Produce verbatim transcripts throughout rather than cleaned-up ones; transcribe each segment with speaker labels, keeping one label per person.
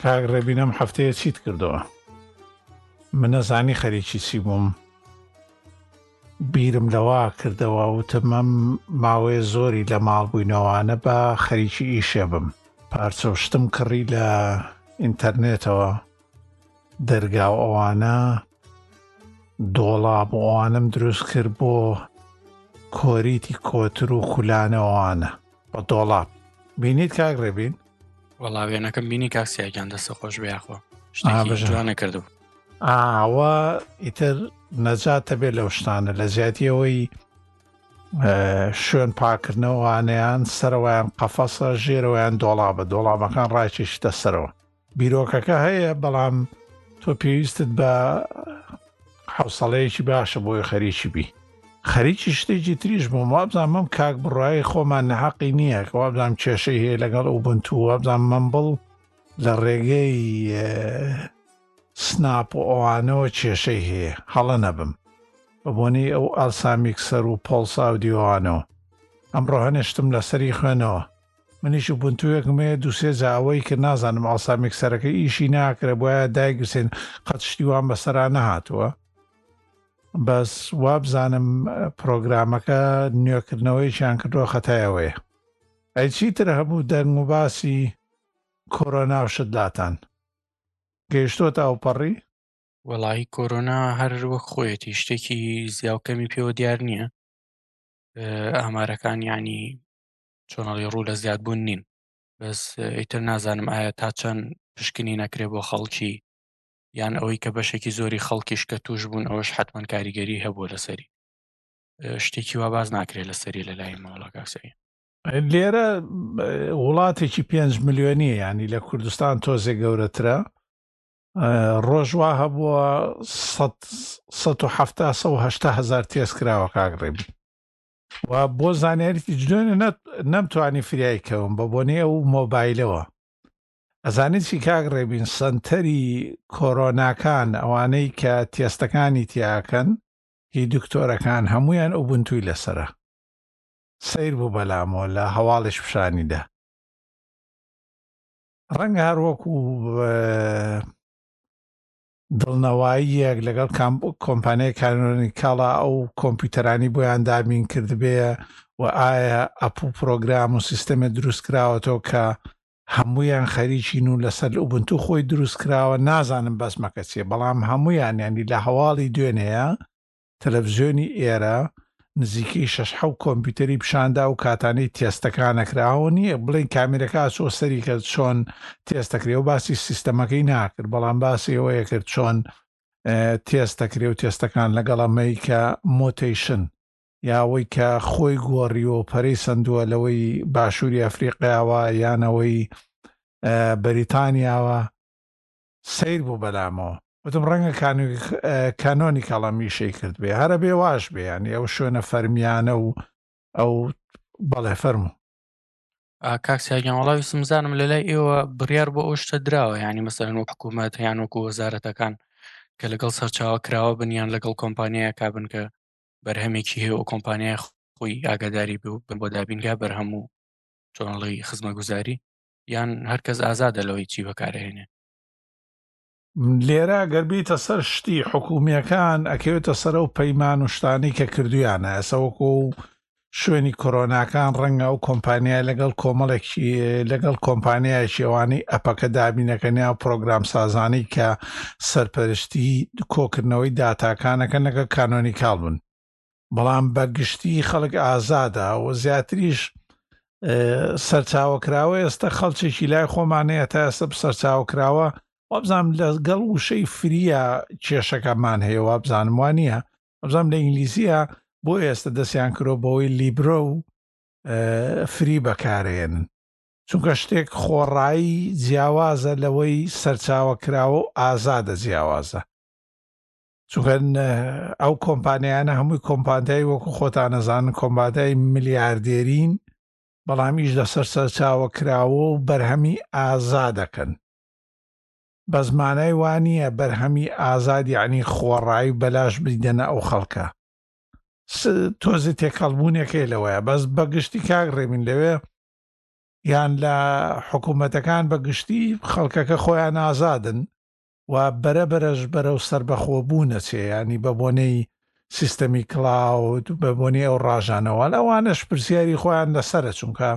Speaker 1: کاک ڕێبینەم هەفتەیە چیت کردەوە؟ من نەزانی خەریکی چی بووم، بیرم لەوا کردەوە وتم ماوەیە زۆری لە ماڵ بووینەوەوانە بە خەریکی ئیشێ بم. پارچەوشتم کڕی لە ئینتەرنێتەوە، دەرگا و ئەوانە دۆڵاب و ئەوانم دروست کرد بۆ کۆریتی کۆتر و خولانەوەوانە بە دۆڵاب. بینیت کاک ڕێبین؟
Speaker 2: وەڵا وێنەکەم بینی کاکسیاگیان دەستە خۆش بێخۆ شتێکی جوانە کردو.
Speaker 1: ئاوە ئیتر نەجاتە بێت لەو شتانە لە زیاتیەوەی شوێن پاکردنەوەوانیان سەرەوەیان قەفەسە ژێرەوەیان دۆڵابە دۆڵابەکان ڕاکێشتە سەرەوە. بیرۆکەکە هەیە بەڵام تۆ پێویستت بە حوسەڵەیەکی باشە بۆی خەریکی بی. خەریکی شتێکی تریش بووم وابزانم مەم کاک بڕایی خۆمان نەحەقی نییە کە وابزانم کێشەی هەیە لەگەڵ ئوبنتو وابزانم مەمبڵ لە ڕێگەی سناپ و ئەوانەوە کێشەی هەیە هەڵە نەبم بەبوونی ئەو ئالسامیکسەر و پۆڵسا و دیوانەوە. ئەمڕۆ هەنێشتم لەسەری خوێنەوە منیش بنتوویەکمەیە دووسێ جاوەی کە نازانم ئالسامیکسەرەکە ئیشی ناکرێ بۆیە دایگوسێن قەت شتیوان بەسەرا نەهاتووە. بەس وابزانم پرۆگرامەکە نوێکردنەوەیشیان کردووە خەتایەوەیە. ئەی چیتر هەبوو دەنگ و باسی کۆرۆنا و شتلاتان گەیشتۆتە ئەوپەڕی؟
Speaker 2: وەڵی کۆرۆنا هەر وەک خۆیەتی شتێکی زیاوکەمی پێوە دیار نییە. ئامارەکان یعنی چۆنەڵی ڕوو لە زیادبوون نین، بەس ئیتر نازانم ئایا تا چەند پشکنی نەکرێ بۆ خەڵکی یان ئەوەی کە بەشێکی زۆری خەڵکیش کە توش بوون ئەوەش حتمەن کاریگەری هەبووە لەسەری شتێکی وا باز ناکرێت لەسەری لە لای ماوەڵە کاکسەی.
Speaker 1: لێرە وڵاتێکی پێنج ملیۆنیە ینی لە کوردستان تۆزێ گەورەترە. ڕۆژوا هەبووە سەد و هەفتە سەد و هەشتا هەزار تێست کراوە کاک ڕێبین و بۆ زانیاریی جدۆنە نەمتوانی فریایکەوم بە بۆنێ ئەو مۆبایلەوە. ئەزانیت چی کاک ڕێبین سنتەری کۆرۆناکان ئەوانەی کە تێستەکانی تیاکەن هی دکتۆرەکان هەمویان ئوبنتووی لەسرە سیر بوو بەلامەوە لە هەواڵش پیشانیدا. ڕەنگە هەروەکو دڵنەواییەک لەگەڵ کۆمپانیای کانۆنیکاڵە ئەو کۆمپیوتەرانی بۆیان دابین کردبێ و ئایا ئەپ و پرۆگرام و سیستەمە دروست کراوەتەوە کە هەمویان خەریکین و لەسەر ئوبنتو خۆی دروست کراوە نازانم بەسمەکە چیە بەڵام هەمویان ینی لە هەواڵی دوێنەیە تەلەڤیزیۆنی ئێرە نزیکەی شەش حەوت کۆمپیوتەری پیشاندا و کاتانەی تێستەکانەکراوە نییە بڵین کامێرەکە چۆ سەری کرد چۆن تێستەکرێ و باسی سیستەمەکەی ناکرد بەڵام باسی ئەوەیە کرد چۆن تێستەکرێ و تێستەکان لەگەڵ ئەمەی کە مۆتیشن یاوەی کە خۆی گۆڕیەوە پەرەی سندووە لەوەی باشووری ئەفریقیاوە یانەوەی بەریتانیاوە سیر بوو بەلامەوە. وتم ڕەنگە کانۆنی کاڵەمیشەی کرد بێ هەرە بێ واش بێ ینی ئەو شوێنە فەرمیانە و ئەو بەڵێ فەرموو.
Speaker 2: کاکسیاگیان وەڵاوی سمزانم لە لای ئێوە بڕیار بۆ ئەو شتە دراوە ینی مەسەرەن وەک حکوومەت یان وەکو وەزارەتەکان کە لەگەڵ سەرچاوە کراوە بنیان لەگەڵ کۆمپانیایە کابن کە بەرهەمێکی هەیە و کۆمپانیای خۆی ئاگاداری بێ و بۆ دابینگا بەرهەم و چۆنڵی خزمەتگوزاری یان هەرکەس ئازادە لەوەی چی بەکارهێنێ.
Speaker 1: لێرە گەربیتە سەر شتی حکوومیەکان ئەکەوێتە سەر و پەیمان و شتانی کە کردویانە ئەسەوەکو و شوێنی کۆرۆناکان ڕەنگە و کۆمپانیای لەگەڵ کۆمەڵێکی لەگەڵ کۆمپانیایکی ئەوانەی ئەپەکە دابینەکەنیا و پرۆگرام سازانی کە سەرپەرشتی کۆکردنەوەی داتاکانەکە لەگەڵ کانۆنیکاڵ بوون بەڵام بەگشتی خەڵک ئازادە و زیاتریش سەرچاوەکراوە ئێستا خەڵکێکی لای خۆمانەیە تا ئێستا سەرچاوەکراوە وابزانم لەگەڵ وشەی فریە کێشەکەمان هەیە وابزانم وانە وابزانم لە ئینگلیزیە بۆ ئێستا دەستیان کرۆ بەوەی لیبرۆ و فری بەکارێنن چونکە شتێک خۆڕایی جیاوازە لەوەی سەرچاوەکراوە و ئازادە جیاوازە چونکە ئەو کۆمپانیانە هەمووی کۆمپانیای وەکو خۆتان نەزانن کۆمپانیای ملیاردێرین بەڵامیش لەسەر سەرچاوەکراوە و بەرهەمی ئازادەکەن بە زمانای وانە بەرهەمی ئازاد یعنی خۆڕایی بەلاش بریدەنە ئەو خەڵکە تۆزی تێکەڵبوونێکی لەوەیە بەس بەگشتی کاک ڕێبین لەوێ یان لە حکوومەتەکان بە گشتی خەڵکەکە خۆیان ئازادن و بەرەبەرەش بەرەو سربەخۆبوونەچێ، ینی بە بۆنەی سیستەمی کلااود بە بۆنی ئەو ڕاژانەوە ئەوانش پرسیاری خۆیان لەسرە، چونکە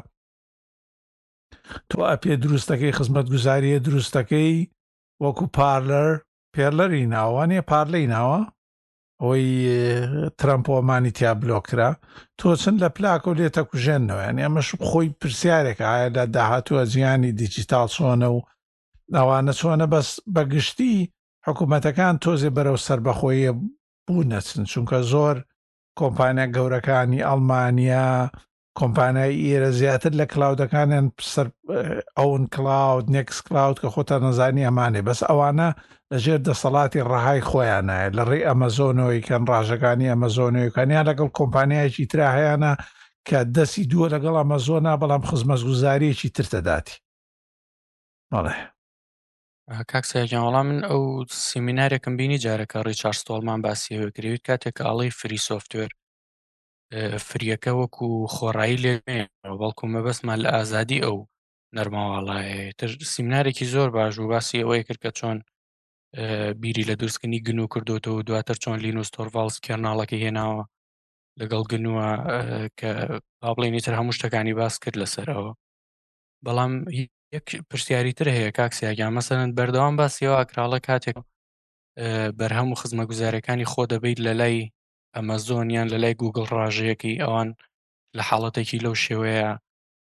Speaker 1: تۆ ئەپێ دروستەکەی خزمەت گوزاریە دروستەکەی وەکو پارلەر پێرلەری ناوانێ پارلەی ناوە ئەوەی ترەمپۆمانی تیا بلۆکرا تۆ چند لە پلاکە و لێتە کوژێنەوە، ینی ئەمەش خۆی پرسیارێکە ئایا لە داهاتووە جیانی دیجیتال چۆنە و ئەوانە چۆنە بەس بەگشتی حکوومەتەکان تۆزێ بەرەو سربەخۆیە بوو نەچن، چونکە زۆر کۆمپانیا گەورەکانی ئەڵمانیا کۆمپانیای ئێرە زیاتر لە کلااودەکانیان ئەوون کلااود نێکس کلااود کە خۆتە نەزانی ئەمانێ، بەس ئەوانە لەژێر دەسەڵاتی ڕەهای خۆیانایە لە ڕێ ئەمەزۆنەوەی کەن ڕاژەکانی ئەمەزۆنەوەیکانیان لەگەڵ کۆمپانیایکی ترا هەیەە کە دەستی دووە لەگەڵ ئەمەزۆنا بەڵام خزمەتگوزاریەکی ترتە داتی. بەڵێ
Speaker 2: کاک سەیەکیان وەڵام من ئەو سیمینارێکم بینی جارەکە ڕیچارد ستۆڵمان باسیەوە کردویت کاتێک ئاڵی فری سۆفتوێر فریەکە وەکو خۆڕایی لێ بەڵکو مەبەستمان لە ئازادی ئەو نەرماوەڵایە تر سیمینارێکی زۆر باش و باسی ئەوەیە کرد کە چۆن بیری لە دروستکردنی گن و کردوتەوە و دواتر چۆن لینوس تۆرڤالز کێرناڵەکە هێناوە لەگەڵ گنووە کە پاڵێنی تر هەموو شتەکانی باس کرد لەسەرەوە. بەڵام یەک پرسیاریتر هەیە کاکسیاگیان مەسەرەن بەردەوام باسیەوە ئاکراڵە کاتێک بەرهەم و خزمە گوزارەکانی خۆ دەبیت لە لای ئەمەزۆنیان لە لای گوگڵ ڕاژەیەکی ئەوان لە حاڵەتێکی لەو شێوەیە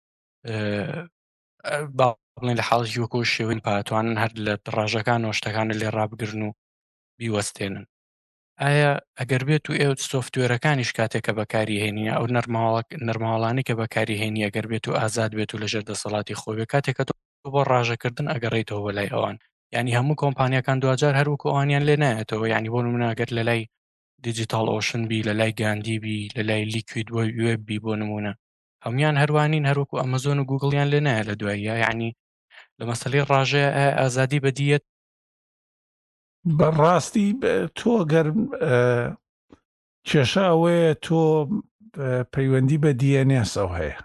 Speaker 2: باڵێن لە حاڵی وەکۆ شێوەی پاتوانن هەر لە ڕاژەکانەوە شتەکانە لێ ڕابگرن و بیوەستێنن. ئایا ئەگەر بێت و ئێوە سۆفتوێرەکانیش کاتێکە بەکاری هێنیە ئەو نەرماڵانی کە بەکاری هێنی ئەگەر بێت و ئازاد بێت و لەژێر دەسەڵاتی خۆی بێ کاتێکە تۆ بۆ ڕاژەکردن ئەگەڕێیتەوە بە لای ئەوان، ینی هەموو کۆمپانیەکان دوجار هەروکو ئەوانیان لێ نایەتەوە، ینی بۆ نمونە ئەگەر لە لای دیجیتال ئۆشن بی لە لای گاندی بی لە لای لیکوید وێب بی بۆ نمونە هەمویان هەروانین هەروکو ئەمەزۆن و گوگڵیان لێ نایە لە دواییە، یعنی لە مەسەلەی ڕاژەیە ئازادی بەدیەت
Speaker 1: بەڕاستی تۆ گەرم کێشە ئەوەیە تۆ پەیوەندی بە دی ئێن ئێس ئەو هەیە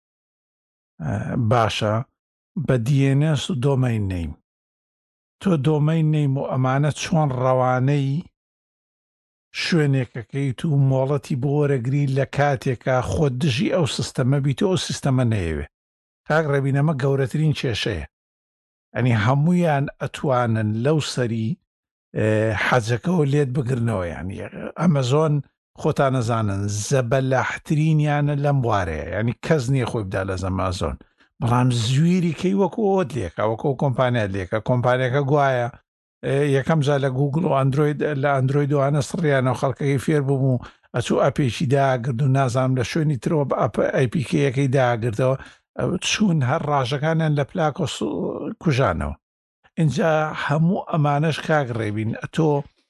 Speaker 1: باشە بە دی ئێن ئێس و دۆمەین نەیم تۆ دۆمەین نەیم و ئەمانە چۆن ڕەوانەی شوێنێکەکەیت و مۆڵەتی بۆ وەرەگری لە کاتێکە خۆ دژی ئەو سیستەمە بیت و ئەو سیستەمە نەیەوێ کاک ڕەبینەمە گەورەترین کێشەیە، ئەنی هەمویان ئەتوانن لەو سەری حەجەکەەوە لێت بگرنەوە، ینی ئەمەزۆن خۆتان نەزانن زەبەلاحترینیانە لەم بوارەیە، ینی کەس نییە خۆی بدا لە زەمازۆن، بەڵام زویری کەی وەکو ئۆت لێکە وەکو کۆمپانیا لێکە کۆمپانیەکە گوایە یەکەم جا لە گوگڵ و ئەندروید لە ئەندرویدوانە سڕیانەوە خەڵکەکەی فێر بووم و ئەچوو ئەپێکی داگرد و نازانم لە شوێنی ترەوە بە ئەپ ئەیپیکەیەکەی داگردەوە چوون هەر ڕاژەکانیان لە پلاکۆ کوژانەوە. اینجا هەموو ئەمانەش کاک ڕێبین ئەتۆ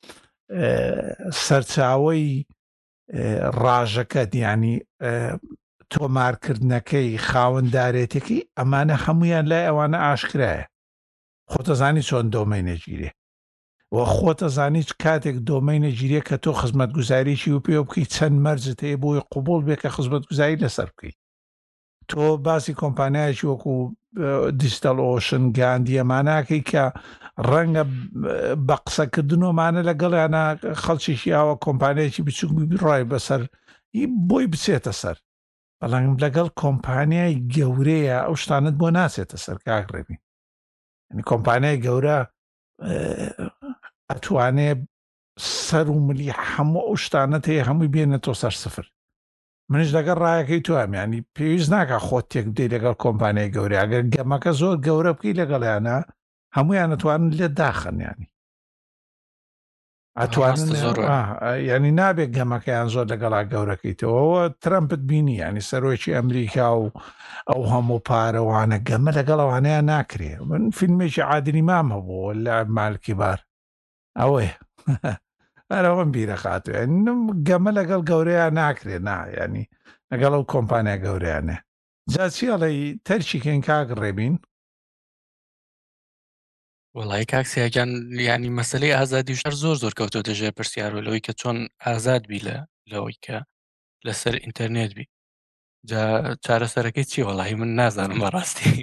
Speaker 1: سەرچاوەی ڕاژەکەت ینی تۆمارکردنەکەی خاوەنددارێتێکی ئەمانە هەمویان لای ئەوانە ئاشکرایە، خۆتەزانی چۆن دۆمەینە گیرێ و خۆتەزانی کاتێک دۆمەینە گیرێ کە تۆ خزمەت گوزاریی و پێ بکەیت چەند مەرجت هەیە بۆی قوبول بێ کە خزمەت گوزاری لەسەر بکەیت. تۆ باسی کۆمپانیایکی وەکو دیجیتال ئۆشن گاندی ئەماناکەی کە ڕەنگە بە قسەکردنەوەمانە لەگەڵیانە خەڵکیشی ئاوە کۆمپانیایکی بچووک ڕای بەسەر بۆی بچێتە سەر، بەڵام لەگەڵ کۆمپانیای گەورەیە ئەو شتانت بۆ ناچێتە سەر کاک ڕێبین، ینی کۆمپانیای گەورە ئەتوانێ سەر و ملی هەموو ئەو شتانت هەیە هەمووی بێنێتەوە سەر سفر. منش لەگەڵ ڕایەکەی توام ینی پێویست ناکە خۆت تێک بدەیت لەگەڵ کۆمپانیای گەورە، ئەگەر گەمەکە زۆر گەورە بکەی لەگەڵیانە هەمویان ئەتوانن لێ داخن، ینی ئەتوانن ینی نابێت گەمەکەیان زۆر لەگەڵا گەورەکەیتەوەەوە ترەمپت بینی ینی سەرۆکی ئەمریکا و ئەو هەموو پارەوانە گەمە لەگەڵەوانەیە ناکرێ. من فیلمێکی عادلی مام هەبوو لە مالکی بار ئەوەیە ئەرەوەم بیرە خاتوێ گەمە لەگەڵ گەورەیە ناکرێ نا ینی لەگەڵ ئەو کۆمپانیا گەورەیانێ. جا چیاڵی تەرچیکەین کاک ڕێبین؟
Speaker 2: وڵی کاکسیاگیان ینی مەسلەی ئازادی شەر زۆر زۆر کەوتۆ دەژێ پرسیارەوەی کە چۆن ئازاد بی لە لەوەی کە لەسەر ئینتەرنێت بی جا چارەسەرەکەی چی؟ وەڵاهی من نازانم بەڕاستی.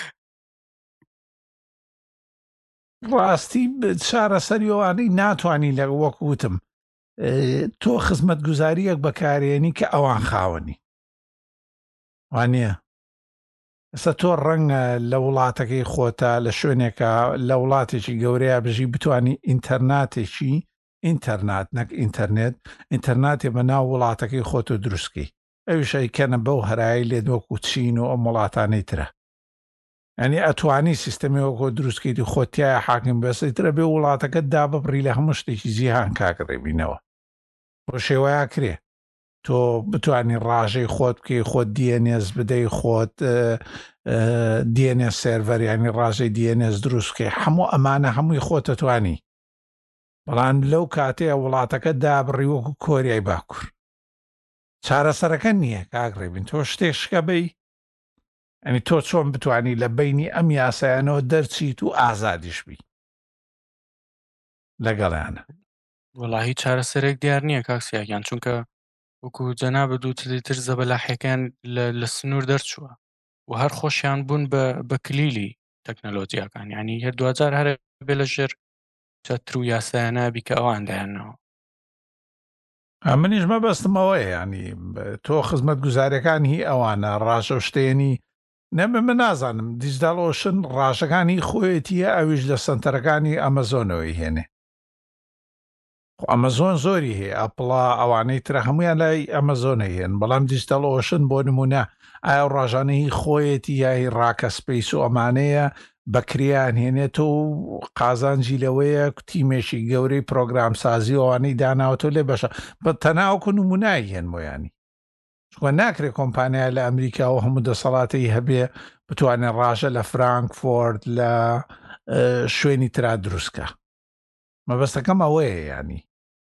Speaker 1: ڕاستی چارەسەریەوانەی ناتوانانی لە وەکوتم تۆ خزمەت گوزاریەک بەکارێنی کە ئەوان خاوەنی وانە ئەستا تۆ ڕەنگە لە وڵاتەکەی خۆتە لە شوێنێکە لە وڵاتێکی گەورەیە بژی بتانی ئینتەرناتێکی ئینتەرنات نەک ئینتەرنێت ئینتەرناتێ بە ناو وڵاتەکەی خۆت و دروستکەی ئەویشەیکەنە بەو هەرایی لێ دۆکو چین و ئەم وڵاتانەی ترە ئەنی ئەتوانی سیستەمەوەکۆ دروستکەیت و خۆتیایە حاکم بەسەی ترە بێ وڵاتەکە دا ببڕی لە هەموو شتێکی جیهان کاکڕێبینەوە بۆ شێوەیە کرێ تۆ بتانی ڕاژەی خۆت بکەی خۆت دیێنێز بدەی خۆت دیێنێ سێڤەریانی ڕاژەی دیێنێز دروستکەی هەموو ئەمانە هەمووی خۆتەتوانی بەڵام لەو کاتەیە وڵاتەکە دابڕی وەکو کۆریای باکوور چارەسەرەکە نییە کاگڕێبین تۆ شتێک شکە بی ئەنی تۆ چۆن بتانی لە بینی ئەم یاسایانەوە دەرچیت و ئازادیش بی لەگەڵیانە
Speaker 2: وەڵاهی چارەسەرێک دیار نییە کاکسیاگیان چونکە وەکو جەنابە دووتری تر زەبەلاحەکان لە سنوور دەرچووە و هەر خۆشیان بوون بە کلیلی تەکنەلۆجیاکان ینی هەر دوجار هەر بێ لە ژێر چەتر و یاسایانە بیکە ئەوان دایانەوە
Speaker 1: منیش مەبەستمەوەی ینی تۆ خزمەت گوزاریەکان هی ئەوانە ڕاژە شتێنی نەمە من نازانم دیجداڵۆشن ڕاژەکانی خۆیەتیە ئەویش لە سنتەرەکانی ئەمەزۆنەوەی هێنێ ئەمەزۆن زۆری هەیە ئەپڵا ئەوانەی ترە هەمویان لای ئەمەزۆنە هێن بەڵام دیجیتال ئۆشن بۆ نمونە ئایا ڕاژانەی خۆیەتی یای ڕاکە سپیس و ئەمانەیە بەکریان هێنێت و قازانجی لەوەیە تیمێکی گەورەی پرۆگرام سازی ئەوانەی داناوتۆ لێ بەشە بە تەناوکو نمونایی هێن بۆیانی چکە ناکرێت کۆمپانیا لە ئەمریکا و هەموو دەسەڵاتی هەبێ بتوانێت ڕاژە لە فرانکفۆرد لە شوێنی ترا دروستکە مەبەستەکەم ئەوەیە ینی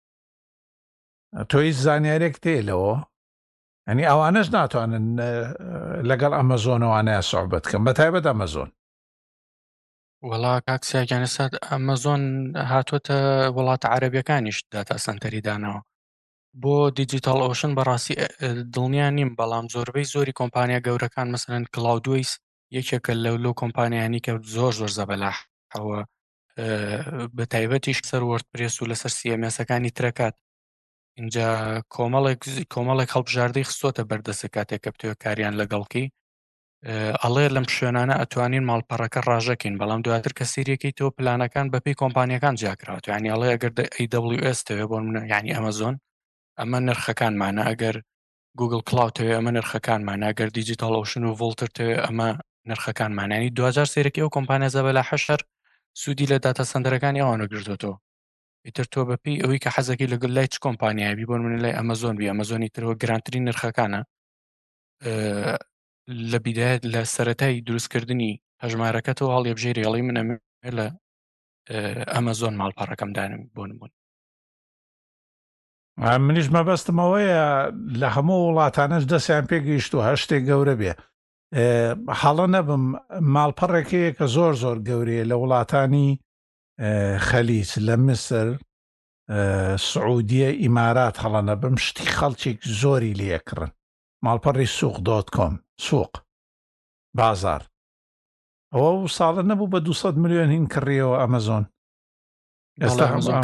Speaker 1: تۆی زانیارێک تێلەوە ئەنی ئەوانەش ناتوانن لەگەڵ ئەمەزۆنەوانەیە سوحبەت بکەن بە تایبەت ئەمەزۆن
Speaker 2: وەڵا کاکسیاگیان ئێستا ئەمەزۆن هاتووەتە وڵاتە عەرەبیەکانیش داتا سەنتەری دانەوە بۆ دیجیتال ئۆشن بەڕاستی دڵنیان نیم بەڵام زۆربەی زۆری کۆمپانیا گەورەکان مەسەرەن کلااودویس یەکێکە لەو لەو کۆمپانیانی کە زۆر زۆر زەبەلاحەوە بە تایبەتیش سەر وەردپرێس و لەسەر سیەمێسەکانی ترەکات اینجا کۆمەڵێک کۆمەڵێک هەڵبژاردەی خستۆتە بەردەستە کاتێک کە بتوێ کاریان لەگەڵکی ئەڵێ لەم شوێنانە ئەتوانین ماڵپەڕەکە ڕاژەکەین بەڵام دواتر کە سیرەکەی تۆ پلانەکان بەپی کۆمپانیەکان جیاکرات ینی ئەڵێ ئەگەر ئەی دبلیو ئێس تەوێ بۆ منە ینی ئەمەزۆن ئەمە نرخەکانمانە ئەگەر گوگل کلااوتەوێ ئەمە نرخەکانمانە ئەگەر دیجیتال ئۆشن و ڤڵتر تەوێ ئەمە نرخەکانمانانی دوجار سێرەکی ئەو کۆمپانیا زەبەلا حەشەر سوودی لە داتا سەندەرەکانی ئەوانە گرتوتەوە ئیتر تۆ بەپی ئەوەی کە حەزەکەی لەگەڵ لای چ کۆمپانیایبی بۆن من لای ئەمەزۆن بی ئەمەزۆنی ترەوە گرانترین نرخەکانە لە بیدایەت لە سەرەتای دروستکردنی هەژمارەکەتەوە هەڵێبژێری هەڵی منە لە ئەمەزۆن ماڵپەڕەکەم دانم بۆ نمون
Speaker 1: منیش مەبەستمەوەیە لە هەموو وڵاتانش دەستیان پێگەیشت و هەشتێک گەورە بێ حاڵە نەبم ماڵپەڕێکەیە کە زۆر زۆر گەورەیە لە وڵاتانی خەلیج لە مسر سعودیە ئیمارات هەڵە نەبم شتی خەڵکێک زۆری لێکڕن ماڵپەڕی سوق دۆت کۆم سوق بازار ئەوە و ساڵە نەبوو بە دووسەد ملیۆن هین کڕیەوە ئەمەزۆن ئێستا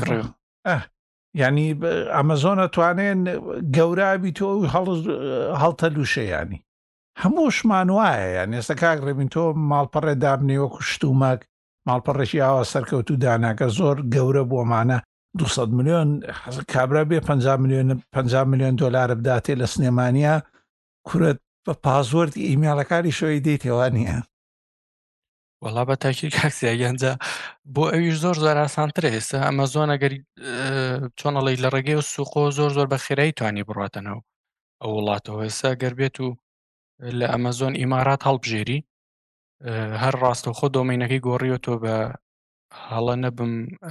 Speaker 1: ینی ئەمەزۆنە توانێن گەورابی تۆ هەڵتە لوشەیانی هەمووشمان وایە یان ئێستا کاک ڕێبین تۆ ماڵپەڕێ دابنێوەکو شتومەک ماڵپەڕێکی ئاوا سەرکەوت و داناکە زۆر گەورە بۆمانە دووسەد ملیۆن کابرا بێ پەنجا ملیۆن پەنجا ملیۆن دۆلارە بداتێ لە سنێمانیا کورت بە پازوەردی ئیمێڵەکانی شۆی دەیتێوە نییە
Speaker 2: وەڵا بە تاکی کاکسیاگەنجە بۆ ئەویش زۆر زۆر ئاسانترە ئێستا ئەمەزۆن ئەگەری چۆنەڵی لە ڕێگەی و سوقۆ زۆر زۆر بە خێرایی توانی بڕاتەنەوە ئەو وڵاتەوە ئێستا گەر بێت و لە ئەمەزۆن ئیمارات هەڵبژێری هەر ڕاستەوخۆ دۆمینەکەی گۆڕیوە تۆ بە هەڵە نەبم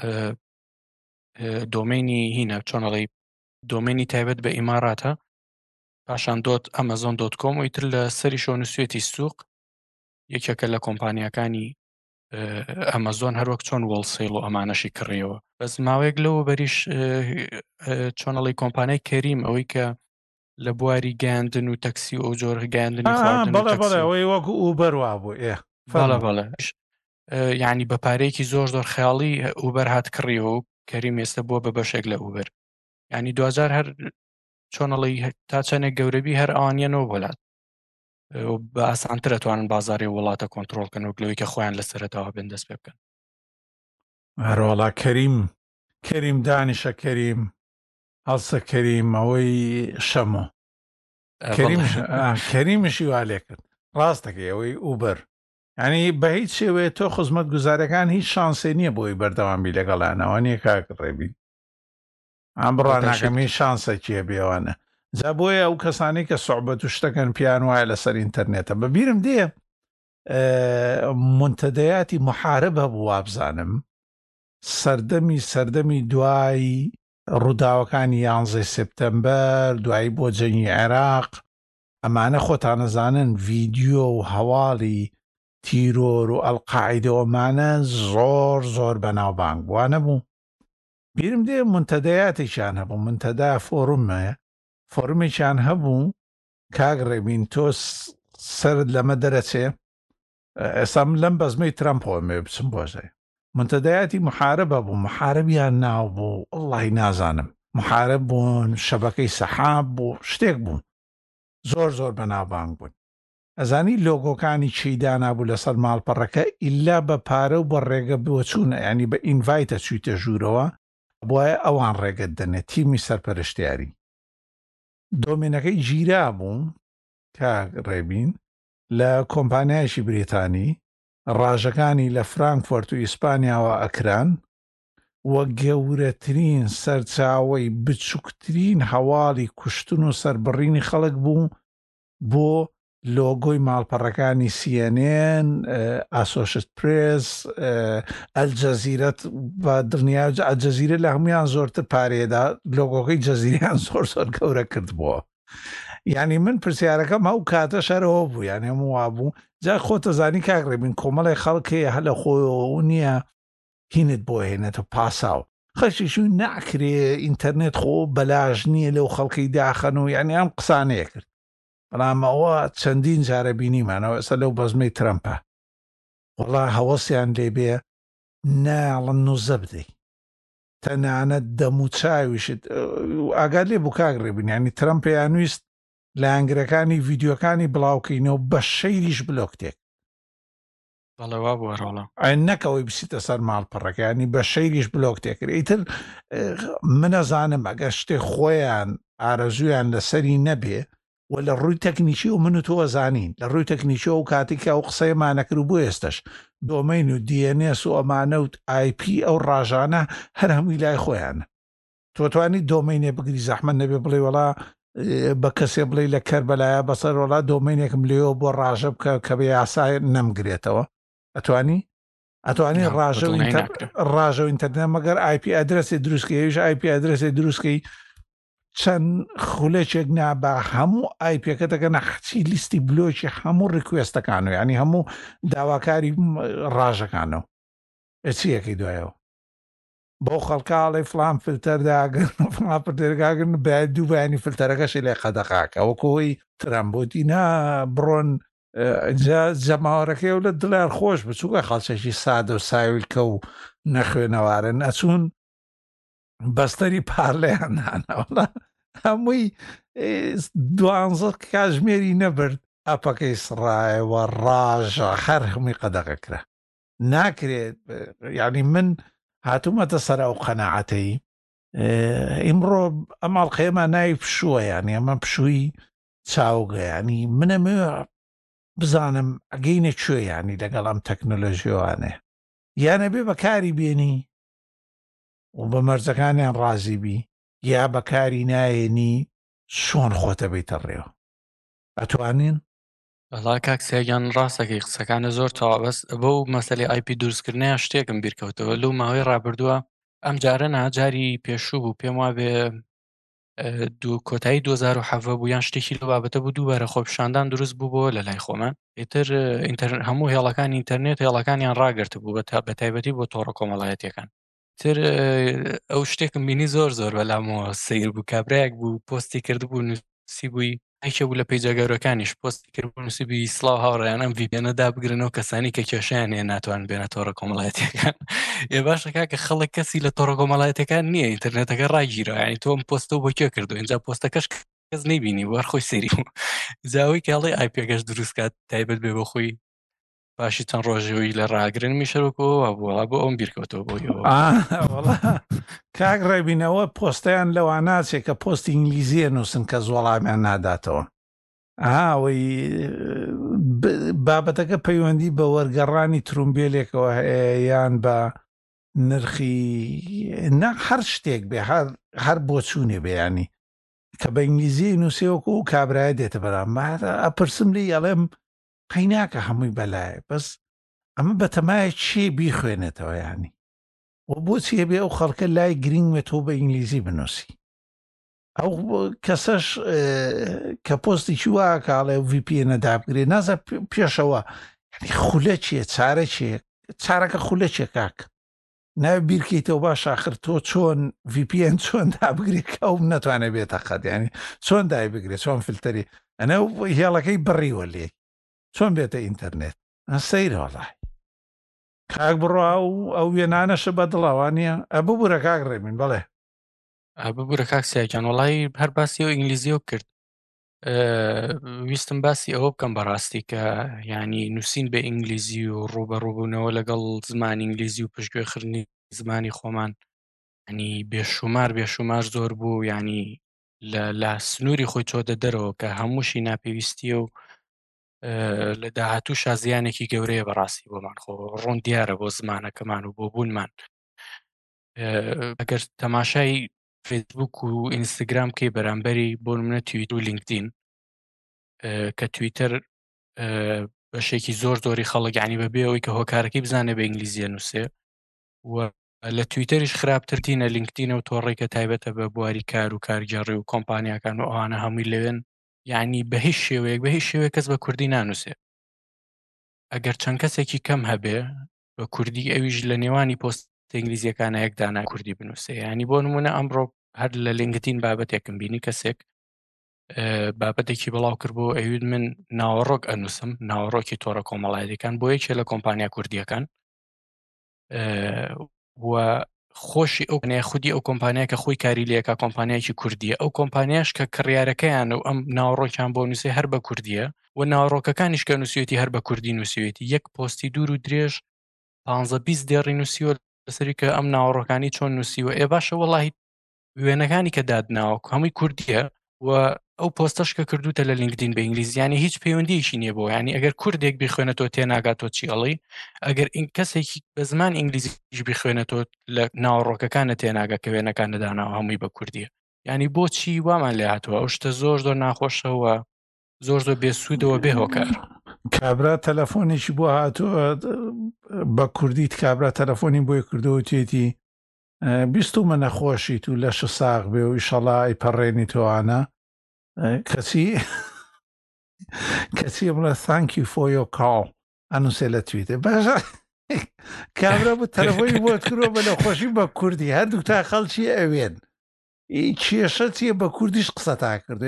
Speaker 2: دۆمینی هینە چۆنەڵی دۆمینی تایبەت بە ئیماراتە پاشان دۆت ئەمەزۆن دۆت کۆم و ئیتر لە سەری شۆنووسێتی سوق یەکێکە لە کۆمپانیەکانی ئەمەزۆن هەروەک چۆن وەڵسێڵ و ئەمانەشی کڕیەوە بەس ماوەیەک لەوە بەریش چۆنەڵی کۆمپانیای کەریم ئەوەی کە لە بواری گەیاندن و تەکسی و ئەو جۆر گەیاندنی
Speaker 1: آه
Speaker 2: خواردن و
Speaker 1: بەڵێ
Speaker 2: تەکسی
Speaker 1: بەڵێ
Speaker 2: و
Speaker 1: ئەوەی وەکو ئوبەر وا بوو ئێ
Speaker 2: بەڵێ
Speaker 1: فەرموو
Speaker 2: بەڵێ یعنی بە پارەیەکی زۆر زۆر خەیاڵی ئوبەر هات کڕیەوە و کەریم ئێستا بووە بە بەشێک لە ئوبەر ینی دوجار هەر چۆنەڵی تا چەندێک گەورەبی هەر ئەوانیانەوە وڵات بە ئاسانترە توانن بازاری وڵاتە کۆنتترۆلکەن و گلۆی کە خۆیان لە سەرەتاوە بێن دەست پێ بکەن
Speaker 1: هەروەڵا کەریم کەریم دانیشە کەریم هەڵسە کەریم ئەوەی شەمۆ کەریمشی وا لێ کرد ڕاستەکەی ئەوەی ئوبەر ینی بە هیچ شێوەیە تۆ خزمەت گوزارەکان هیچ شانسێ نییە بۆی بەردەوامی لەگەڵانەوە نییە کاکڕێبی ئەم بڕاناکەمی شانسێکیە بێوانە جا بۆیە ئەو کەسانی کە سوعبەت و شتەکەن پیان وایە لەسەر ئینتەرنێتە بەبیرم دێ منتەدەیاتی محارب هەبوو وابزانم سەردەمی سەردەمی دوای ڕووداوەکانی یانزەی سپتەمبەر دوایی بۆ جەنگی عێراق ئەمانە خۆتانەزانن ڤیدیۆ و هەواڵی تیرۆر و ئەڵقاعیدەوەمانە زۆر زۆر بەناوبانگ بووانە بوو بیرم دێ منتەدەیاتێکیان هەبوو منتەدا فۆرمە فۆرمێکیان هەبوو کاگڕێبین تۆ سرد لەمە دەرەچێ ئێستا من لەم بەزمەی ترەمپەوە مێ بچم بۆژێ منتەدەیاتی محاربە بوو محاربیان ناو بوو ئەڵڵی نازانم محارب بوون شەبەکەی سەحاب بوو شتێک بوون زۆر زۆر بەناوبانگ بوون ئەزانی لۆگۆکانی چیدانا بوو لەسەر ماڵپەڕەکە ئیلا بە پارە و بە ڕێگە بۆچوونە ینی بە ئینڤایتە چویتە ژوورەوە بۆیە ئەوان ڕێگەت دەنێت تیمی سەرپەرشتیاری دۆمینەکەی گیرا بوو کە ڕێبین لە کۆمپانیایشی بریتانی ڕاژەکانی لە فرانکفۆرت و ئیسپانیاوە ئەکران وە گەورەترین سەرچاوەی بچووکترین هەواڵی کوشتن و سربڕینی خەڵک بوو بۆ لۆگۆی ماڵپەڕەکانی سی ئەن ئێن ئاسۆشت پرێس ئەلجەزیرەت بە دڵنیا ئەلجەزیرە لە هەمویان زۆرتر پارێدا لۆگۆکەی جەزیریان زۆر زۆر گەورە کردبووە ینی من پرسیارەکەم هەو کاتە شەرەوە بوو یان هەموو وا بوو جا خۆتە زانی کاگڕێبین کۆمەڵی خەڵکەیە هە لە خۆیەوە نییە هینت بۆ هێنێتە پاساو خەشیشوی ناکرێ ئینتەرنێت خۆ بەلاژ نییە لەو خەڵکەی داخەن و یعنی ئەم قسانەیە کرد بەڵام ئەوە چەندین جارە بینیمانەوە ئێستا لەو بەزمەی ترەمپە وەڵا هەوەسیان لێبێ ناڵن نوزە بدەی تەنانەت دەموچاویشت ئاگات لێ بوو کاگڕێبین ینی ترەمپیان ویست لە ئەنگرەکانی ڤیددیوەکانی بڵاوکەینەوە بە شەیریش بلۆکتێک
Speaker 2: بەڵەوا بووە ڕۆڵە
Speaker 1: ئەین نەکەوەی بسیتە سەر ماڵپەڕەکانی بە شەیریش بلۆک تێکرد ئیتر منەزانم ئەگەر شتێک خۆیان ئارەزویان لەسەری نەبێ و لە ڕووی تەکنیکی و من و تۆ زانین لە ڕووی تەکنیکی و کاتێکە ئەو قسەیەمانەکرد بۆ ئێستش دۆمین و دی ئەن ئێس و ئەمانە و آی پی ئەو ڕاژانە هەر هەمووی لای خۆیانە تۆ توانی دۆمینێ بگری زەحمەت نەبێ بڵێ وەڵا بە کەسێ بڵێ لە کەربەلایە بەسەر وڵا دۆمینێکم لێەوە بۆ ڕاژە بکە کە بە یاسای نەمگرێتەوە ئەتوانی ئەتوانی ڕاژە ڕاژە و ئینتەرنێت مەگەر آی پی ئەدرەسی دروستکەیش آی پی ئەدرەسی دروستکەی چەند خولەکێک نابا هەموو آی پیەکە دەکەن نەخچی لیستی بلۆکی هەموو ڕیکوێستەکانەوە ینی هەموو داواکاری ڕاژەکانەوە چیەکەی دوایەوە بۆ خەڵکاڵی فلان فلتەرداگەن فڵاپەردێرگاگرن بە دوو بەیانی فلتەرەکەشی لێ خەدەقاکە ئەوەکەوەی ترامبۆتینا بڕۆن جەماوەەکەی و لە دڵار خۆش بچووکە خەڵچێکی سادە و ساویلکە و نەخوێنەوارن ئەچوون بەستەری پارلەیان نانەوەڵە هەمووی دوانزە کاژمێری نەبرد ئەپەکەی سڕایەوە ڕاژە هەر هەمووی قەدەغەکرا ناکرێت یعنی من هاتوومەتە سەر ئەو قەناعەتەی ئیمڕۆ ئەماڵقەیەمان ناوی پشووە یانی ئەمە پشووی چاوگەیانی منەمێ بزانم ئەگەینە کوێ ینی لەگەڵ ئەم تەکنۆلۆژیوانێ یانە بێ بەکاری بێنی و بە مەرجەکانیان ڕازی بی یا بەکاری نایێنی چۆن خۆتە بیتە ڕێوە ئەتوانین
Speaker 2: بەڵا کاکسیاگیان ڕاستەکەی قسەکانە زۆر تەوابەست بۆ مەسەلەی آی پی دروستکردنیان شتێکم بیرکەوتەوە لەو ماوەی ڕابردووە ئەم جارە ناجاری پێشوو بوو پێم وا بێ دوو کۆتایی دوو هەزار و هەفت بوو یان شتێکی لە بابەتە بوو دووبارە خۆپیشاندان دروست بوو بۆ لە لای خۆمان ئیتر هەموو هێڵەکانی ئینتەرنێت هێڵەکانیان ڕاگررت بوو بە تایبەتی بۆ تۆڕە کۆمەڵایەتیەکان تر ئەو شتێکم بینی زۆر زۆر بەلامەوە سیر بوو کابراایەک بوو پۆستی کرد بوو سی بووی هیچە بوو لە پێیجە گەورەکانیش پۆستی کرد بوو نووسیبی سڵاو هاوڕێیان ئەم ڤی پی ئێنە دابگرنەوە کەسانی کە کێشیان هەیە ناتوان بێنە تۆڕە کۆمەڵایەتیەکان ێ باشە کاکە خەڵک کەسی لە تۆڕە کۆمەڵایەتەکان نییە ئینتەرنێتەکە ڕاگیرەوە یعنی تۆم پۆستە بۆ کێ کردو اینجا پۆستەکەش کەس نەیبینی وەرخۆی سێری بوو جاوەی کاڵی ئای پێگەش دروست کات تایبەت بێ بۆ خۆی پاشی چەند ڕۆژەوەی لە ڕاگرن میشەرەوەکەوە بووە بۆ ئەوم بیرکەوتەوە بۆ ئەوە
Speaker 1: وڵا کاک ڕێبینەوە پۆستیان لەوە ناچێت کە پۆستی ئینگلیزیە نووسن کە زۆڵامیان ناداتەوە ئاوەی بابەتەکە پەیوەندی بە وەرگەڕانی ترومبێلێکەوە هەیە یان بە نرخی نە هەر شتێک بێ هەر بۆ چوونێ بەیانی کە بە ئینگلیزی نووسێوەکە و کابرایە دێتە بەرام ئەپرسم لی ئەڵێم قەیناکە هەمووی بەلایە بەس ئەمە بەتەمایە چی بیخوێنێتەوە ینی و بۆچی بێ ئەو خەڵکە لای گرنگوێت تۆ بە ئینگلیزی بنووسی ئەو کەسەش کە پۆستی چی وا کاڵێ ڤی پی ئێنە دابگرێ نازە پێشەوە خولە چیە چارە چیە چارەکە خولە چیە کاک ناوێ بیرکەیتەوە باش ئاخر تۆ چۆن ڤی پی ئێن چۆن دابگرێت کە ئەو نەتوانێت بێتە قەت ینی چۆن دای بگرێت چۆن فلتەری ئەنە هێڵەکەی بڕیوە لێ چۆن بێتە ئینتەرنێت سەیرە وەڵای کاک بڕوا و ئەو وێنانەشە بە دڵاوانە ئەبوو بورە کاک ڕێمین بڵێ
Speaker 2: ببوورە کاک سیاجان وڵی هەر باسی و ئینگلیزیۆ کرد ویستم باسی ئەوە بکەم بەڕاستی کە ینی نووسین بە ئینگلیزی و ڕوبەڕووبوونەوە لەگەڵ زمان ئینگلیزی و پشتگوێخردنی زمانی خۆمان ینی بێشومار بێشومار زۆر بوو ینی لە سنووری خۆی چۆدە دەرەوە کە هەمووشی ناپێویستیە و لە داهاتوو شازیانێکی گەورەیە بەڕاستی بۆمان خۆ ڕوون دیارە بۆ زمانەکەمان و بۆ بوونمان ئەگەر تەماشای فیسبوک و ئینستاگرام کەی بەرامبەری بۆ نمونە تویتر و لینکدین کە تویتر بەشێکی زۆر زۆری خەڵک ینی بەبێ ئەوەی کە هۆکارەکەی بزانێ بە ئینگلیزیە نووسێ و لە تویتەریش خراپترتینە لینکدینە و تۆڕێکە تایبەتە بە بواری کار و کارگەڕی و کۆمپانیاکان و ئەوانە هەمووی لەوێن یعنی بە هیچ شێوەیەک بە هیچ شێوەیە کەس بە کوردی نانووسێ ئەگەر چەند کەسێکی کەم هەبێ بە کوردی ئەویش لە نێوانی پۆست ئینگلیزیەکانە یەکدانا کوردی بنووسێ ینی بۆ نمونە ئەمڕۆ هەر لە لینکدین بابەتێکم بینی کەسێک بابەتێکی بڵاو کرد بۆ ئەوید من ناوەڕۆک ئەنووسم ناوەڕۆکی تۆڕە کۆمەڵایەتیەکان بۆ یەکێ لە کۆمپانیا کوردیەکان و خۆشی ئەو نێ خودی ئەو کۆمپانیا کە خۆی کاری لەکە کۆمپانیایکی کوردیە ئەو کۆمپانیاش کە کڕیارەکەیان و ئەم ناوەڕۆکیان بۆ نووسێ هەر بە کوردیە و ناوەڕۆکەکانیش کە نووسێتی هەر بە کوردی نووسێتی یەک پۆستی دوور و درێژ پانزە بیست دێڕی نووسیوە لەسەری کە ئەم ناوەڕۆکانی چۆن نووسیوە ئێ باشە وەڵاهی وێنەکانی کە دادناوە هەمووی کوردیە و ئەو پۆستەش کە کردوتە لە لینکدین بە ئینگلیزیانی هیچ پەیوەندیشی نییە بۆ ینی ئەگەر کوردێک بخوێنێتەوە تێناگاتۆ چی ئەڵی ئەگەر این کەسێکی بە زمان ئینگلیزیش بخوێنێتەوە لە ناوەڕۆکەکانە تێناگە کە وێنەکان دەداناوە هەمووی بە کوردیە ینی بۆچی وامان لێ هاتووە ئەو شتە زۆر زۆر ناخۆشەوە زۆر زۆر بێسوودەوە بێ هۆکار
Speaker 1: کابرا تەلەفۆنێکی بۆ هاتووە بە کوردیت کابرا تەلەفۆنی بۆی کردەوە توێتی بیستمە نەخۆشیت و لەش ساغ بێ و ئیشەڵا ئەیپەڕێنی تۆوانە کەچی کەچی بڵێ thank you for your call ئەنووسێ لە تویتە باشە کابرا بوو تەلەفۆنی بۆت کردەوە بە نەخۆشی بە کوردی هەردوو تا خەڵکی ئەوێن کێشە چیە بە کوردیش قسە تا کردو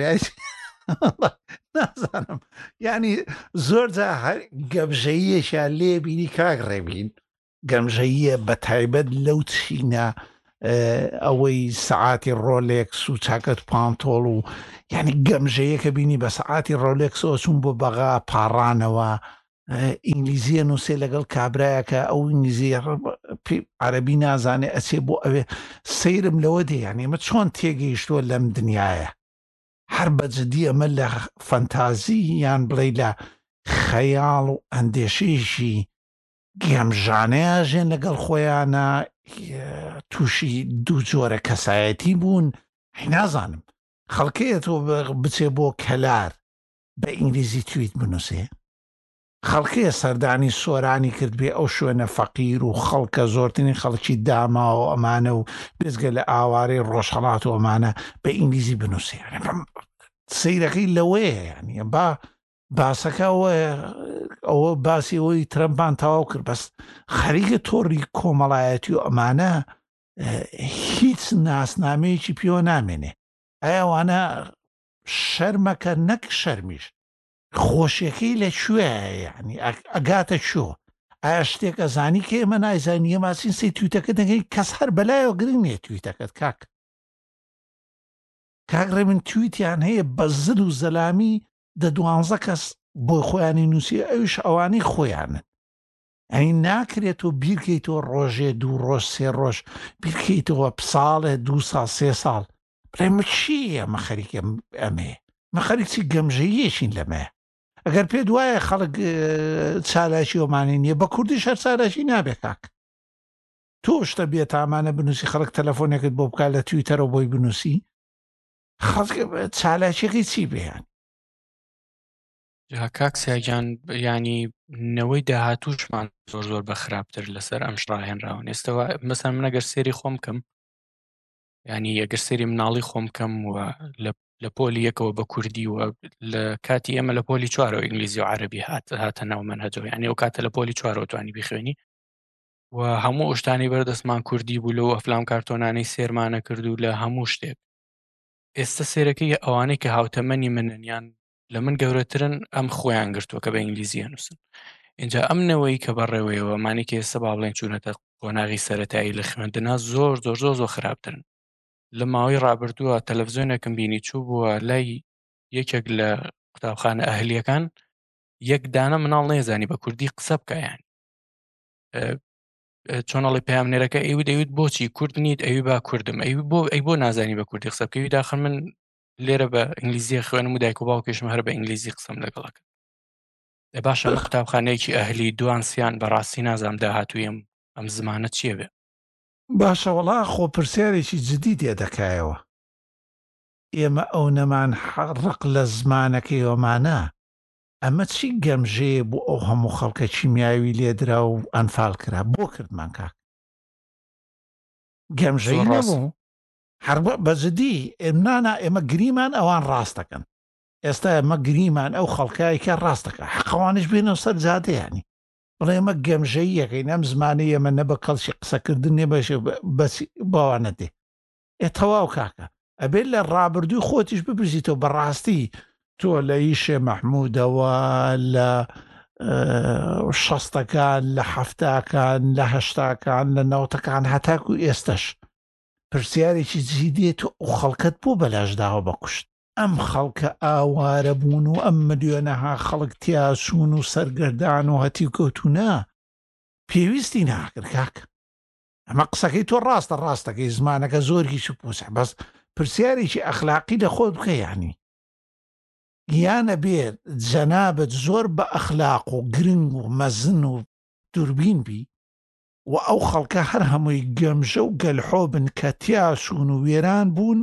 Speaker 1: نازانم ینی زۆر جا هەر گەمژەییەشیان لێ بینی کاک ڕێبین گەمژەییە بە تایبەت لەو چینە ئەوەی سعاتی ڕۆلێکس و چاکەت پانتۆڵ و ینی گەمژەیەکە بینی بە سعاتی ڕۆلێکسەوە چوون بۆ بەغا پاڕانەوە ئینگلیزیە نووسێ لەگەڵ کابراایەکە ئەو ئینگلیزی عەرەبی نازانێ ئەچێ بۆ ئەوێ سەیرم لەوە دێ یانی ئمە چۆن تێگەیشتووە لەم دنیاە هەر بەجددی ئەمە لە فەنتازی یان بڵێ لە خەیاڵ و ئەندێشەیەشی گەمژانەیە ژێن لەگەڵ خۆیانە تووشی دوو جۆرە کەسایەتی بوون نازانم خەڵکەیەتەوە بچێ بۆ کەلار بە ئینگلیزی تویت بنووسێ خەڵکەیە سەردانی سۆرانی کرد بێ ئەو شوێنە فەقیر و خەڵکە زۆرترین خەڵکی داما و ئەمانە و بێزگە لە ئاوارەی ڕۆژهەڵات و ئەمانە بە ئینگلیزی بنووسێ سەیرەکەی لەوەیە ینی با باسەکە ئەوە باسی ئەوەی ترەمپان تەواو کرد بەس خەریکە تۆڕی کۆمەڵایەتی و ئەمانە هیچ ناسنامەیەکی پێوە نامێنێ ئایاوانە شەرمەکە نەک شەرمیش خۆشیەکەی لەکوێیە یعنی ئەگاتە چۆ ئایا شتێک ئەزانی کە ئێمە نایزانیە ماسین سی تویتەکە دەگەی کەس هەر بەلایەوە گرنگ نییە تویتەکەت کاک کاکڕێ من تویتیان هەیە بە زل و زەلامی دە دوانزە کەس بۆی خۆیانی نووسی ئەوش ئەوانەی خۆیانن ئەی ناکرێت و بیرکەیتەوە ڕۆژێ دوو ڕۆژ سێ ڕۆژ بیرکەیتەوە ساڵێ دوو ساڵ سێ ساڵ بڕێمە چییە مە خەریکە ئەمێ مە خەریکی گەمژەیەشین لەمە ئەگەر پێ دوایە خەڵک چالاکی ئۆمانی نییە بە کوردی شەر چالاشی نابێ کاک تۆ شتە بێت ئامانە بنووسی خەڵک تەلەفۆنێکت بۆ بکات لە تویتەرەوە بۆی بنووسی خەڵک چالاکیەکەی چی بێیان
Speaker 2: کاک سیاگیان ینی نەوەی داهاتووشمان زۆر زۆر بە خراپتر لەسەر ئەم شڕاهێنراون ئێستەوە مەسەن من ئەگەر سێری خۆم کەم ینی ئەگەر سێری مناڵی خۆم کەم و لە پۆلی یەکەوە بە کوردی و لە کاتی ئێمە لە پۆلی چوارەوە ئینگلیزی و عەرەبی هات هاتە ناو مەنهەجەوە ینی ئەو کاتە لە پۆلی چوارەوە توانی بخوێنی و هەموو ئشتانی بەردەستمان کوردی بوو لەوە ئەفلام کارتۆنانەی سێرمانە کرد و لە هەموو شتێک ئێستا سێرەکەی ئەوانەی کە هاوتەمەنی مننیان لە من گەورەترن ئەم خۆیان گرتووە کە بە ئینگلیزی نووسن اینجا ئەم نەوەی کە بەڕێوەیەوە مانی کە ئێستا با بڵێن چوونەتە قۆناغی سەرەتایی لە خوێندنا زۆر زۆر زۆر زۆر خراپترن لە ماوەی ڕابردووە تەلەڤیزیۆنێکم بینی چوو بووە لای یەکێک لە قوتابخانە ئەهلیەکان یەک دانە مناڵ نێزانی بە کوردی قسە بکەیان چۆنەڵی پامنێرەکە ئەوی دەویت بۆچی کورد نیت ئەوی با کوردم ئەوی بۆ ئەی بۆ نازانی بە کوردی قسە بکەوی داخل من لێرە بە ئینگلیزیە خوێنم و دایک و باوکێشم هەر بە ئینگلیزی قسەم لەگەڵەکە دە باشە لە قوتابخانەیەکی ئەهلی دوانسیان بەڕاستی نازام داهاتوویم ئەم زمانە چییە بێ
Speaker 1: باشە وەڵا خۆ پرسیارێکی جدی تێ دەکایەوە ئێمە ئەو نەمان حەڕق لە زمانەکەی ئەومانە ئەمە چی گەمژەیە بۆ ئەو هەموو خەڵکە چیمیاوی لێدرا و ئەنفال کرا بۆ کردمان کاک گەمژەی نەبوو هەر بەجددی ئێمنانە ئێمە گریمان ئەوان ڕاستەکەن ئێستا ئەمە گریمان ئەو خەڵکایکە ڕاستەکە حەقەوانش بێنەوە سەر جادەیانی بڵێ ئێمە گەمژەی یەکەین ئەم زمانەی ئێمە نە بە کەڵکی قسەکردن نێ بەشێ باوانە دێ ئێ تەواو کاکە ئەبێت لە ڕابردووی خۆتیش بپرسیتەوە بەڕاستی تۆ لە ئیشێ مەحموودەوە لە شەستەکان لە حەفتاکان لە هەشتاکان لە نەوتەکان هەتاکو ئێستش پرسیارێکی جدێت و ئەو خەڵکت بۆ بەلاشداوە بەکوشت ئەم خەڵکە ئاوارە بوون و ئەم ملیۆنەها خەڵک تیاسوون و سەرگەردان و هەتی کەوتونە پێویستی ناکرد کاک ئەمە قسەکەی تۆ ڕاستە ڕاستەکەی زمانەکە زۆرکی شپوسە بەس پرسیارێکی ئەخلاقی لە خۆت بکە یانی یانە بێت جەنابەت زۆر بە ئەخلاق و گرنگ و مەزن و دووربین بی و ئەو خەڵکە هەر هەمووی گەمژە و گەلحۆ بن کە تیاسوون و وێران بوون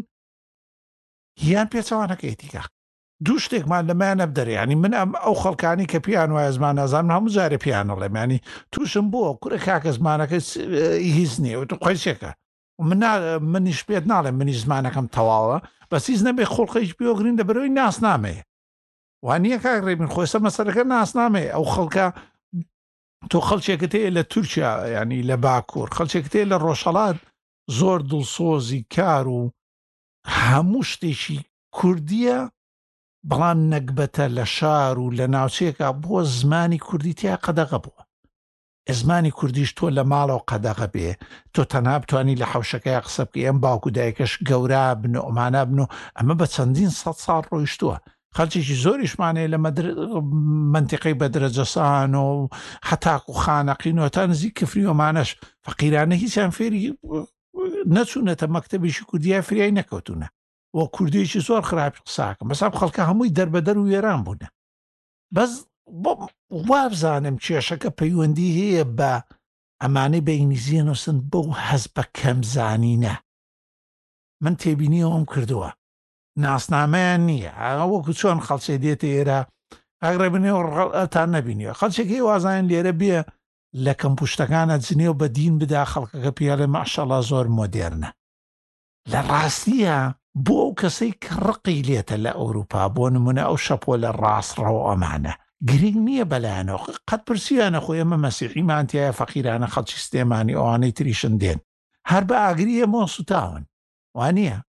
Speaker 1: یان پێچەوانەکەیتی کاک دوو شتێکمان لەمایانە بدەرێ ینی من ئەم ئەو خەڵکانی کە پیان وایە زمان نازانم هەموو جارێ پیانەڵێم ینی تووشم بووە کورە کاکە زمانەکە هیچ نییە و تو قۆیسێکە من منیش پێت ناڵێم منی زمانەکەم تەواوە بەس هیچ نەبێ خۆڵخەیش بیۆگرین لە بەرەوەی ناسنامەیە وانییە کاکڕێ من خۆسە مەسەرەکە ناسنامێ ئەو خەڵکە تۆ خەڵچێکت هەیە لە تورکیا ینی لە باکوور خەڵچێکت هەیە لە ڕۆژهەڵات زۆر دڵسۆزی کار و هەموو شتێکی کوردیە بەڵام نەکبەتە لە شار و لە ناوچەیەکە بۆ زمانی کوردی تیا قەدەغە بووە زمانی کوردیش تۆ لە ماڵەوە قەدەغە بێ تۆ تەنها بتوانی لە حەوشەکەی قسە بکە ئەم باوکو دایکەش گەورە بن و ئەمانە بن و ئەمە بە چەندین سەد ساڵ ڕۆیشتووە خەڵکێکی زۆریشمانەیە لە منتیقەی بەدرەجەسان و حتاک و خانەقین و تا نزیک کفری ومانەش فەقیرانە هیچیان فێری نەچوونەتە مەکتەبێکی کوردیای فریای نەکەوتونە وە کوردیەکی زۆر خراپی قساکەم بەساب خەڵکە هەمووی دەربەدەر و وێران بوونە بەس وابزانم کێشەکە پەیوەندی هەیە بە ئەمانەی بە ئینگلیزیە نووسن بەو هەز بە کەمزانینە من تێبینیەوەم کردووە ناسنامەیان نییە وەکو چۆن خەڵچێ دێتە ئێرە ئاگرە بنێوەتان نەبینیوە خەڵچێکی وازانین لێرە بێ لە کەمپوشتەکانە جنێ و بە دین بدا خەڵکەکە پیاڵێ ماشەڵڵا زۆر مۆدێرنە لە ڕاستیە بۆ ئەو کەسەی کە ڕقی لێتە لە ئەوروپا بۆ نمونە ئەو شەپۆ لە ڕاستڕەوە ئەمانە گرنگ نییە بەلایەنەوە قەت پرسیانە خۆی ئەمە مەسیحیمانتیایە فەقیرانە خەڵکی سلێمانی ئەوانەی تریشن دێن هەر بە ئاگریە مۆ سوتاون وانییە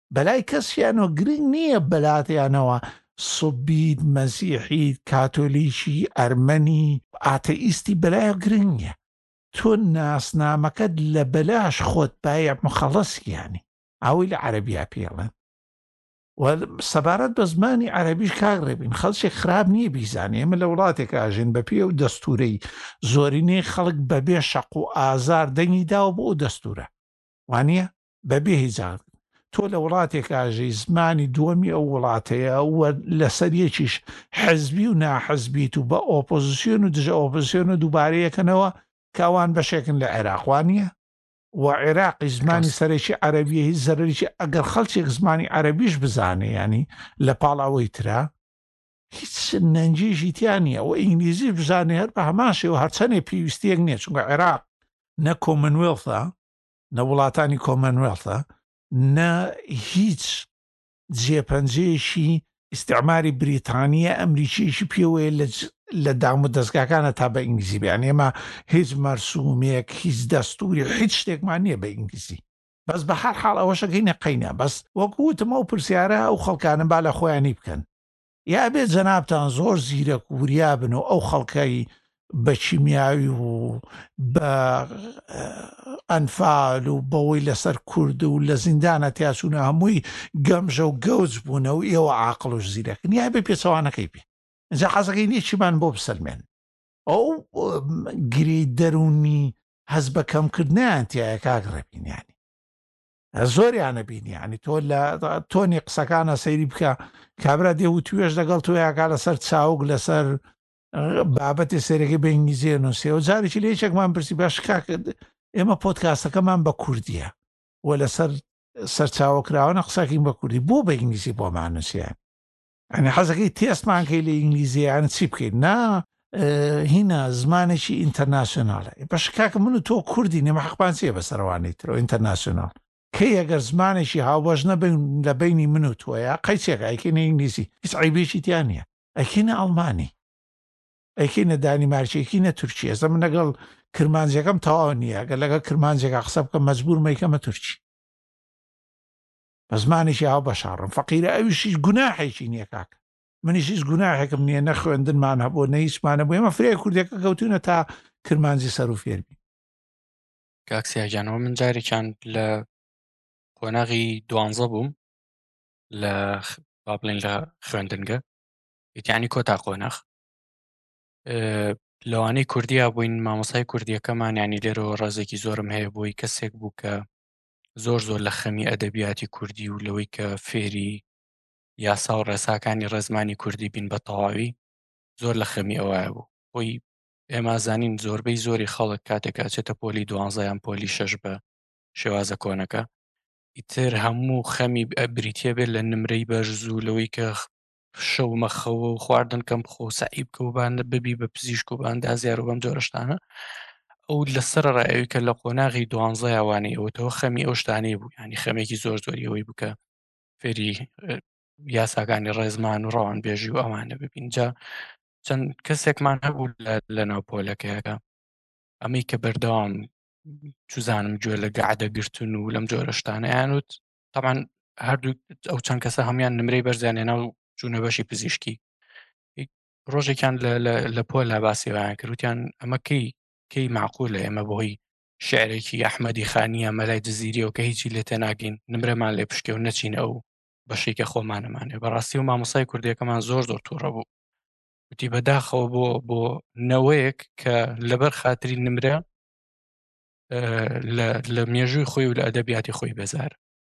Speaker 1: بەلای کەسیانەوە گرنگ نییە بەلاتیانەوە سوبیت مەسیحیت کاتۆلیکی ئەرمەنی ئاتەئیستی بەلایە گرنگ نییە تۆ ناسنامەکەت لە بەلاش خۆت باە مخەڵەسیانی ئەوەی لە عەرەبیا پێڵێن سەبارەت بە زمانی عەرەبیش کاگڕێبین خەڵکێک خراپ نییە بیزانێ ئێمە لە وڵاتێک ئاژین بە پێ و دەستورەی زۆرینەی خەڵک بەبێ شەق و ئازار دەنگی داوە بۆ ئەو دەستورە وانە بەبێ هیزار تۆ لە وڵاتێک ئاژەی زمانی دووەمی ئەو وڵاتەیە وە لەسەریەکیش حەزبی و ناحەزبیت و بە ئۆپۆزیسیۆن و دژە ئۆپۆزیسیۆن و دووبارەیەکەنەوە کاوان بەشێکن لە عێراق وانە و عێراقی زمانی سەرێکی عەرەبیە هیچ زەرەریی ئەگەر خەڵکێک زمانی عەرەبیش بزانێ ینی لە پاڵاوەی ترا هیچ نەنجێژی تیانە ئەو ئینگلیزی بزانێ هەر بە هەماشێ و هەرچەنێ پێویستیەک نییە چونکە عێراق نە کۆمنوێڵتە نە وڵاتانی کۆمنوێڵتە نە هیچ جێپەنجەیەشی ئیستعماری بریتانیە ئەمریکیشی پێوەیە لە دام و دەستگاکانە تا بە ئینگلیزی بیان ئێمە هیچ مەرسومێک هیچ دەستوری هیچ شتێکمان نییە بە ئینگلیزی بەس بە هەر حاڵ ئەوەشەکەی نەقەینە بەس وەکوتمە و پرسیارە ئەو خەڵکانم با لە خۆیانی بکەن یا بێت جەنابتان زۆر زیرەک و وریا بن و ئەو خەڵکەی بە چیمیاوی و بە ئەنفال و بەوەی لەسەر کورد و لە زیندانە تیاچوونە هەمووی گەمژە و گەوج بوونە و ئێوە عاقڵ و زیرەکن یا بێ پێچەوانەکەی پێ ئەجا حەزەکەی نییە چیمان بۆ بسەلمێن ئەو گری دەرونی هەز بە کەمکردنیان تایە کاگڕێبینیانی زۆریانە بینیانی تۆ لە تۆنی قسەکانە سەیری بکە کابرا دێ و توێش لەگەڵ تۆ یاکا لەسەر چاوک لەسەر بابەتی سێرەکەی بە ئینگلیزیە نووسێ و جارێکی لە یەکێکمان پرسی باش کاکرد ئێمە پۆدکاستەکەمان بە کوردیە و لەسەر سەرچاوەکراوەنە قساکەین بە کوردی بۆ بە ئینگلیزی بۆمان نووسیان ئەنی حەزەکەی تێستمان کەی لە ئینگلیزییان چی بکەین نا هینە زمانێکی ئینتەرناسیۆناڵە بەش کاکە من و تۆ کوردی نێمە حەقمان چییە بەسەروانەی ترەوە ئینتەرناسیۆناڵ کەی ئەگەر زمانێکی هاوبەش نەبین لە بینی من و تۆیە قەیچێکە ئەیکەینە ئینگلیزی هیچ عیبێکی تیان نییە ئەیکەینە ئەڵمانی ئەیکەینە دانیمارکیەکەینە تورکی ئێستا من لەگەڵ کرمانجیەکەم تەواو نییە ئەگەر لەگەڵ کرمانجێکە قسە بکەم مەجبور مەیکەمە تورکی بە زمانێکی هاو بەشاڕم فەقیرە ئەویشیش گوناحێکی نییە کاکە منیش هیچ گوناحێکم نییە نە خوێندنمان هەبوو نە هیچمانە بوو ئێمە فرێ کوردەکە کەوتونە تا کرمانجی سەر و فێربی
Speaker 2: کاکسیاجانەوە من جارێکیان لە قۆناغی دوانزە بووم لە با بڵێن لە خوێندنگە یعنی کۆتا قۆناغ لەوانەی کوردیا بووین مامۆسای کوردیەکەمان ینی لێرەوە ڕازێکی زۆرم هەیە بۆی کەسێک بوو کە زۆر زۆر لە خەمی ئەدەبیاتی کوردی و لەوەی کە فێری یاسا و ڕێساکانی ڕێزمانی کوردی بین بە تەواوی زۆر لە خەمی ئەوە بوو بۆی ئێمە زانین زۆربەی زۆری خەڵک کاتێک ئاچێتە پۆلی دوانزەیان پۆلی شەش بە شێوازە کۆنەکە ئیتر هەموو خەمی بریتە بێت لە نمرەی بەرز و لەوەی کە شەو مەخەوە و خواردن کەم بخۆ سعیب کە و بانە ببی بە پزیشک و باندا زیار و بەم جۆرەشتانە ئەو لەسەر ڕایەوەی کە لە قۆناغی دوانزە ئەوانەی ئەوەتەوە خەمی ئەو شتانەی بوو ینی خەمێکی زۆر زۆری ئەوەی بووکە فێری یاساکانی ڕێزمان و ڕەوان بێژی و ئەمانە ببین جا چەند کەسێکمان هەبوو لە ناو پۆلەکەیەکە ئەمەی کە بەردەوام چوزانم گوێ لە گەعدەگرتن و لەم جۆرە شتانە یانوت تەمان هەردوو ئەو چەند کەسە هەمان نمرەی بەرزیانێنا و چوونە بەشی پزیشکی ڕۆژێکیان لە پۆلا باسییان کردوتیان ئەمە کەی کەی معقولە ئێمە بۆی شعرێکی ئەحمەدی خانیە مەلای جززیریەوە کە هیچی لێ تێناگەین نمرەمان لێ پشکێ و نەچینە ئەو بەشێکە خۆمانەمانێ بەڕاستی و مامۆسای کوردیەکەمان زۆر زۆر تووڕە بوو وتی بەداخەوە بۆ بۆ نەوەیەک کە لەبەر خاتری نمرە لە مێژووی خۆی و لە ئەدەبیاتی خۆی بێزار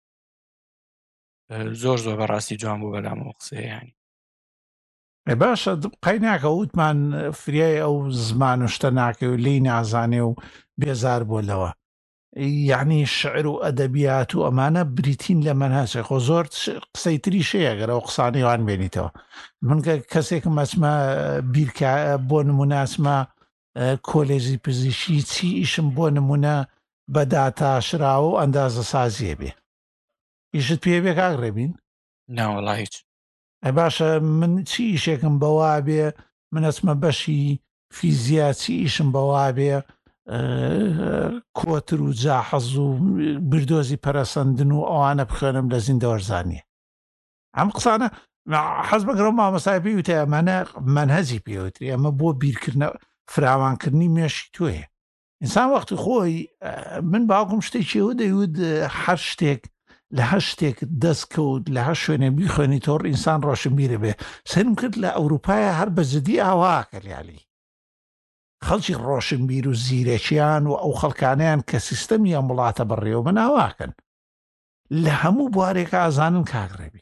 Speaker 2: زۆر زۆر بەڕاستی جوان بوو بەلامەوە قسەیانی
Speaker 1: باشە قەی ناکە وتمان فریای ئەو زمان و شتە ناکە و لی نازانێ و بێزار بۆ لەوە یعنی شعر و ئەدەبیات و ئەمانە بریتین لە مەنهەجە خۆ زۆر قسەی تری شەیە گەرە و قسانەیوان بێنیتەوە من کەسێکم مەچمە بیرکە بۆ نموناسمە کۆلێژی پزیشکی چی ئیشم بۆ نمونە بەداتاشراوە و ئەندازە سازیە بێ ئیشت پێ بێ کاگڕێبین
Speaker 2: ناوەڵا هیچ
Speaker 1: ئە باشە من چی ئیشێکم بەوا بێ من ئەچمە بەشی فیزیا چی ئیشم بەوا بێ کۆتر و جاحەز و بردۆزی پەرەسەندن و ئەوانە بخوێنم لە زیندەوەرزانیە. ئەم قسانە حەز بەگەڕ مامەسای پێی وتە ئەمانە منهەجی پێوتری، ئەمە بۆ بیرکردنە فراوانکردنی مێشی تۆیە. ئینسان وەختی خۆی من باوکم شتێکیەوە دەیوت هەر شتێک لە هەر شتێک دەستکەوت لە هەر شوێنە بیخوێنی تۆڕ ئینسان ڕۆشنبیرە بێ. سرم کرد لە ئەوروپایە هەر بە جدی ئاواکە لیالی خەڵکی ڕۆشنبیر و زیرەکیان و ئەو خەڵکانیان کە سیستەمی ئەم وڵاتە بەڕێوە بە ناواکەن لە هەموو بوارێکە ئازانن کاگڕێبی.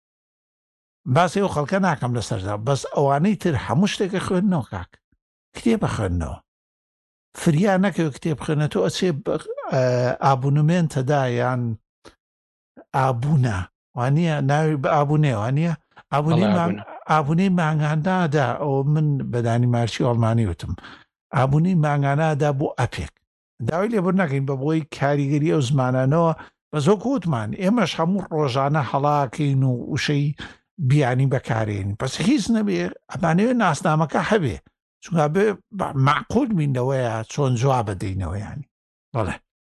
Speaker 1: باسی ئەو خەڵکە ناکەم لەسەردا، بەس ئەوانەی تر هەموو شتێکە خوێندنەوە کاک کتێبە خوێندنەوە فریا نەکەوێت کتێب خوێنێتەوە ئەچێ ئابوونمێن تەدا یان ئابوونە وانە ناوی بە ئابوونێ وانە ئابوونەی مانگانادا. ئەو من بەدانی مارچی ئەڵمانی وتم ئابوونی مانگانادا بۆ ئەپێک داوای لێبەر نەکەین بە بۆی کاریگەری ئەو زمانانەوە بە زۆ کووتمان ئێمەش هەموو ڕۆژانە هەڵاکەین و وشەی بیانی بەکارێن پس هیچ نەبێ ئەمانەوێ ناسنامەکە هەبێ چونکە بێ معقول بینەوەیە چۆن جواب بدەینەوە ینی بەڵێ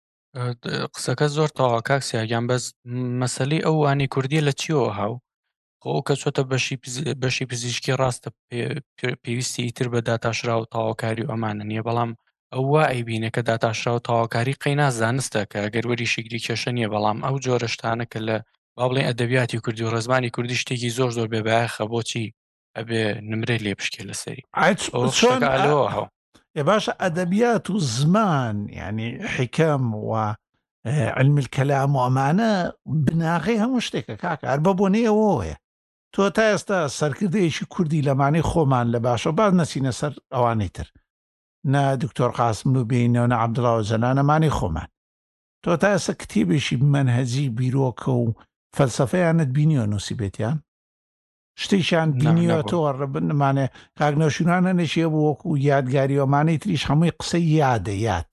Speaker 2: قسەکە زۆر تەواو کاکسیاگیان بەس مەسەلەی ئەو وانی کوردیە لە چیەوە هاو خۆ کە چۆتە بەشی پزیشکی ڕاستە پێویستی ئیتر بە داتاشرا و تاواکاری و ئەمانە نییە بەڵام ئەو وا ئەیبینە کە داتاشرا و تاواکاری قەینا زانستە کە گەروەری شیگری کێشە نییە بەڵام ئەو جۆرە شتانە کە لە با بڵێن ئەدەبیاتی کوردی و ڕێزمانی کوردی شتێکی زۆر زۆر بێبایەخە بۆچی ئەبێ نمرێ لێ بشکێ لەسەری ئەوەشەکەلەوە هەو
Speaker 1: ێ باشە ئەدەبیات و زمان ینی حیکەم و علمی الکەلام و ئەمانە بناغی هەموو شتێکە کاکە هەر بە بۆنەیەوەیە تۆ تا ئێستا سەرکردەیەکی کوردی لەمانەی خۆمان لە باشە باز نەچینە سەر ئەوانەی تر نە دکتۆر قاسم و بینەوە نە عەبدوڵڵا و جەنانەمانی خۆمان تۆ تا ئێستا کتێبێکی منهەجی بیرۆکە و فەلسەفەیانت بینیوە نووسی بێتیان شتێکیان بینیوە تۆ ڕبنمانێ کاگنەوشینانە نەشیە بۆ وەکو یادگاری ئەمانەی تریش هەمووی قسەی یادە یاد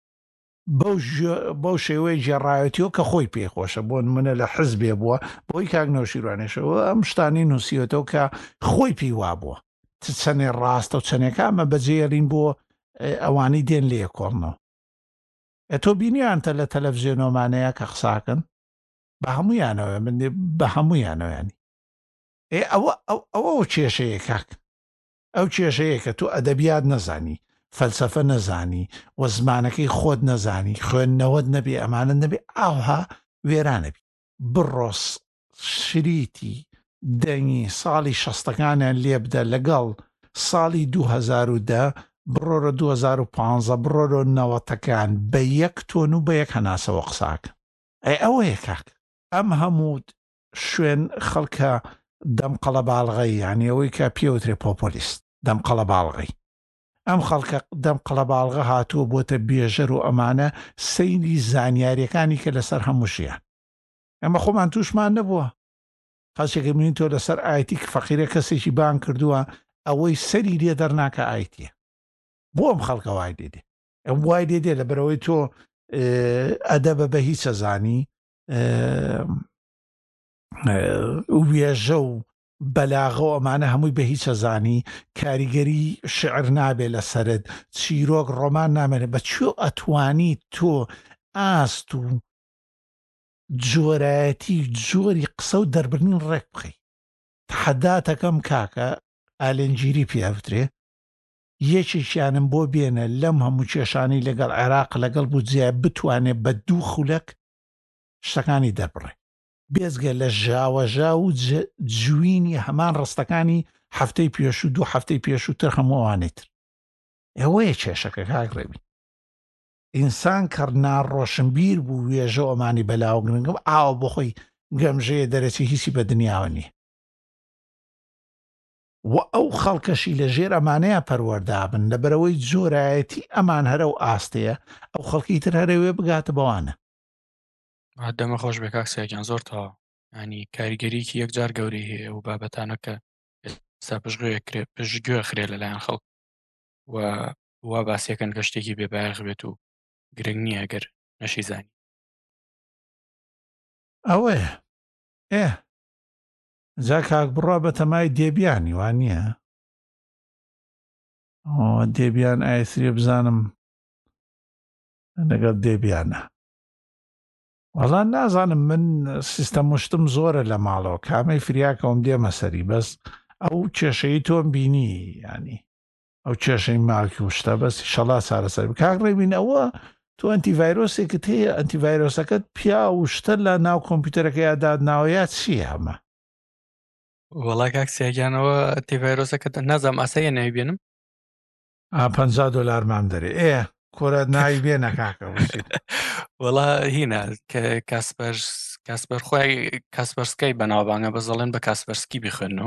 Speaker 1: بەو شێوەیە ژێڕایەتیەوە کە خۆی پێخۆشە بۆ منە لە حزبێ بووە بۆی کاگنەوشیروانێشەوە ئەم شتانی نووسیوەتەوە کە خۆی پێی وا بووە چەنێ ڕاستە و چەنێکە ئەمە بەجێڕین بۆ ئەوانەی دێن لێ کۆڵنەوە تۆ بینیانتە لە تەلەڤیزیۆنۆمانەیە کە قساکەن بە هەموویانەوە من بە هەموویانەوەیانی ئەوە ئەوە کێشەیە کاک ئەو کێشەیە کە تۆ ئەدەبیات نەزانی فەلسەفە نەزانی و زمانەکەی خۆت نەزانی خوێندنەوەت نەبێ ئەمانە نەبێ ئاها وێرانەبی بڕۆس شریتی دەنگی ساڵی شەستەکانیان لێ بدە لەگەڵ ساڵی دوو هەزار و دە بڕۆرە دوو هەزار و پانزە بڕۆرە نەوەتەکان بە یەک تۆن و بە یەک هەناسەوە قساکە ئەی ئەوەیە کاک ئەم هەموو شوێن خەڵکە دەم قەڵەباڵغەی یعنی ئەوەی کە پێوترێ پۆپۆلیست دەم قەڵەباڵغەی ئەم خەڵکە دەم قەڵەباڵغە هاتووە بۆتە بێژەر و ئەمانە سەیری زانیاریەکانی کە لەسەر هەمووشیان ئەمە خۆمان تووشمان نەبووە خەڵکێکە بینین تۆ لەسەر ئایتی کە فەقیرە کەسێکی بان کردووە ئەوەی سەری لێ دەرناکە ئایتیە بۆ ئەم خەڵکە وای دێدێ ئەم وای دێدێ لە بەرەوەی تۆ ئەدەبە بە هیچ ئەزانی وێژە و بەلاغە و ئەمانە هەمووی بە هیچ ئەزانی کاریگەری شعر نابێ لە سەرت چیرۆک ڕۆمان نامێنێت بە چۆ ئەتوانی تۆ ئاست و جۆرایەتی جۆری قسە و دەربرنین ڕێک بخەی تەحەداتەکەم کاکە ئالێنجیری پیاوترێ یەکێکیانم بۆ بێنە لەم هەموو کێشانی لەگەڵ عێراق لەگەڵ بودجێ بتوانێت بە دوو خولەک شتەکانی دەبڕێ بێزگە لە ژاوەژا و جوینی هەمان ڕستەکانی هەفتەی پێش و دوو هەفتەی پێش و تر هەمووانێت ئەوەیە کێشەکە کاکڕێبی ئینسان کە ناڕۆشنبیر بوو وێژە ئەمانی بەلاو گرنگم ئاوە بۆ خۆی گەمژەیە دەرەچی هیچی بە دنیاوە نیە و ئەو خەڵکەشی لە ژێر ئەمانەیە پەروەردابن لە بەرەوەی جۆرایەتی ئەمان هەرە و ئاستەیە ئەو خەڵکی تر هەرەوێ بگاتە بەوانە
Speaker 2: دەمە خۆش بێ کاکسیاگیان زۆر تەواو ینی کاریگەریکی یەکجار گەورەی هەیە و بابەتانە کە ئێستا پشتگوێ خرێ لەلایەن خەڵک و وا باسیەکەن کە شتێکی بێبایەخ بێت و گرنگ نییە ئەگەر نەشی زانی
Speaker 1: ئەوەیە ئێ جا کاک بڕوا بە تەمای دێبیانی وان نییە دێبیان ئایسری بزانم لەگەڵ دێبیانە. وەڵا نازانم من سیستەم مشتم زۆرە لە ماڵەوە کامەی فریاکەوم دێمە سەری بەس ئەو کێشەی تۆم بینی ینی ئەو کێشەی ماڵکی وشتە بەسی شەڵا چارەسەر کاک ڕێبین ئەوە تۆ ئەنتیڤایرۆسێکت هەیە ئەنتیڤایرۆسەکەت پیا وشتە لە ناو کۆمپیوتەرەکە یاداد ناوەیە چیە هەمە؟
Speaker 2: وەڵا کاک سیاگیانەوە تیڤایرۆسەکە نازام ئاسەیە ناویبێنم
Speaker 1: پەنجا دۆلار مام دەرێ ئێ کۆرە ناوی بێنە کاکە وشید
Speaker 2: وەڵا هینە کە کاسپەر کاسپەر خۆی کاسپەرسکەی بەناوبانگە بەزەڵێن بە کاسپەرسکی بخێنەوە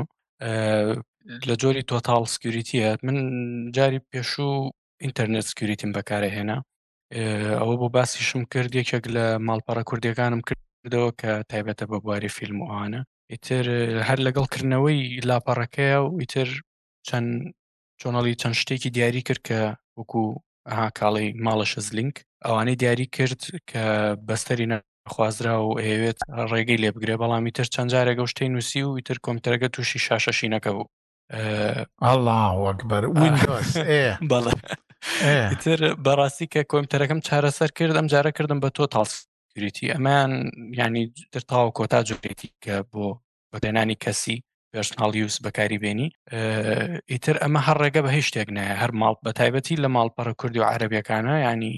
Speaker 2: لە جۆری تۆتاڵ سکیوریتیە من جاری پێشوو ئینتەرنێت سکیوریتیم بەکارەهێنا ئەوە بۆ باسیشم کرد یەکێک لە ماڵپەڕە کوردیەکانم کردەوە کە تایبەتە بە بواری فیلم وانە ئیتر هەر لەگەڵکردنەوەی لاپەڕەکەیە و ئیتر چەند چۆنەڵی چەند شتێکی دیاری کرد کە وەکو ئەها کاڵی ماڵەشە زلینک ئەوانەی دیاری کرد کە بەستەری نەخوازرا و ئەوێت ڕێگەی لێ بگرێ بەڵامی تر چەند جارێک ئەو شتەی نووسی و ئیتر کۆمپیوتەرەکە تووشی شاشەشینەکە بوو
Speaker 1: الله وەکبەر ویندۆز
Speaker 2: بەڵێ ئیتر بەڕاستی کە کۆمپیوتەرەکەم چارەسەر کرد ئەم جارە کردم بە تۆتاڵ سکیوریتی ئەمان ینی تر تاوە کۆتا جوێتی کە بۆ بەدێنانی کەسی پێرسناڵ یوز بەکاری بێنی ئیتر ئەمە هەر ڕێگە بە هیچ شتێک نایە هەر ماڵ بە تایبەتی لە ماڵپەڕە کوردی و عەرەبیەکانە ینی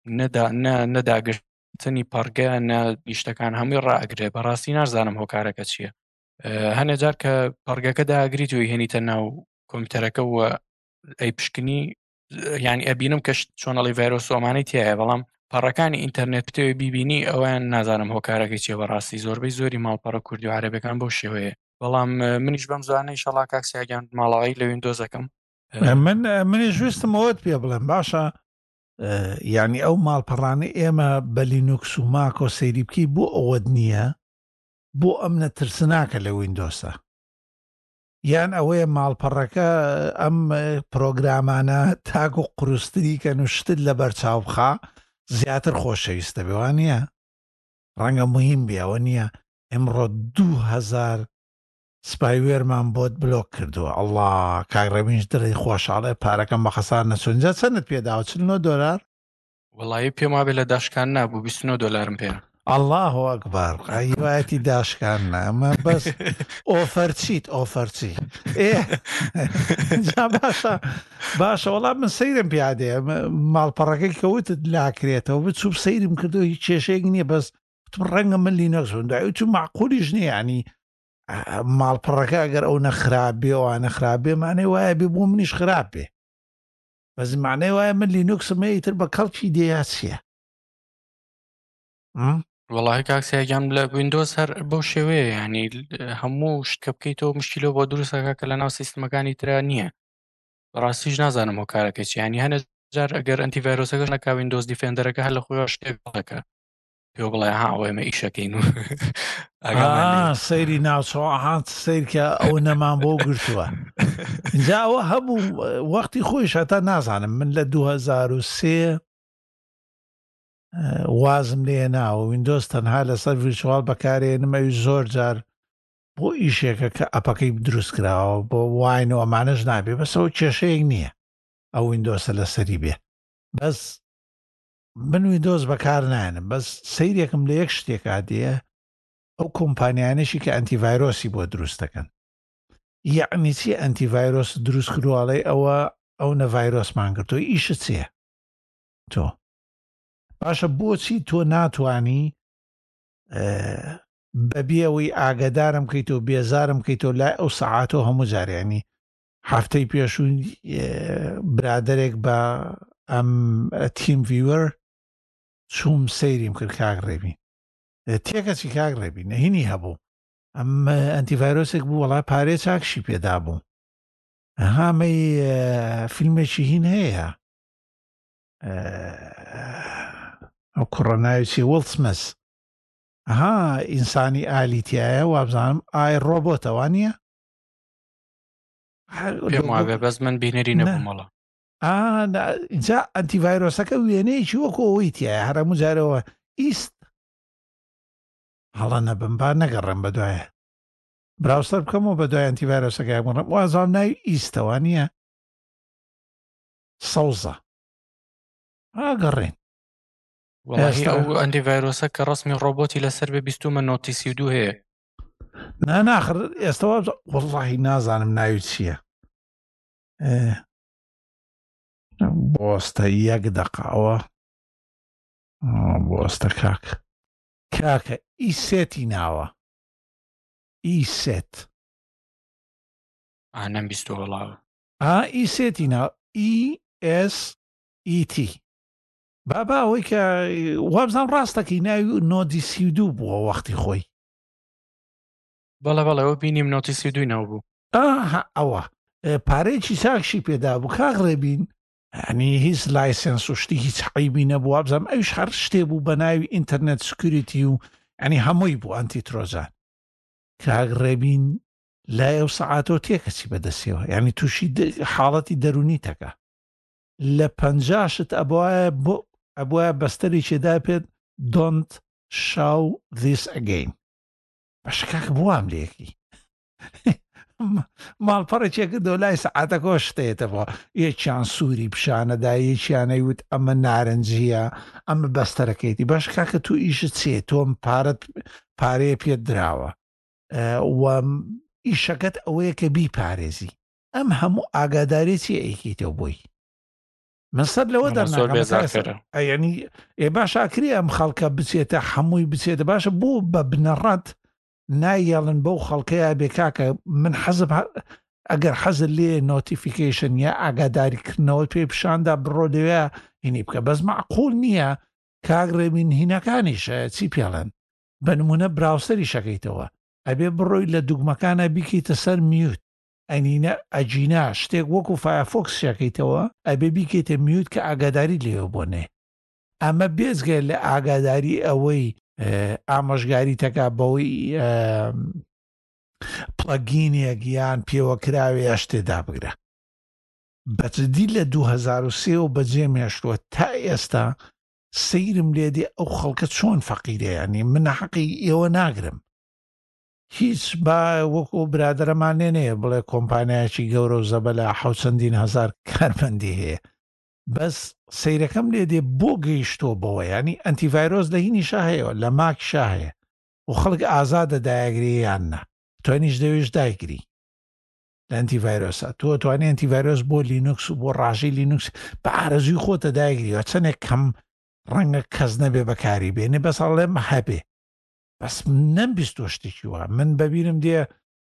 Speaker 2: نەداگەشتنی پەڕگە نە نیشتەکان هەمووی ڕائەگرێ بەڕاستی نازانم هۆکارەکە چییە هەنێ جار کە پەڕگەکە داگریت و هێنیتە ناو کۆمپیوتەرەکە وە ئەی پشکنی ینی ئەبینم کە چۆنەڵی ڤایرۆس ئەمانەی تایە بەڵام پەڕەکانی ئینتەرنێت پتەوەی بیبینی ئەویان نازانم هۆکارەکەی چیە بەڕاستی زۆربەی زۆری ماڵپەڕە کوردی و عەرەبیەکان بەو شێوەیە بەڵام منیش بەم زوانەی شەڵا کاکسیاگیان ماڵەوەی لە ویندۆزەکەم
Speaker 1: من منیش ویستم ئەوت پێ بڵێم باشە ینی ئەو ماڵپەڕانەی ئێمە بە لینوکس و ماکۆ سەیری بکەی بۆ ئەوەت نییە بۆ ئەم نەترسناکە لە ویندۆسە یان ئەوەیە ماڵپەڕەکە ئەم پرۆگرامانە تاک و قروستری کە نوشتت لە بەرچاو بخا زیاتر خۆشەویستە بێوان نییە ڕەنگە مهم بێەوە نییە ئەمڕۆ دوو هەزار سپایوێرمان بۆت بلۆک کردووە ئەڵڵا کاگڕەبینش دڕی خۆشحاڵێ پارەکەم بە خەسار نەچونجە چەندت پێداوە چل نۆ دۆلار
Speaker 2: وەڵایی پێم وابێت لە داشکان نبوو بیست و نۆ دۆلارم پێ
Speaker 1: الله ئەکبەر قایواەتی داشکان نامە بەس ئۆفەرچیت ئۆفەرچی باشە باشە وەڵام من سەیرم پیادەیە ماڵپەڕەکەی کەوتت لاکرێتەوە بچوب سەیرم کردو هیچ کێشەیەک نییە بەس ڕەنگە من لی نەخسونداوی تو معقولیش نییە ینی ماڵپەڕەکە ئەگەر ئەو نەخرابێ و نەخرابێ مانەی وایە بێ بۆ منیش خراپ بێ بەس مانەی وایە من لینوکسمە ئیتر بە کەڵکی دێیا چییە
Speaker 2: وەڵاهی کاکسیاگیان لە ویندۆز هەر بەو شێوەیە ینی هەموو شتکە بکەیتەوە مشکیلەوە بۆ دروستەکە کە لە ناو سیستمەکانی تررا نییە ڕاستیش نازانم هۆ کارەکە چی ینی هەنە جار ئەگەر ئەنتیڤایرۆسەکەش نەکا ویندۆز دیفێندەرەکە هەر لە خۆی شتێک بڵەکە پێ بڵێ ها ئەوێمە ئیشەکەین و
Speaker 1: سەیری ناوچۆهات سیرکە ئەو نەمان بۆ گرتووە اینجا ئەوە هەبوو وەختی خۆیش هەتا نازانم من لە دوو هەزار و سێ وازم لێ ناوە ویندۆز تەنها لەسەر ڤیرچوال بەکارێنمەوی زۆر جار بۆ ئیشێکە کە ئەپەکەی دروست کراوە بۆ واینەوە ئەمانەش نابێ بەسەوە کێشەیەک نییە ئەو ویندۆسە لەسەری بێ بەس من ویندۆز بەکار نایەنم بەس سەیرێکم لە یەک شتێک ئادەیە ئەو کۆمپانیانشی کە ئەنتیڤایرۆسی بۆ دروستەکەن یعنی چی ئەنتیڤایرۆس دروست کردوواڵێ ئەوە ئەو نەڤایرۆسمان کردو ئیشە چییە تۆ باشە بۆچی تۆ ناتوانی بەبیەوەی ئاگدارم کەیتەوە بێزارم کەیتەوە لای ئەو سەعاتەوە هەموو جارێنی هەفتەی پێشوو برادێک بە ئەم تیم ڤیوەر چووم سەیریم کرد کاک ڕێبی تێکەچی کاک ڕێبی نەهینی هەبوو ئەم ئەنتیڤایرۆسێک بوو وەڵای پارێ چاکشی پێدا بوو هامەی فیلمێکی هین هەیە ئەو کوڕەناویی وڵسمەس ها ئینسانی ئالیتیایە وابزانم ئای ڕۆبۆتەوە نییە
Speaker 2: پێم وابێ بەس من بینەری نەبوومەڵە
Speaker 1: اینجا ئەنتیڤایرۆسەکە وێنەیەکی وەکو ئەوەی تایە هەرموو جارەوە ئیست هەڵە نەبم با نەگەڕێم بە دوایە براوسەر بکەمەوە بە دوای ئەنتیڤایرۆسەکە بڕم وازان ناوی ئیستەوە نییە سەوزە ئاگەڕێن
Speaker 2: والله
Speaker 1: ئێستا
Speaker 2: ئەو ئەنتی ڤایرۆسە کە ڕسمی ڕۆبۆتی لەسەر بێ بیستومە نۆتی سی و دوو هەیە.
Speaker 1: نا ناخر ئێستا وەڵڵاهی نازانم ناوی چییە بۆستە یەک دەقاوە بۆستە کاک کاکە ئیسێتی ناوە ئیسێت
Speaker 2: ئانەم بیستوە وەڵاوە
Speaker 1: ئا ئیسێتی ناو ئی ئێس ئیتی بابا ئەوەی کە وابزان ڕاستەکەی ناوی نۆدی سی و دوو بووە وەختی خۆی
Speaker 2: بەڵێ بەڵێ ئەوە بینیم نۆتی سی و دوو نەوە بوو
Speaker 1: ئاها ئەوە پارەیەکی چاکشی پێدا بوو کاک ڕێبین ئەنی هیچ لایسنس و شتی هیچ حەیبی نەبوو وابزانم ئەوش هەر شتێ بوو بە ناوی ئینتەرنێت سکیوریتی و ئەنی هەمووی بوو ئەنتی ترۆزان کاک ڕێبین لای ئەو سەعاتۆ تێکەچی بەدەستیەوە یعنی تووشی حاڵەتی دەرونی تەکە لە پەنجاشت ئەبواە بۆ ئەبواە بەستەری چێدا پێت don't show this again بەشە کاکە بوام لێکی ماڵپەڕێکێکە دۆ لای سەعاتەکە شتێتەوە یەکیان سووری پیشانەدا یەکیانەی وت ئەمە نارنجیە ئەمە بەستەرەکەیتی باش کاکە تو ئیشت چێ تۆم پارەت پارەیە پێت دراوە ئیشەکەت ئەوەیە کە بیپارێزی ئەم هەموو ئاگادارێکی ئەیکیتەوە بۆی من سەر لەوە دەرناکەم ئەنی ئێ باش ئاکری ئەم خەڵکە بچێتە هەمووی بچێتە باشە بۆ بە بنەڕەت نایەڵن بەو خەڵکەیە بێ کاکە من حەزب ئەگەر حەزر لێ نۆتیفیکیشن یا ئاگاداریکردنەوە پێ پیشاندا بڕۆ لەوێ هینی بکە بەس معقول نییە کاگڕێبین هینەکانیشە چی پێڵێن بە نمونە براوسەری شەکەیتەوە ئەبێ بڕۆی لە دوگمەکانە بیکەیتە سەر میوت ئەنینە ئەجینا شتێک وەکو فایرفۆکس شەکەیتەوە ئەبێ بیکەیتە میوت کە ئاگاداری لێوە بۆنێ ئەمە بێزگە لە ئاگاداری ئەوەی ئامۆژگاری تەکا بەوەی پڵەگینێک یان پێوەکراوێ شتێدا بگرە بەجددی لە دوو هەزار و سێ و بەجێ مێشتووە تا ئێستا سەیرم لێدێ ئەو خەڵکە چۆن فەقیرەیانی من حەقی ئێوە ناگرم هیچ با وەکو برادرەمانێنەیە بڵێ کۆمپانیایکی گەورە و زەبە لە حەوت چەندین هەزار کارمەندی هەیە بەس سەیرەکەم لێ دێ بۆ گەیشتۆ بەوە ینی ئەنتیڤایرۆس لە هینیشا هەیەەوە لە ماکیشا هەیە و خەڵک ئازادە دایەگری یاننا توانیش دەوێش دایگری لە ئەنتیڤایرۆسە تۆ توانێت ئەنتیڤایرۆس بۆ لینوکس و بۆ ڕاژی لینوکس بە ئارەزوی خۆتە دایگریەوە چەندێک کەم ڕەنگە کەس نەبێ بەکاری بێنێ بەسەڵ لێم هەبێ بەس نەمبیست تۆ شتێکی وە من بەبیرم دێ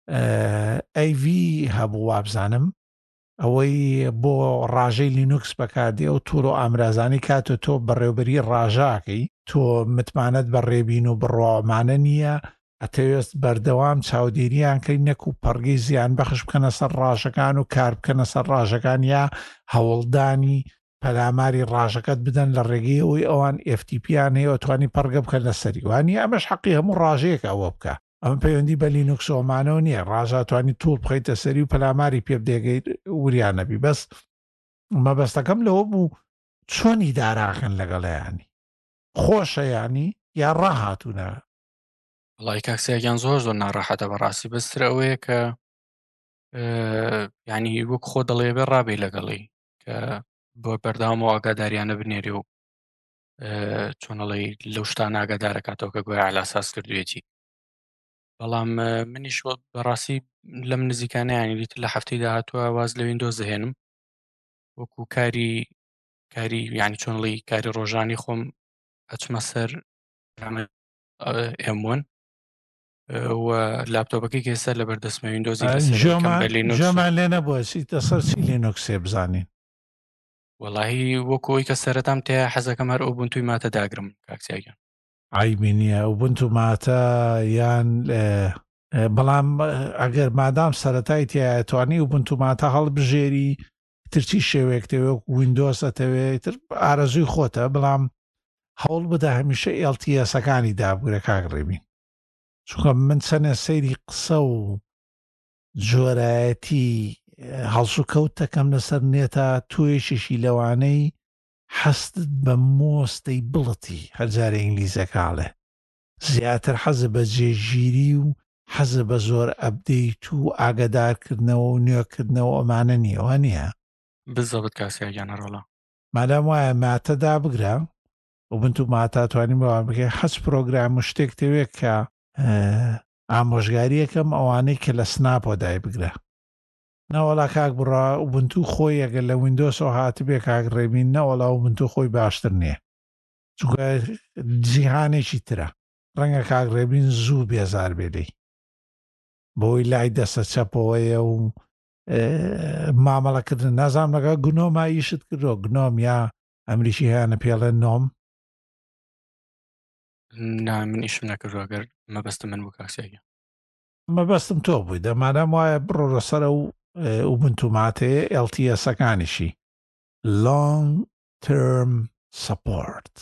Speaker 1: ئەیڤی هەبوو وابزانم ئەوەی بۆ ڕاژەی لینوکس بەکاردێ و توور و ئامرازانی کاتۆ تۆ بەڕێوبەری ڕاژاکەی تۆ متمانەت بەڕێبین و بڕۆمانە نییە ئەتەوێست بەردەوام چاودێریان کەی نەک و پەڕگەی زیان بەخش بکەنە سەر ڕاژەکان و کار بکەنە سەر ڕاژەکان یا هەوڵدانی پەلاماری ڕاژەکەت بدەن لە ڕێگەی ئەوی ئەوان ئف تی پیان هەیە توانی پەرگە بکەن لە سەریوانی ئەمەش حەقی هەموو ڕاژەیەک ئەوە بکە ئەمە پەیوەندی بە لینوکسۆمانەوە نییە ڕاژاتوانی توول بخەیتە سەری و پەلاماری پێ بدێگەیت وریانەبی بەس مەبەستەکەم لەوە بوو چۆنی داراخن لەگەڵیانی خۆشە ینی یا ڕاهاتوونە
Speaker 2: وڵی کاکسیاگیان زۆر زۆر ناڕاحەتە بەڕاستی بەسترە ئەوەیە کە ینی وەک خۆ دەڵێ بێ ڕابێ لەگەڵی کە بۆ بەرداوامەوە ئاگاداریانە بنێری و چۆنەڵی لەو شتان ئاگادارەکاتەوە کە گویا علاساس کردوێتی بەڵام منیش بەڕاستی لەم نزیکانەیانی دیتر لە هەفتەی داهاتووە واز لە ویندۆز دەهێنم وەکو کاری کاری یعنی چۆنڵی کاری ڕۆژانی خۆم ئەچمە سەر ئێم وان و لاپتۆپەکەی کێستا لە بەردەستمە ویندۆزی
Speaker 1: ژەمان لێ نەبووە چیتە سەر چی لینوکسێ بزانین
Speaker 2: وەڵاهی وەکۆی کە سەرەتام تێ حەزەکەم هەر ئۆبونتوی ماتە داگرم کاکسیاگیان
Speaker 1: عیبی نییە ئۆبونتو ماتە یان بەڵام ئەگەر مادام سەرەتای تیاتوانی ئۆبونتو ماتە هەڵبژێری ترچی شێوەیەکتەوە ویندۆز ئەتەوێت ئارەزوی خۆتە بەڵام هەوڵ بدە هەمیشە ئێل تی ئەسەکانی دابوورە کاگڕێبین چونکە من چەنە سەیری قسە و جۆرایەتی هەڵسو کەوت دەکەم لەسەر نێتە توێشیشی لەوانەی حەستت بە مۆستەی بڵەتی هەرجارە ئینگلیزەکاڵێ زیاتر حەزە بە جێگیری و حەزە بە زۆر ئەبدەیت و ئاگادارکردنەوە و نوێکردنەوە ئەمانە نییەوە نییە
Speaker 2: بزەبت کاسیاگیان هەرۆڵە
Speaker 1: مادام وایە ماتەدا بگرە وبنتو ماتاتوانی بەوان بکە حەز پرۆگرام و شتێک تەوێت کە ئامۆژگاریەکەم ئەوانەی کە لە سناپۆ دای بگرە نەوەڵا کاک بڕا و بنتو خۆی ئەگەر لە وینندۆسەوە هاتبێ کاک ڕێبین نەوەڵا و بنتو خۆی باشتر نییە چونکە جیهانێکی ترە ڕەنگە کاک ڕێبین زوو بێزار بێدەی بۆی لای دەستە چەپەوەیە و مامەڵەکردن نازام لەگە گنۆما ئیشت کردۆ گنۆم یا ئەمریکی هیانە پێڵێ نۆم
Speaker 2: نا من ئیشم نەکردووە گەر مەبەستم من بوو کاکسیاگە
Speaker 1: مەبەستم تۆ بووی دەمانەم وایە بڕۆ لەسەرە و وبنتوماتەیە ئێل تی ئەسەکانیشی long term support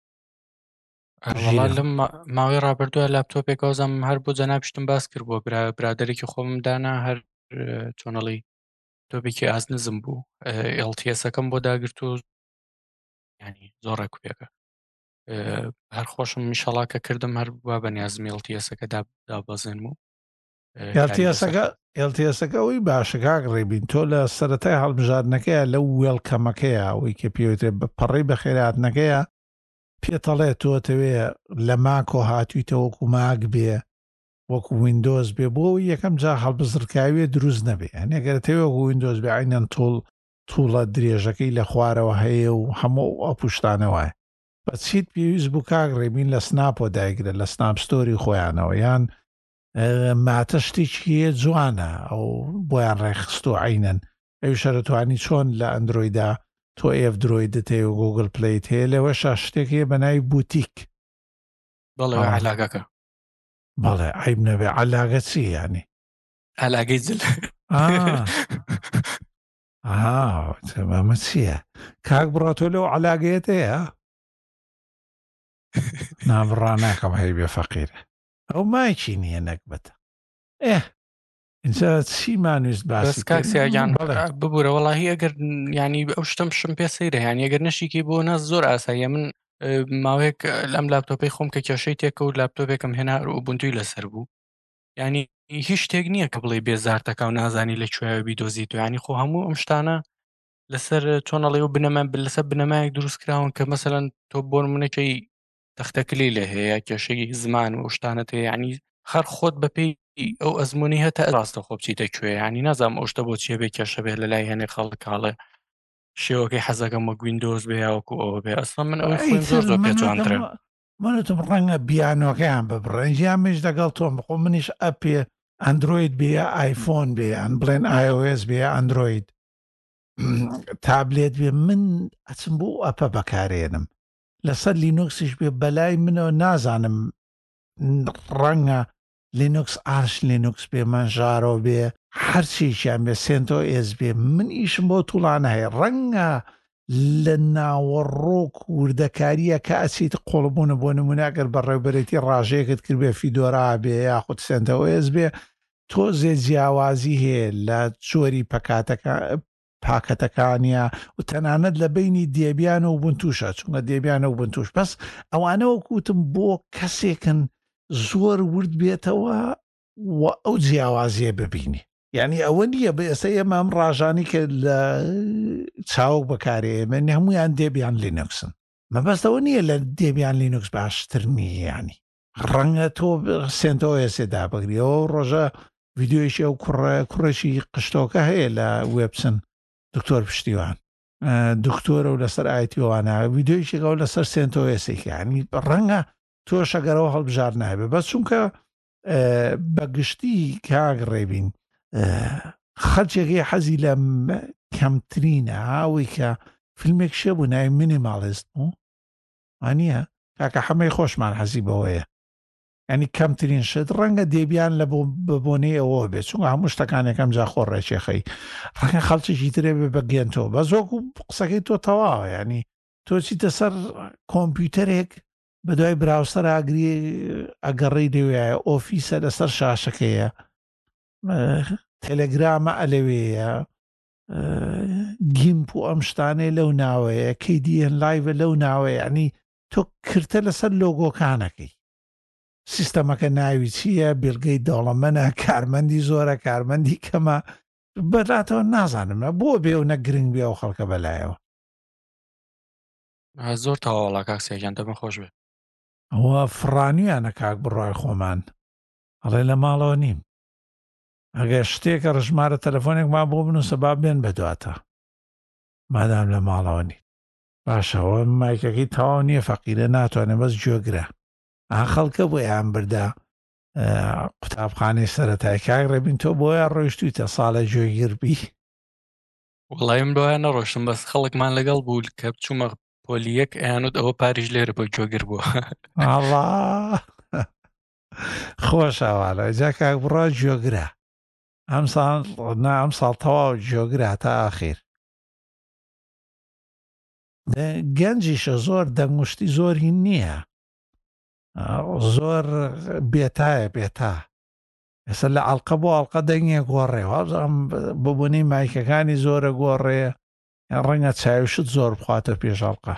Speaker 2: وەڵا لەم ماوەی ڕابردووە لاپتۆپێک ئەوزانم هەر بۆ جەنابشتم باس کرد بۆ برادێکی خۆم دانا هەر چۆنەڵی تۆپێکی ئازنزم بوو ئێل تی ئەسەکەم بۆ داگرت و ینی زۆر ڕێکوپێکە هەر خۆشم میشەڵا کە کردم هەر وا بە نیازمی ئێل تی ئەسەکە دابەزێنم و
Speaker 1: ئێل تی ئەسەکە ئەوی باشەکاک ڕێبین تۆ لە سەرەتای هەڵبژاردنەکەیە لەو وێڵکەمەکەیە ئەوەی کە پێوتێ پەڕی بە خێراتنەکەیە پێتەڵێ تۆتەوێ لە ماکۆ هاتوویتە وەکو ماک بێ وەکو وینندۆز بێ بۆ یەکەم جا هەڵبزرکاوێ دروست نەبێ هەنێگەرەوە وەکو وینندۆز بێ عینەن تۆڵ تووڵە درێژەکەی لە خوارەوە هەیە و هەموو ئەو پشتانەوەی بە چیت پێویست بوو کاک ڕێبین لە سناپۆ دایگرە لە سناپستۆری خۆیانەوە یان ماتە شتێکیە جوانە ئەو بۆیان ڕێخست و عینەن ئەو شەرەتوانی چۆن لە ئەندرۆیدا تۆ ئێف درۆیدت هەیە و گوگل پلیت هەیە لەوە شا شتێکیە بەناوی بوتیک
Speaker 2: بەڵێ علاگەکە
Speaker 1: بەڵێ عیب نەبێ علاگە چی ینی
Speaker 2: علاگەی جل
Speaker 1: ئەمە چییە کاک بڕا تۆ لەو علاگەیەت هەیە نابڕا ناکەم هەی بێ فەقیرە ئەو مایکی نییە نەکبەتە ئێ اینجا چیمانویست باسی
Speaker 2: کاکسیاگیان ببوورە وەڵاهی ئەگەر ینی ئەو شتم شم پێ سەیرە هەیە ئەگەر نەشیکی بۆ ناز زۆر ئاساییە من ماوەیەک لەم لاپتۆپەی خۆم کە کێشەی تێکە و لاپتۆپێکم هێنا و بنتووی لەسەر بوو ینی هیچ شتێک نییە کە بڵێ بێزارتەکە و نازانی لە کوێوی دۆزیت و ینی خۆ هەموو ئەم شتانە لەسەر چۆنەڵێ و بنەمە لەسەر بنەمایەک دروستکراون کە مەسەلەن تۆ بۆ منەکەی تەختەکلی لە هەیە کێشەی زمان و شتانەت هەیە ینی خەر خۆت بەپێی ئەو ئەزمموی هەتا ڕاستە خۆ بچیتە کوێ ینی نازام ئەو شتە بۆ چیە بێ کێشە بێ لە لای هێنێ خەڵکاڵێ شێوەکەی حەزەکەم وە گویندۆز بێ یاوەکو ئەوە بێ ئەسڵ من ئەوەی خۆیم زۆر زۆر پێ جوانترە
Speaker 1: منتم ڕەنگە بیانۆکەیان ببڕێنجیان مش دەگەڵ تۆم بخۆ منیش ئەپێ ئەندروید بێ ئایفۆن بێ ئەن بڵێن آی او اس بێ ئەندروید تابلێت بێ من ئەچم بۆ ئەپە بەکارێنم لەسەر لینوکسیش بێ بەلای منەوە نازانم ڕەنگە لینوکس ئارش لینوکس بێ منژارۆ بێ هەرچیشیان بێ سنتۆ ئێز بێ من ئیشم بۆ توڵانە هەیە ڕەنگە لە ناوەڕۆک وردەکاریە کە ئەچیت قۆڵبوونە بۆ نمونەگەر بە ڕێوبەرێتی ڕاژەیەکت کرد بێ فیدۆرا بێ یاخود سنتۆ ئێز بێ تۆ زێ جیاوازی هەیە لە جۆری پەکاتەکە پاکەتەکانیە و تەنانەت لە بینی دێبیان و بنتوشە چونکە دێبیانە و بنتوش بەس ئەوانەوە کوتم بۆ کەسێکن زۆر ورد بێتەوە و ئەو جیاوازیە ببینی یعنی ئەوە نییە بە ئێستا ئێمە ئەم ڕاژانی کە لە چاوک بەکارێمە هەمویان دێبیان لینوکسن مەبەستەوە نییە لە دێبیان لینوکس باشتر نییە ینی ڕەنگە تۆ سنتۆ ئێسێدا بگریەوە ڕۆژە ڤیددیۆیشی ئەو کوڕێکی قشتۆکە هەیە لە وێبسن دکتۆر پشتیوان دکتۆرە و لەسەر ئایتیوانە ڤیددیۆیشێکەوە لەسەر سنتۆ ئێسێکیانی ڕەنگە تۆ شەگەرەوە هەڵبژار نابێ بەس چونکە بەگشتی کاگ ڕێبین خەلچێکی حەزی لە کەمترینە ئەوەی کە فیلمێک شە بوو ناوی مینیمالیست بوو وانە کاکە هەمەی خۆشمان حەزی بەوەیە ینی کەمترین شت ڕەنگە دێبیان لە ببوونەی ئەوە بێت چونکە هەموو شتەکانێکم جا خۆڕێکێخەی ڕەنگە خەڵکیی ترێ بێ بەگەێنەوە بە زۆک و قسەکەی تۆ تەواوە ینی تۆ چیتە سەر کۆمپیوتەرێک بە دوای براوسەر ئاگری ئەگەڕی دەوێە ئۆفیسە لەسەر شاشەکەیە تەلەگرامە ئەلەوەیە گیمپ و ئەم شتانەی لەو ناوەیە کەی دیەن لایڤە لەو ناوەیە ینی تۆ کردە لەسەر لۆگۆکانەکەی سیستەمەکە ناوی چییە بێلگەی دەوڵەمەنە کارمەندی زۆرە کارمەندی کەمە بەلاتەوە نازانم بۆ بێ و نە گرنگ بێ و خەڵکە بەلایەوە
Speaker 2: زۆر تەواوەڵا کاکسێکیان دەبن خۆش بێ.
Speaker 1: ئەوە فڕانیانە کاک بڕای خۆمان ئەڵێ لە ماڵەوە نیم ئەگەر شتێکە ڕژمارە تەلەفۆنێکمان بۆ بنووسە با بێن بەدواتە مادام لە ماڵەوە نیم باشەوە مایکەکەی تەواو نییە فەقیرە ناتوانێت بەس گوێگرە ئا خەڵکە بۆ یان بردا قوتابخانەی سەرەتای کاک ڕێبین تۆ بۆیە ڕۆیشتویتە ساڵە گوێگیربی
Speaker 2: وڵایم لۆیە نەڕۆشتم بەس خەڵکمان لەگەڵ بوو کە بچوومە پۆلیەک ئەیانوت ئەوە پاریش لێرە بۆ گوێگر بووە.
Speaker 1: ئاڵا خۆشەوالە جا کاک بڕا گوێگرە ئەم ساڵ نا ئەم ساڵ تەواو گوێگرە تا ئاخیر گەنجیشە زۆر دەنگشتی زۆری نییە زۆر بێتایە بێتا ئێستا لە ئەڵقە بۆ ئەڵقە دەنگێ گۆڕێەوە ببوونی مایکەکانی زۆرە گۆڕێ ڕەنگە چاویشت زۆر بخواتە پێشەڵقە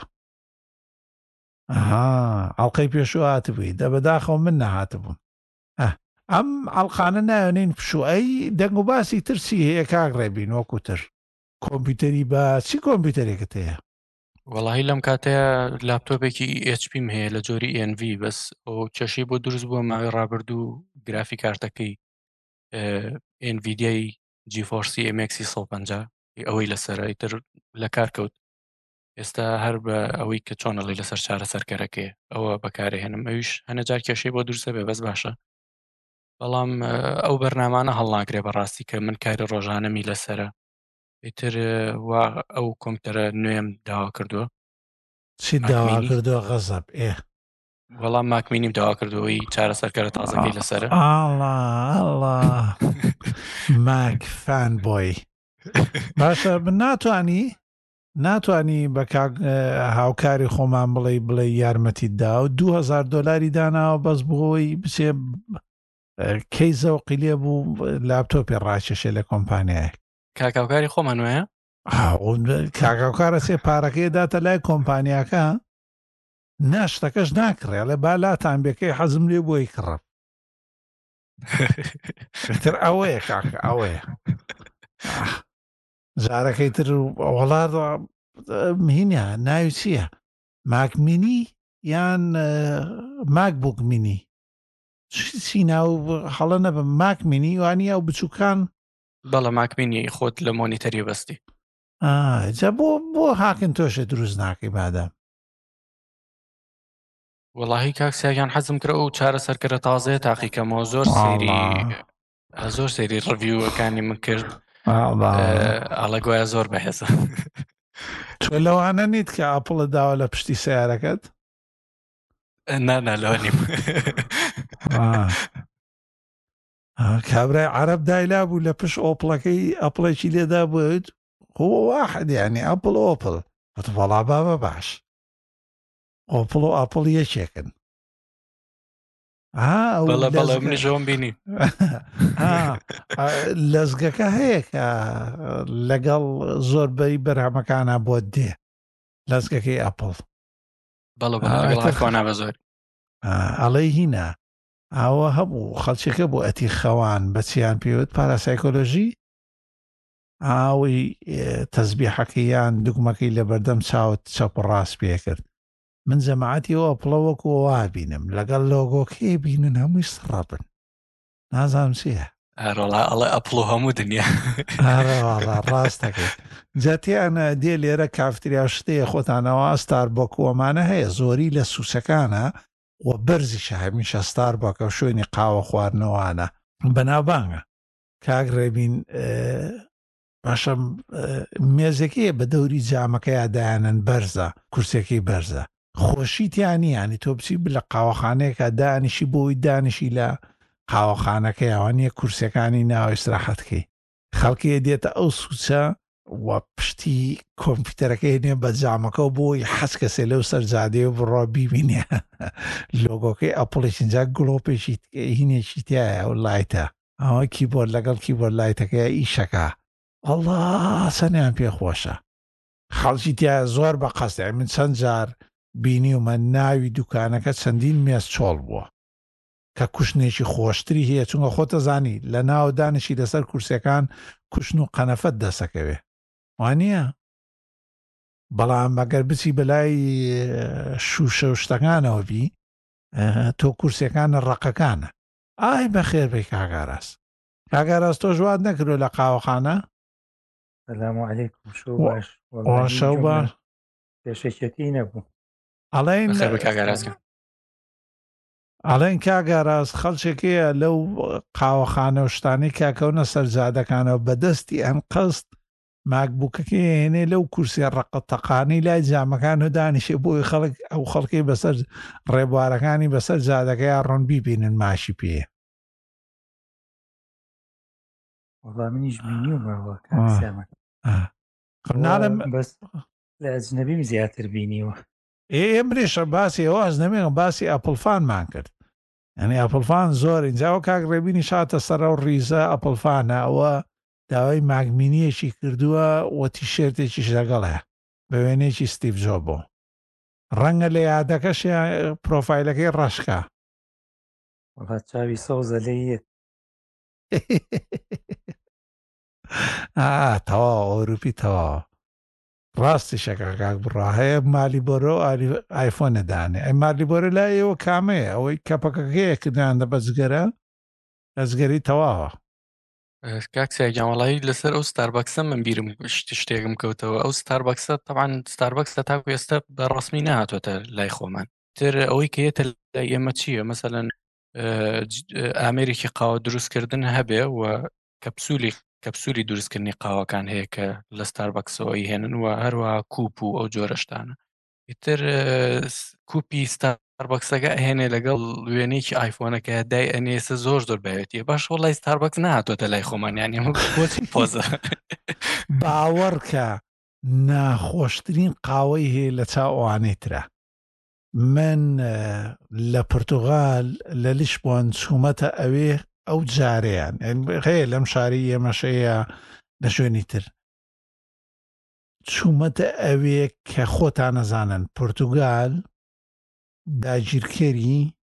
Speaker 1: ئەها ئەڵلقەی پێشوو هاتبووی دە بەداخەوە من نەهاتبووم ئەم ئەڵقانە ناوێنین پشوعی دەنگ و باسی ترسی هەیە کاک ڕێبین وەکوتر کۆمپیوتەری بە چی کۆمپیوتەرێکت هەیە
Speaker 2: وەڵاهی لەم کاتەیە لاپتۆپێکی ئێچ پیم هەیە لە جۆری ئێن ڤی بەس ئەو کێشەی بۆ دروست بووە ماوەی ڕابردوو گرافی کارتەکەی ئێنڤیدیای جیفۆرسی ئێم ئێکس سەد و پەنجا ئەوەی لەسەرە ئیتر لە کار کەوت ئێستا هەر بە ئەوەی کە چۆنەڵی لەسەر چارە سەرکەرەکەی ئەوە بەکارهێنم ئەویش هەنەجار کێشەی بۆ دروستە بێ بەس باشە بەڵام ئەو بەرنامانە هەڵناگرێ بەڕاستی کە من کاری ڕۆژانەمی لەسرە ئیتر وا ئەو کۆمپیوتەرە نوێم داوا کردووە
Speaker 1: چی داوا کردووە غەزەب ئێ
Speaker 2: وەڵام ماکمینیم داوا کردەوەی چارە سەرکەرە تازەکەی لەسرە
Speaker 1: ئاڵا ئاڵا ماک فان بۆی باشە من ناتوانی ناتوانی بە هاوکاری خۆمان بڵێ بڵێ یارمەتی دا و دو هەزار دۆلاری داناوە بەس بۆی بچێ کەی زەوقی لێ بوو لاپتۆپی ڕاکێشێ لە کۆمپانیایە
Speaker 2: کاکاوکاری خۆمان وایە
Speaker 1: کاکاوکارە سێ پارەکەی داتە لای کۆمپانیاکە ناشتەکەش ناکڕێ لە بالاتان بێکەی حەزم لێ بۆی کڕە تر ئەوەیە کاکە ئەوەیە جارەکەی تر وڵات مهینە ناوی چییە ماکمینی یان ماک بوک مینی چی ناو هەڵە نەبم ماکمینی وانی ئەو بچووکان
Speaker 2: بەڵە ماکمینی خۆت لە مۆنیتەری بەستی
Speaker 1: جا بۆ بۆ هاکن تۆشە دروست ناکەی بادەم
Speaker 2: وەڵاهی کاکسیاگیان حەزم کرە و چارە سەرکەرە تازەیە تاقیکەمەوە زۆر سەیری زۆر سەیری ڕڤیوەکانی من کرد ئاڵە گوایە زۆر بەهێزە
Speaker 1: تۆ لەوانە نیت کە ئاپڵە داوە لە پشتی سیارەکەت
Speaker 2: نانا لەوە نیم
Speaker 1: کابرای عەرەب دایلا بوو لە پشت ئۆپڵەکەی ئەپڵێکی لێدا بوویت هو واحد یعنی ئەپڵ ئۆپڵ وەڵا بابە باش ئۆپڵ و ئاپڵ یەکێکن
Speaker 2: بەڵە منیشەوەم بینی
Speaker 1: لەزگەکە هەیە کە لەگەڵ زۆربەی بەرهەمەکانە بۆ دێ لەزگەکەی ئەپڵ
Speaker 2: بەڵە بە زۆر
Speaker 1: ئەڵێ هینە ئەوە هەبوو خەڵچەکە بۆ ئەتی خەوان بەچیان پێوت پاراسایکۆلۆژی ئاوی تەزبیحەکەیان دوگمەکەی لە بەردەم چاوت چەپ ڕاست پێ کرد من جەماعەتی ئەوە پڵەوەکو وا بینم لەگەڵ لۆگۆکێ بینن هەمووی سڕەبن نازانم چییە
Speaker 2: ئەڕۆڵا ئەڵێ ئەپڵ و هەموو دنیا
Speaker 1: ڕاستەکەی جاتیانە دێ لێرە کافتریا شتەیە خۆتانەوە ئەستار بۆ کۆمانە هەیە زۆری لە سووسەکانە و بەرزیشە هەمیشە ستار بۆکە شوێنی قاوە خواردنەوەوانە بەناوبانگە کاک ڕێبین باشە مێزەکەیە بە دەوری جامەکەی دایانن بەرزە کورسێکی بەرزە خۆشیتیانی ینی تۆ بچی لە قاوەخانەیەکە دانیشی بۆی دانیشی لە قاوەخانەکەی ئەوانیە کورسەکانی ناوی استراحەتکەی خەڵکی دێتە ئەو سوچە و پشتی کۆمپیوتەرەکەی نێ بە جامەکە بۆی حەز کەسێ لەو سەرجادێ و بڕۆ بیبینێ لۆگۆکەی ئەپڵێکینجا گڵۆپێکی هینێکی تایە و لایتە ئەوە کیبۆرد لەگەڵ کیبۆرد لایتەکەی ئیشەکە ئەڵڵا سەنیان پێخۆشە خەڵکی تایە زۆر بە قەستە من چەند جار بینی ومە ناوی دوکانەکە چەندین مێز چۆڵ بووە کە کوشتێکی خۆشتری هەیە چونکە خۆتە زانی لە ناو دانشی لەسەر کورسەکان کوشن و قەنەفەت دەسەکەوێ وانە بەڵام ئەگەر بچی بەلای شوشە و شتەکانەوە بی تۆ کورسەکانە ڕقەکانە ئای بەخێر بێ کاگاراس کاگاراس تۆ ژوات نەکردو لە قاوەخانە
Speaker 3: سلام علیکم شو باش
Speaker 1: شەو بە
Speaker 3: پێشەکەتی نەبوو
Speaker 1: ئەڵێن
Speaker 2: بەخێر بە کاگەرازکە
Speaker 1: ئەڵێن کاگاراز خەڵچێکەیە لەو قاوەخانە و شتانی کاکەونە سەرجادەکانەوە بەدەستی ئەم قەست ماکبووکەکەی هێنێ لەو کورسی ڕقەتەقانی لای جامەکان و دانیشێ بۆی خەڵک ئەو خەڵکی بەسەر ڕێبوارەکانی بەسەر جادەکەی ڕۆن بیبینن ماشی پێ
Speaker 3: وەڵام منیش بینیومەوە کاکسەمە
Speaker 1: ناڵم
Speaker 3: بەس لە ئەجنەبیم زیاتر بینیوە
Speaker 1: ئێمرێشە باسی ئەوە ئەزنەمێن باسی ئەپڵفانمان کرد ئەنی ئەپڵفان زۆر اینجاوە کاک ڕێبینی شاتە سەر و ڕیزە ئەپڵفانە ئەوە داوای ماگمینیەکی کردووە وە تیشێرتێکیش لەگەڵ هەیە بە وێنێکی ستیڤ جۆ بۆ ڕەنگە لە یادەکەش پرۆفایلەکەی ڕەشکە
Speaker 3: وەڵا چاوی سەوزە لێیت
Speaker 1: تەوا ئۆروپی تەوا ڕاستی شەکە کاک بڕا هەیە مالی بۆرە ئایفۆنەدانێ ئەی مالی بۆرە لای ئێوە کامەیە ئەوەی کەپەکەکەیە کردیاندا بەجگەرە ئەزگەری تەواوە
Speaker 2: کاکسیاگیان وڵایی لەسەر ئەو ستاربەکسە من بیرم شتێکم کەوتەوە ئەو ستاربەکسە تەعاان ستاربەکسە تاکو ئێستا بە ڕسمی نهاتۆتە لای خۆمان تر ئەوەی کەیەتە لای ئێمە چییە مەسەلەن ئامێرێکی قاوە دروستکردن هەبێ و کەپسولی کەپسولی دروستکردنی قاوەکان هەیە کە لە ستاربەکسەوەی هێنن و هەروە کوپ و ئەو جۆرەشتانە ئیتر کوپی ستاربەکسەکە هێنێ لەگەڵ وێنێکی ئایفۆنەکە دای ئەنێسە زۆر زۆر بەوێتیە باش وڵی ستاربەکس نهاتۆتە لای خۆمانیان ئێمە بۆچی پۆزە
Speaker 1: باوەڕکە ناخۆشترین قاوەی هەیە لە چاوانێترە من لە پرتوغال لە لیشبۆن چوومەتە ئەوێ ئەو جارەیان هەیە لەم شاری ئێمەشەیە لە شوێنی تر چوومەتە ئەوێ کە خۆتان نەزانن پرتوگال داگیرکەری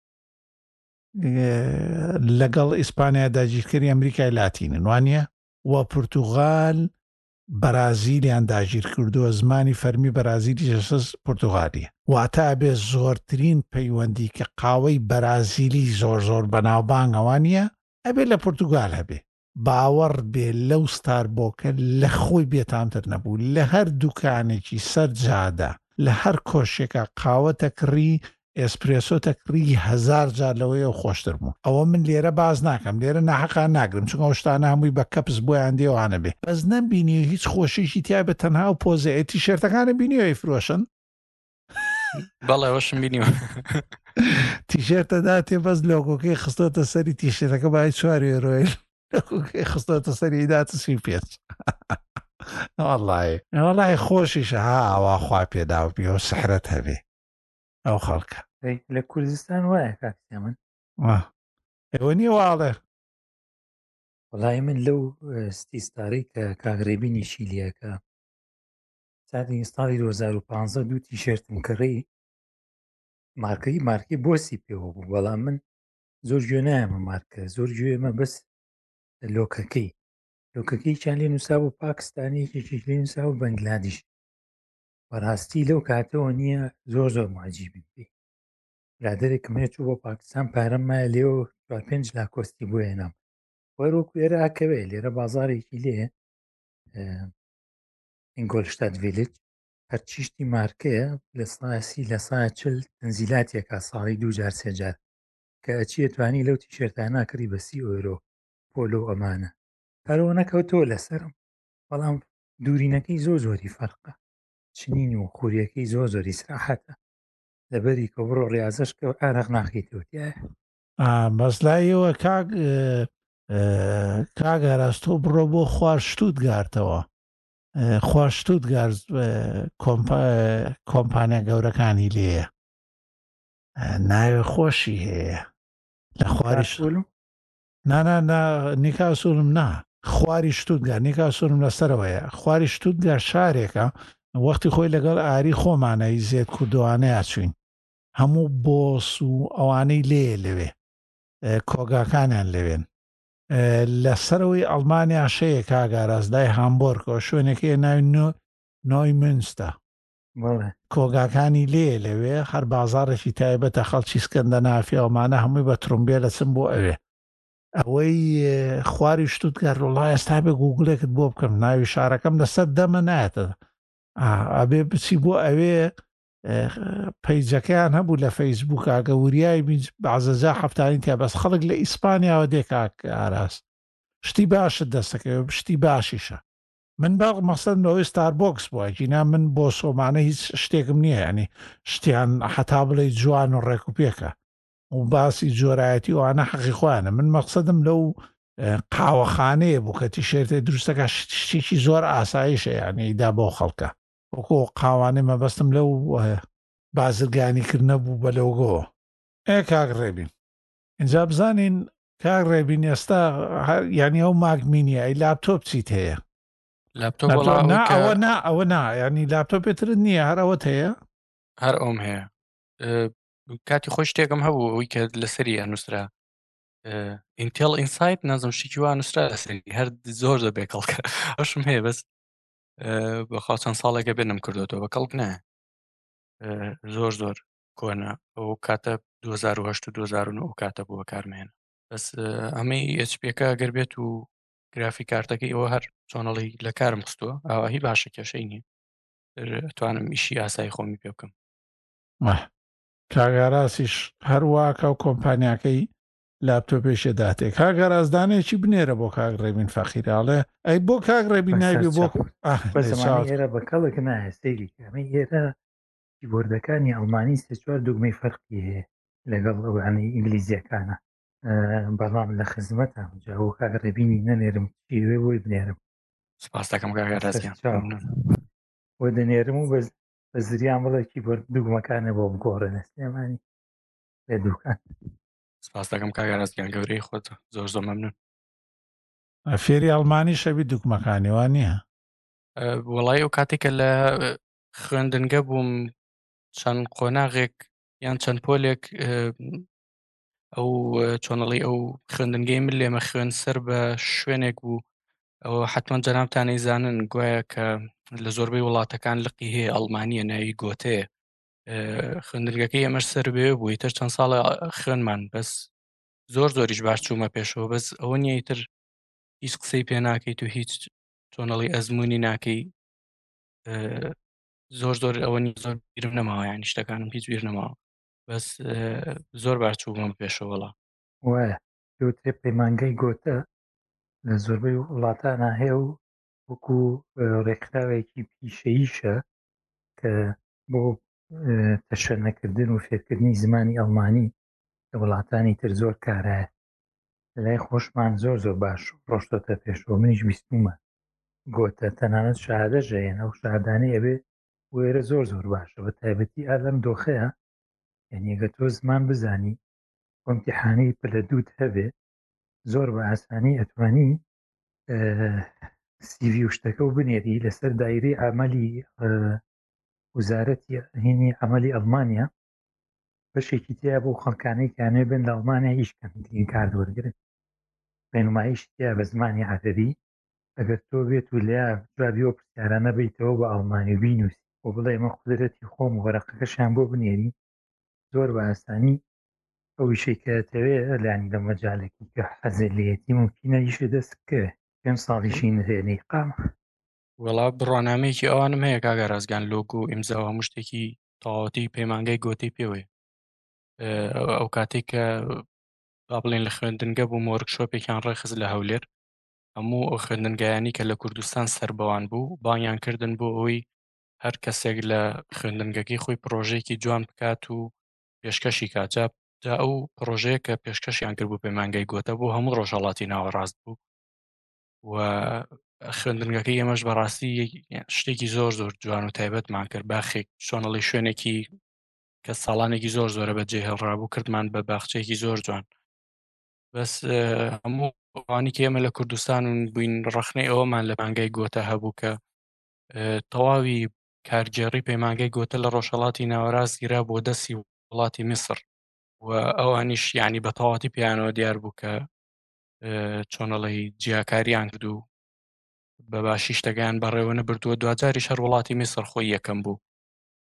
Speaker 1: لەگەڵ ئیسپانیا داگیرکەری ئەمریکای لاتینن وانە و پرتوغال بەرازیلیان داگیر کردووە زمانی فەرمی بەرازیلی جەسەس پرتوغالیە واتە بێ زۆرترین پەیوەندی کە قاوەی بەرازیلی زۆر زۆر بەناوبانگەوانە ئەبێ لە پرتوگال هەبێ باوەڕ بێ لەو ستاربۆکە لە خۆی بێتامتر نەبوو لە هەر دوکانێکی سەر جادە لە هەر کۆشێکە قاوەتە کڕی ئێسپرێسۆ تەکڕی هەزار جار لەوەی ئەو خۆشتر بوو ئەوە من لێرە باز ناکەم لێرە ناحەقا ناگرم چونکە شتانە هەمووی بە کەپس بۆیان دێوانە بێ بەس نەبینی هیچ خۆشیشی تیا بە تەنها و پۆزەتی شێرتەکانە بینیەوەی فرۆشن
Speaker 2: بەڵێ ئەوەشم بینیوە
Speaker 1: تیشێرتە داتێ بەس لۆگۆکەی خستۆتە سەری تیشێرەکە باید چواری ڕۆیل لۆگۆکەی خستۆتە سەری داتە سی پێچ وەڵڵی وەڵڵی خۆشیشە ها ئەوا خوا پێداو بیەوە سەحرەت هەبێ ئەو خەڵکە
Speaker 3: لە کوردستان وایە کاکسیا من
Speaker 1: ئێوە نییە واڵێ
Speaker 3: وەڵای من لەو ستیستاری کە کاگرێبینی شیلیەکە ساتی ساڵی دو هەزار و پانزە دوو تیشێرتم کڕی مارکەی مارکی بۆسی پێوە بوو بەڵام من زۆر گوێ نایەمە مارکە زۆر گوێمە بەس لۆکەکەی لۆکەکەی چیان لێ نووسا بۆ پاکستانیەکێکیش لێ نووسا و بەنگلادیش بەڕاستی لەو کاتەوە نییە زۆر زۆر معجیبی پێی برادێکم هەیە چوو بۆ پاکستان پارەم مایە لێەوە چوار پێنج لا کۆستی بۆ هێنام وەرۆکو لێرە ئاکەوێ لێرە بازارێکی لێ ئینگۆلشتات ڤیلج هەرچیشتی مارکەیە لە ساسی لە سا چل تەنزیلاتێکا ساڵی دوو جار سێ جار کە ئەچی توانی لەو تیشێرتانە کڕی بە سی ئۆیرۆ پۆلۆ ئەمانە هەرەوە نەکەوتەوە لەسرم بەڵام دوورینەکەی زۆر زۆری فەرقە چنین و خوریەکەی زۆر زۆری سراحەتە لەبەری کە بڕۆ ڕاضەش کە ئارەق ناخیتەوەتیایە
Speaker 1: بەسلایەوە کاک کاگەڕاستۆ بڕۆ بۆ خوارشتوت گارتەوە خوارشتوت گارز کۆمپانیا گەورەکانی لێیە ناوێ خۆشی هەیە لە خواریش نانا نیکاسوولم نا خواری شتوتگار نیکاسوولم لەسەرەوەیە خواری شتوتگار شارێکە وەختی خۆی لەگەڵ ئاری خۆمانەی زێت کوردوانەیە چوین هەموو بۆس و ئەوانەی لێ لەوێ کۆگاکانیان لەوێن لەسەرەوەی ئەڵمانیا شەیە کاگاراز لای هامبۆرگەوە شوێنێکی ناوی نۆی منستە
Speaker 3: بەڵێ
Speaker 1: کۆگاکانی لێ لەوێ هەر بازارێکی تایبەتە خەڵکی سکەندە نافیەوەمانە هەمووی بە ترومبێ لە چم بۆ ئەوێ ئەوەی خواری شتوتگار وڵای ئێستا بێ گوگلێکت بۆ بکەم ناوی شارەکەم لەسەر دەمە نایەتە ئەبێ بچی بۆ ئەوێ پەیجەکەیان هەبوو لە فەیسبووک ئاگە وریای بەعزەجا هەفتانی تیا بەس خەڵک لە ئیسپانیاوە دێکاک ئاراست شتی باشت دەستەکەوێ شتی باشیشە من باق مەسەن لەوەی ستاربۆکس بووە گینا من بۆ سۆمانە هیچ شتێکم نییە ینی شتیان حتا بڵێ جوان و ڕێک و پێکە و باسی جۆرایەتی وانە حەقی خوانە من مەقسەدم لەو قاوەخانەیە بوو کە تیشێرتێ دروستەکە شتێکی زۆر ئاساییشە ینی دا بۆ خەڵکە وەکۆ قاوانەی مەبەستم لەو بازرگانیکردنە بوو بە لەوگۆ ئێ کاک ڕێبین اینجا بزانین کاک ڕێبین ئێستا ینی ئەو ماگمینیە ئەی لاپتۆپ چیت هەیە
Speaker 2: لاپتۆپ
Speaker 1: نا ئەوە نا ئەوە نا ینی لاپتۆپێترت نییە هەر ئەوەت هەیە
Speaker 2: هەر ئەوم هەیە کاتی خۆش شتێکم هەبوو ئەوی کە لەسەری ئەنووسرا ئینتێڵ ئینسایت نازم شتێکی وا نووسرا لەسەری هەر زۆر دەبێ کەڵکە ئەوشم هەیە بەس بەخوا چەند ساڵێکە بێنم کردوەوە بە کەڵک نایە زۆر زۆر کۆنا ئەو کاتە دوو هەزار و هەشت و دوو هەزار و نۆ ئەو کاتە بووە کارمێنە بەس ئەمەی ئەچ پێکە گەر بێت و گرافی کارتەکەی ئەوە هەر چۆنەڵی لە کارم خستووە ئاواهی باشە کێشەی نییە توانم ئیشی ئاسایی خۆمی پێ بکەم
Speaker 1: کاگاراسیش هەروواکە و کۆمپانیاکەی لاپتۆپێشە داتێک کاگەرازدانێکی بنێرە بۆ کاک ڕێبین فەخیراڵێ ئەی بۆ کاک ڕێبین نایبێ بۆ
Speaker 3: ئێرە بە کەڵێک نایە سەیری ئەمەی ئێرە کیبۆردەکانی ئەڵمانی سێ چوار دوگمەی فەرقی هەیە لەگەڵ ئەوانەی ئینگلیزیەکانە بەڵام لە خزمەتە جاوە کاک ڕێبینی نەنێرم چیوێ بۆی بنێرم
Speaker 2: سپاس دەکەم کاگەرازیان
Speaker 3: وە دەنێرم و بە زریان بڵێ کیبۆرد دوگمەکانە بۆ بگۆڕێنە سلێمانی لێ دووکان
Speaker 2: سپاس دەکەم کاگەرازیان گەورەی خۆت زۆر زۆر مەمنون
Speaker 1: فێری ئەڵمانی شەوی دوگمەکانیوان نییە
Speaker 2: وەڵای ئەو کاتێکە لە خوێندنگە بووم چەند قۆناغێک یان چەند پۆلێک ئەو چۆنەڵی ئەو خوێندنگەی من لێمە خوێن سەر بە شوێنێک بوو ئەوە حتمما جەنابتانەی زانن گوایە کە لە زۆربەی وڵاتەکان لقی هەیە ئەڵمانیە ناوی گۆتەیە خوێندنگەکەی ئەمەش سەر بێ بووی تر چەند ساڵە خوێنمان بەس زۆر زۆریش باش چوومە پێشەوە بەس ئەوە نییە تر هیچ قسەی پێ ناکەیت و هیچ چۆنەڵی ئەزمموی ناکەی زۆر زۆر ئەوە زۆر بیرم نەماوە یانی شتەکانم هیچ بیر نەماوە بەس زۆر باش چوومە پێشەوەڵا
Speaker 3: وایە پێوتێ پەیمانگەی گۆتە لە زۆربەی وڵاتانە هەیە و وەکو ڕێکخراوێکی پیشەییشە کە بۆ تەشەنەکردن و فێرکردنی زمانی ئەڵمانی لە وڵاتانی تر زۆر کارایە لای خۆشمان زۆر زۆر باش ڕۆشتۆتە پێشەوە منیش بیستمە گۆتە تەنانەت شادەژەیەن ئەو شادانەی ئەبێ وێرە زۆر زۆر باشە بە تایبەتی ئالەم دۆخەیە یعنیەگە تۆ زمان بزانی ئۆمتیحانەی پلە دووت هەبێ زۆر بە ئاسانی ئەتوانی سیڤی و شتەکە و بنێری لەسەر دایری ئامەلی وزارەتی هینی ئەمەلی ئەڵمانیا بەشێکی تیا بۆ خەڵکانەی کانێ بن لە ئەڵمانیا هیچکەم کار وەرگرن ڕێنماییشتیا بە زمانی عەرەبی ئەگەر تۆ بێت و لیا جوابیەوە پرسیارانە بیتەوە بە ئەڵمانی بینوسی بۆ بڵێ ئمە قودرەتی خۆم و وەرەقەکەشیان بۆ بنێری زۆر بە ئاسانی ئەو ویشەکەتەوێ لانی لە مەجالێکی کە حەزلەتی ممکنە یشە دەست بکەوێ پێم ساڵیشی نهێنەی قام
Speaker 2: وەڵا بڕۆنامەیەکی ئەوانم هەیە کاگە ڕازگان لۆگۆ و ئیمزاوە هەموو شتێکی تەواوەتی پەیمانگای گۆتەی پێوێ ئەو کاتێک کە با بڵێن لە خوێندنگە بوو وەرکشۆپێکیان ڕێخست لە هەولێر هەموو ئەو خوێندنگایانی کە لە کوردستان سەربەوان بوو بانیان کردن بۆ ئەوەی هەر کەسێک لە خوێندنگەکەی خۆی پرۆژەیەکی جوان بکات و پێشکەشی کات جا ئەو پرۆژەیە کە پێشکەشیان کرد بوو پەیمانگای گۆتە بوو هەموو ڕۆژهەڵاتی ناوەڕاست بوو و خوێندنگەکەی ئێمەش بەڕاستی شتێکی زۆر زۆر جوان و تایبەتمان کرد باخێک چۆنەڵی شوێنێکی کە ساڵانێکی زۆر زۆرە بەجێ هێڵڕابوو کردمان بە باخچەیەکی زۆر جوان بەس هەموو ئەوانی کە ئێمە لە کوردستان و بووین ڕەخنەی ئەوەمان لە مانگای گۆتە هەبوو کە تەواوی کارگێڕی پەیمانگای گۆتە لە ڕۆژهەڵاتی ناوەڕاست گیرا بۆ دەستی وڵاتی میسر و ئەوانیش یعنی بە تەواتی پیانەوە دیار بوو کە چۆنەڵی جیاکاریان کرد و بە باشی شتەکان بەڕێوە نەبردووە دوجاریش هەر وڵاتی میسر خۆی یەکەم بوو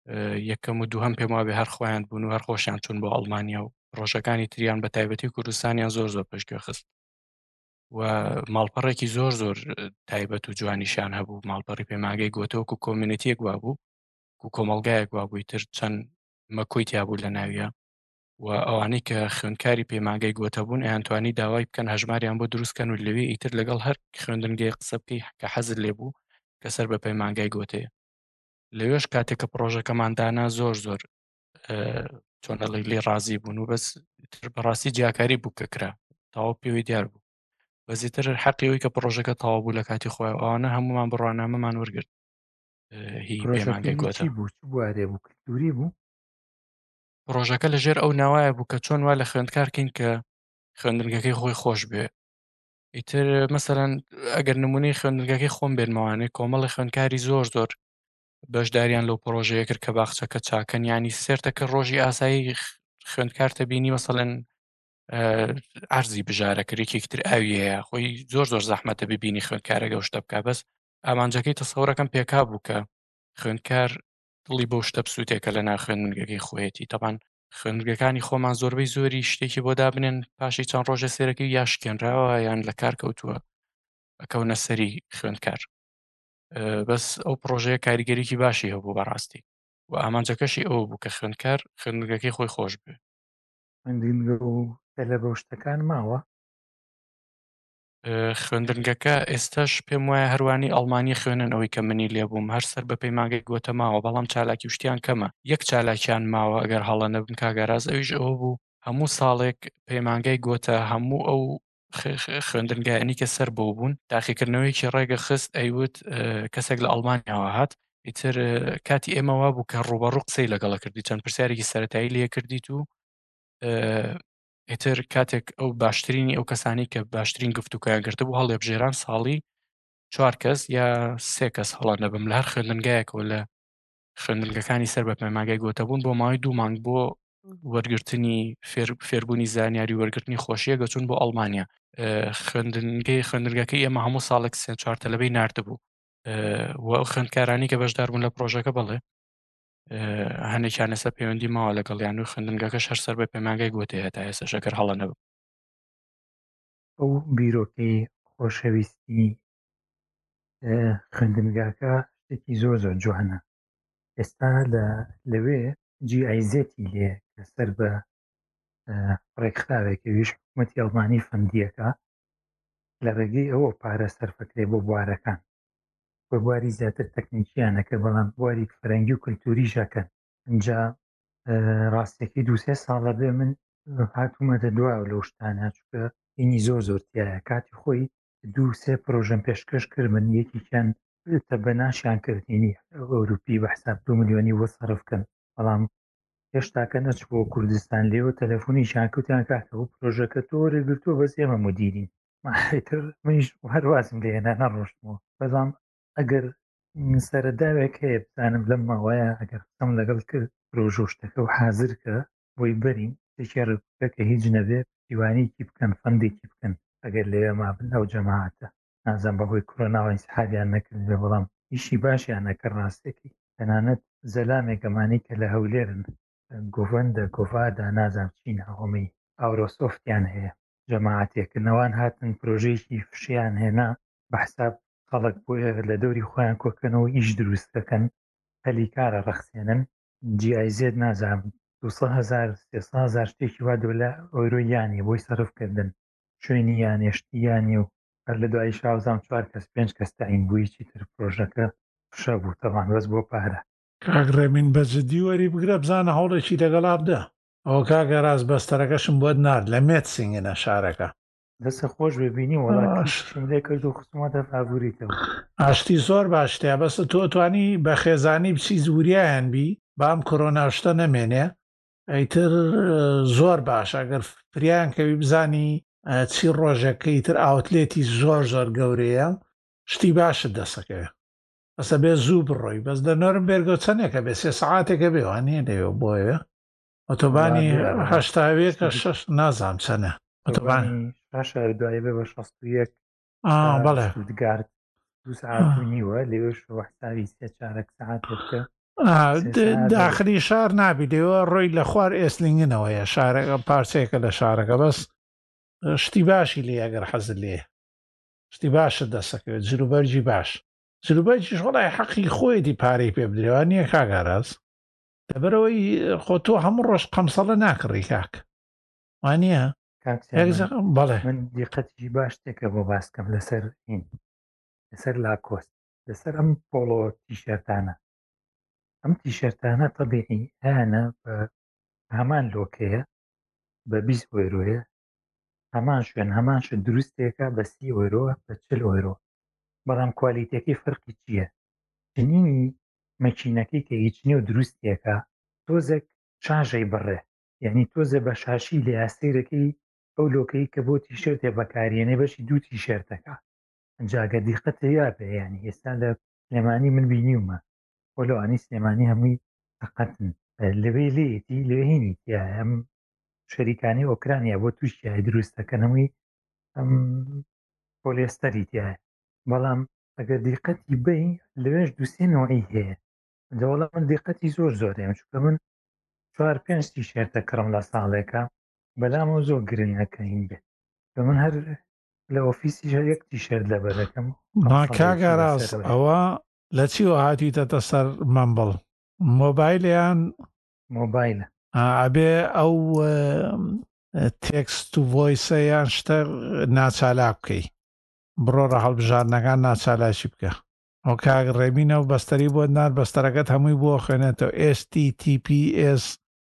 Speaker 2: یەکەم و دووهەم پێم وابێ هەر خۆیان بوون و هەر خۆشیان چوون بۆ ئەڵمانیا و ڕۆژەکانی تریان بە تایبەتی کوردستانیان زۆر زۆر پشتگوێ خست و ماڵپەڕێکی زۆر زۆر تایبەت و جوانیشان هەبوو ماڵپەڕی پەیمانگەی گۆتەوەکو کۆمیونیتیەک وا بوو و کۆمەڵگایەک وا بووی تر چەند مەکۆی تیابوو لە ناویە و ئەوانەی کە خوێندکاری پەیمانگەی گۆتە بوون ئەیانتوانی داوای بکەن هەژماریان بۆ دروستکەن و لەوێ ئیتر لەگەڵ هەر خوێندنگەی قسە بکەی کە حەزت لێ بوو کە سەر بە پەیمانگای گۆتەیە لەوێش کاتێک کە پرۆژەکەماندانا زۆر زۆر چۆنەڵی لێ ڕازی بوون و بەس بەڕاستی جیاکاری بوو کە کرا تەواو پێوەی دیار بوو بەزیتر حەقیەوەی کە پرۆژەکە تەواو بوو لە کاتی خۆی ئەوانە هەمومان بڕوانامەمان وەرگرت هی پەیمانگەی گۆتە
Speaker 3: بوو بوارێ بوو کللتوری بوو
Speaker 2: پرۆژەکە لەژێر ئەو ناوایە بوو کە چۆن وا لە خوێندکارکەین کە خوێندنگەکەی خۆی خۆش بێ ئیتر مەسەرەن ئەگەر نمونەی خوێندنگەکەی خۆم بێنمەوانەی کۆمەڵی خوێندکاری زۆر زۆر بەشداریان لەو پرۆژەیە کرد کە باخچەکە چاکەن ینی سێرتەکە ڕۆژی ئاسایی خوێندکارتە بینی مەسەڵەن ئەرزی بژارەکەێکێکی تر ئاویەیە خۆی زۆر زۆر زەحمەتە ببینی خوێندکارەگە شتە بکە بەس ئامانجەکەی تەسەوڕەکەم پێکا بوو کە خوێندکار دڵی بەو شتە بسووتێکە لە ناو خوێندنگەکەی خۆیەتی تەبان خوێندگەکانی خۆمان زۆربەی زۆری شتێکی بۆ دابنێن پاشی چەند ڕۆژە سێرەکەی یا شکێنراوە یان لە کار کەوتووە ئەکەونە سەری خوێندکار بەس ئەو پرۆژەیە کاریگەریکی باشی هەبوو بەڕاستی و ئامانجەکەشی ئەوە بوو کە خوێندکار خوێندنگەکەی خۆی خۆش بێ
Speaker 3: خوێندنگە و تەلە بەو شتەکان ماوە
Speaker 2: خوێندنگەکە ئێستاش پێم وایە هەروانی ئەڵمانی خوێنن ئەوەی کە منی لێبووم هەر سەر بە پەیمانگەی گۆتە ماوە بەڵام چالاکی شتیان کەمە یەک چالاکیان ماوە ئەگەر هەڵە نەبن کاگەراز ئەویش ئەوە بوو هەموو ساڵێک پەیمانگەی گۆتە هەموو ئەو خوێندنگایانی کە سەر بۆ بوون تاقیکردنەوەیکی ڕێگە خست ئەیوت کەسێک لە ئەڵمانیاوە هات ئیتر کاتی ئێمەوا بوو کە ڕوبەڕوو قسەی لەگەڵە کردی چەند پرسیارێکی سەرەتایی لێ کردیت و ئێتر کاتێک ئەو باشترینی ئەو کەسانی کە باشترین گفتوکیان گرتە بوو هەڵێبژێران ساڵی چوار کەس یا سێ کەس هەڵە نەبم لە هەر خوێندنگایەکەوە لە خوێندنگەکانی سەر بە پەیمانگای گۆتە بوون بۆ ماوەی دوو مانگ بۆ وەرگرتنی فێربوونی زانیاری وەرگرتنی خۆشیە گەچون بۆ ئەڵمانیا خوێندنگەی خوێندنگەکەی ئێمە هەموو ساڵێک سێ چوار تەلەبەی ناردبوو و ئەو خوێندکارانی کە بەشدار بوون لە پرۆژەکە بڵێ هەنێکیان ئێستا پەیوەندی ماوە لەگەڵیان و خوێندنگەکەش هەر سەر بە پەیمانگای گۆتەیە تا ئێستا شەکەر هەڵە نەبوو
Speaker 3: ئەو بیرۆکەی خۆشەویستی خوێندنگاکە شتێکی زۆر زۆر جوانە ئێستا لەوێ جی ئایزێتی لێ کە سەر بە ڕێکخراوێکەویش حکوومەتی ئەڵمانی فەندیەکە لە ڕێگەی ئەوە پارە سەرفەکرێ بۆ بوارەکان بە بواری زیاتر تەکنیکیانەکە بەڵام بواری فەرەنگی و کولتوری ژەکەن ئەجا ڕاستێکی دووسێ ساڵە بێ من هاتوومەتە دواوە لەو شتانە چکە ئینی زۆر زۆرتیایە کاتی خۆی دوو سێ پرۆژەم پێشکەش کرد من یەکیان تە بەناشیان کردینی ئەوروپی بە حساب دو میلیۆنی وە سەرفکەن بەڵام هێشتاکە نەچ بۆ کوردستان لێەوە تەلەفۆنی شانکوتیان کاکە و پرۆژەکە تۆ وەرەگرتووە بەس ئێمە مدیرین ماتر منیش هەروازم لێنە نەڕۆشتمەوە بەڵام ئەگەر سەرەداوێک هەیە بزانم لەم ماوەیە ئەگەر قسەم لەگەڵ کرد پرۆژۆشتەکە و حازرکە بۆی بەرین تێکی ڕکە کە هیچ نەبێ دیوانێکی بکەن فەندێکی بکەن ئەگەر لێوێ مابن ئەو جەماعاتە نازان بەهۆی کۆرۆناوەی سحابیان نەکرد بێ بەڵام ئیشی باشیان نەکە ڕاستێکی تەنانەت زەلامێکەمانی کە لە هەولێرن گۆڤەندە گۆڤادا نازام چین هەڵمی ئاورۆسۆفتیان هەیە جەماعاتێکردنەوەوان هاتن پرۆژەیەکی فشیان هێنا بە حساب خەڵک بۆیە لە دەوری خۆیان کۆکەنەوە ئیش دروستەکەن هەلی کارە ڕەخسێنن جیایزێت نازام هزار هزار شتێکی وا دۆلە ئۆیرۆ یانی بۆی سەرفکردن شوێنی یانێشتی یانی و هەر لە دوای شازام چوار کەس پێنج کەس تاین بوویکی تر پرۆژەکە شە بوو تەوان بەس بۆ پارە
Speaker 1: کاگڕێمین بەجددی وەری بگرە بزانە هەوڵێکی لەگەڵا بدە ئەوە کاگە ڕاست بەستەرەکەشم بۆت نرد لە مێت سنگێنە شارەکە
Speaker 3: دەستە خۆش ببینی وڵاتیشم لێ کرد و خسمەتە فابوریتەوە
Speaker 1: ئاشتی زۆر باشتەیە بەستە تۆ توانی بە خێزانی بچی زوریایان بی بام کۆرۆناشتە نەمێنێ ئەیتر زۆر باش ئەگەر فریان کەوی بزانی چی ڕۆژەکەی تر ئاوتلێتی زۆر زۆر گەورەیە شتی باشت دەسەکەوێ بەسە بێ زوو بڕۆی بەس دەنۆرم بێرگۆ چەندێکە بێ سێ سەعاتێکە بێوانێ لێوە بۆیە ئۆتۆبانی هەشتاوێ کە شەش نازام چەنە ئۆتۆبانی
Speaker 3: دوای بێ بە شەست و یەک
Speaker 1: بەڵێ
Speaker 3: گارد دو ساعت و نیوە لێوەش وەحساوی سێ چارەك سەعات بکە
Speaker 1: داخلی شار نابی لێوە ڕۆی لە خوار ئێسلینگنەوەیە شارەکە پارچێکە لە شارەکە بەس شتی باشی لێ ئەگەر حەزت لێ شتی باشە دەسەکەوێت جلوبەرجی باش جلوبەرجیش وڵای حەقی خۆیەتی پارەی پێ بدرێوە نییە کاگاراز لەبەرەوەی خۆ تۆ هەموو ڕۆژ قەمسەڵە ناکڕی کاک وانە
Speaker 3: بەڵێ من دیقەتی باش تێکە بۆ باسکەم لەسەر این لەسەر لاکۆست لەسەر ئەم پۆڵۆ تیشەرتانە ئەم تیشەرتانە تەبیعی هیانە بە هەمان لۆکەیە بە بیست ئۆیرۆیە هەمان شوێن هەمان شت دروستێکە بە سی ئۆیرۆ بە چل ئۆیرۆ بەڵام کوالیتەکەی فەرقی چییە چنینی مەکینەکەی کە هیچ نیە و دروستێکە تۆزێک شاژەی بڕێ یعنی تۆزە بە شاشی لە یاسیرەکەی ئەو لۆکەی کە بۆ تیشرتێ بەکارێنێ بەشی دوو تیشرتەکە جاگە دیقەتە یا بێ ینی ئێستا لە سلێمانی من بینیومە وەلوانی سلێمانی هەمووی تەقەتن لەوێ لێتی لێهینی تیا ئەم شەریکانی ئۆکرانیا بۆ تووشیای دروستەکەنەوەی ئەم پۆلێستەری تایە بەڵام ئەگەر دیقەتی بی لەوێش دووسێنەوەی هەیە دەوڵە من دیقەتی زۆر زۆرێم چکە من چوار پێنج تیشێرتە کڕم لە ساڵێکە بەلامەوە زۆر گرنگەکەین بێت بە من هەر لە ئۆفیسی یەک تیشێرت لە بەرەکەم
Speaker 1: کاگاراز ئەوە لە چیوە هاتیتەتە سەر مەمبڵ مۆبایلیان
Speaker 3: مۆبایلە
Speaker 1: ئەبێ ئەو تێکست و ڤۆیسەیان شتە ناچالاک بکەی بڕۆ ڕە هەڵبژارنەکان ناچالاشی بکە ئەو کاگ ڕێبینە و بەستەری بۆ نار بەستەرەکەت هەمووی بۆ خوێنێتەوە ئێس تی تی پی ئێس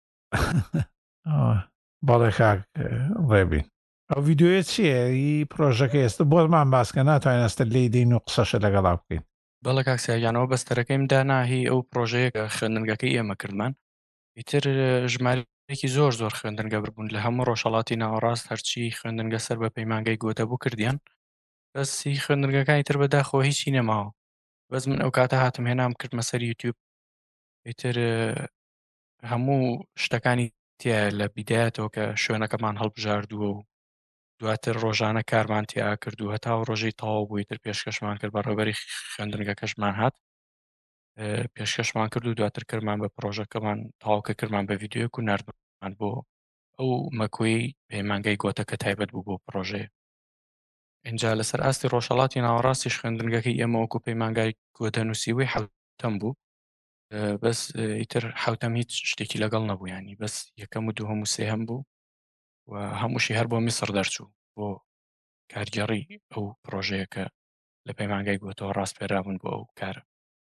Speaker 1: بەڵێ کاک ڕێبین ئەو ڤیددیوە چییە هی پرۆژەکە ئێستا بۆمان باسکە ناتوانین ئەستە لێی دەین و قسەشە لەگەڵا بکەین
Speaker 2: بەڵە کاکسیاگیانەوە بەستەرەکەیم داناهی ئەو پرۆژەیەکە خوێندنگەکەی ئێمە کردمان ئیتر ژمارەیەکی زۆر زۆر خوێندنگە ببوون لە هەموو ڕۆژهەڵاتی ناوەڕاست هەرچی خوێندنگە سەر بە پەیمانگەی گوتە بوو کردیان بەسی خوێندنگەکانی تر بەداخۆ هیچی نەماوە بەس من ئەو کاتە هاتم هێنام کردمە سەر یوتیوب ئیتر هەموو شتەکانی تایە لە بیدایەتەوە کە شوێنەکەمان هەڵبژاردووە و دواتر ڕۆژانە کارمان تیا کردو هەتا و ڕۆژەی تەواو بووی تر پێشکەشمان کرد بەڕێوەبەری خوێندنگەکەشمان هات پێشکەشمان کرد و دواتر کردمان بە پرۆژەکەمان تەواوکە کردمان بە ڤیددیۆک و نردمان بۆ ئەو مەکۆی پەیمانگەی گۆتەکە تایبەت بوو بۆ پرۆژەیە اینجا لەسەر ئاستی ڕۆژهەڵاتی ناوەڕاستیش خوێندنگەکەی ئێمە وەکو پەیمانگای گۆتە نووسیوەی حەوتەم بوو بەس ئیتر حەوتەم هیچ شتێکی لەگەڵ نەبوو ینی بەس یەکەم و دووهەم و سێهەم بوو و هەمووشی هەر بۆ میسر دەرچوو بۆ کارگەڕی ئەو پرۆژەیەکە لە پەیمانگای گۆتەوە ڕاستپێرابوون بۆ ئەو کارە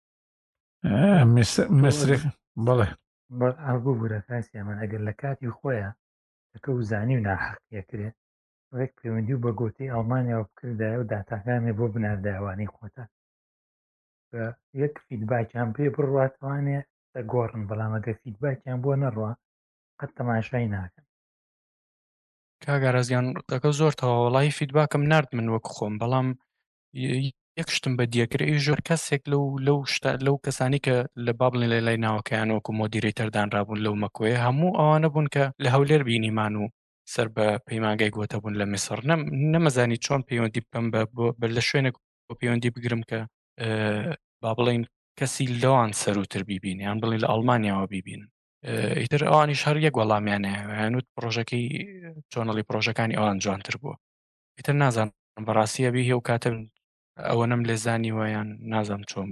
Speaker 1: مسرێک بڵێ
Speaker 3: بوو بوورە کاسیامان ئەگەر لە کاتی خۆیە دەکە و زانی و ناحەقیەکرێت وەک پەیوەندی و بە گۆتەی ئەڵمانیاوە بکردایە و داتاکانێ بۆ بنارداوانەی خۆتە بە یەک فیدباکیان پێ بڕواتوانێ دەگۆڕن بەڵام ئەگە فیدباکیان بۆ نەڕوە قەت تەماشای ناکەن
Speaker 2: کاگارازیان دەکە زۆر تەواوەڵی فیدباکم نرد من وەک خۆم بەڵام یەک شتم بە دیەکرێ ژۆر کەسێک لەو لەو شتا لەو کەسانی کە لە بابڵین لە لای ناوەکەیان وەکو مۆدیرێتەردانرابوون لەو مەکۆیە هەموو ئەوانە بوون کە لە هەولێر بینیمان و سەر بە پەیمانگای گۆتە بوون لە میسر نەمەزانی چۆن پەیوەندی بکەم بە لە شوێنێک بۆ پەیوەندی بگرم کە با بڵین کەسی لەوان سەروتر بیبین یان بڵین لە ئەڵمانیاوە بیبین ئیتر ئەوانیش هەر یەک وەڵامیانەیە هەنووت پرۆژەکەی چۆنەڵی پرۆژەکانی ئەوان جوانتر بووە ئیتر نازانم بەڕاستیە بی هێ و کاتم ئەوە نەم لێزانی ویان نازانم چۆن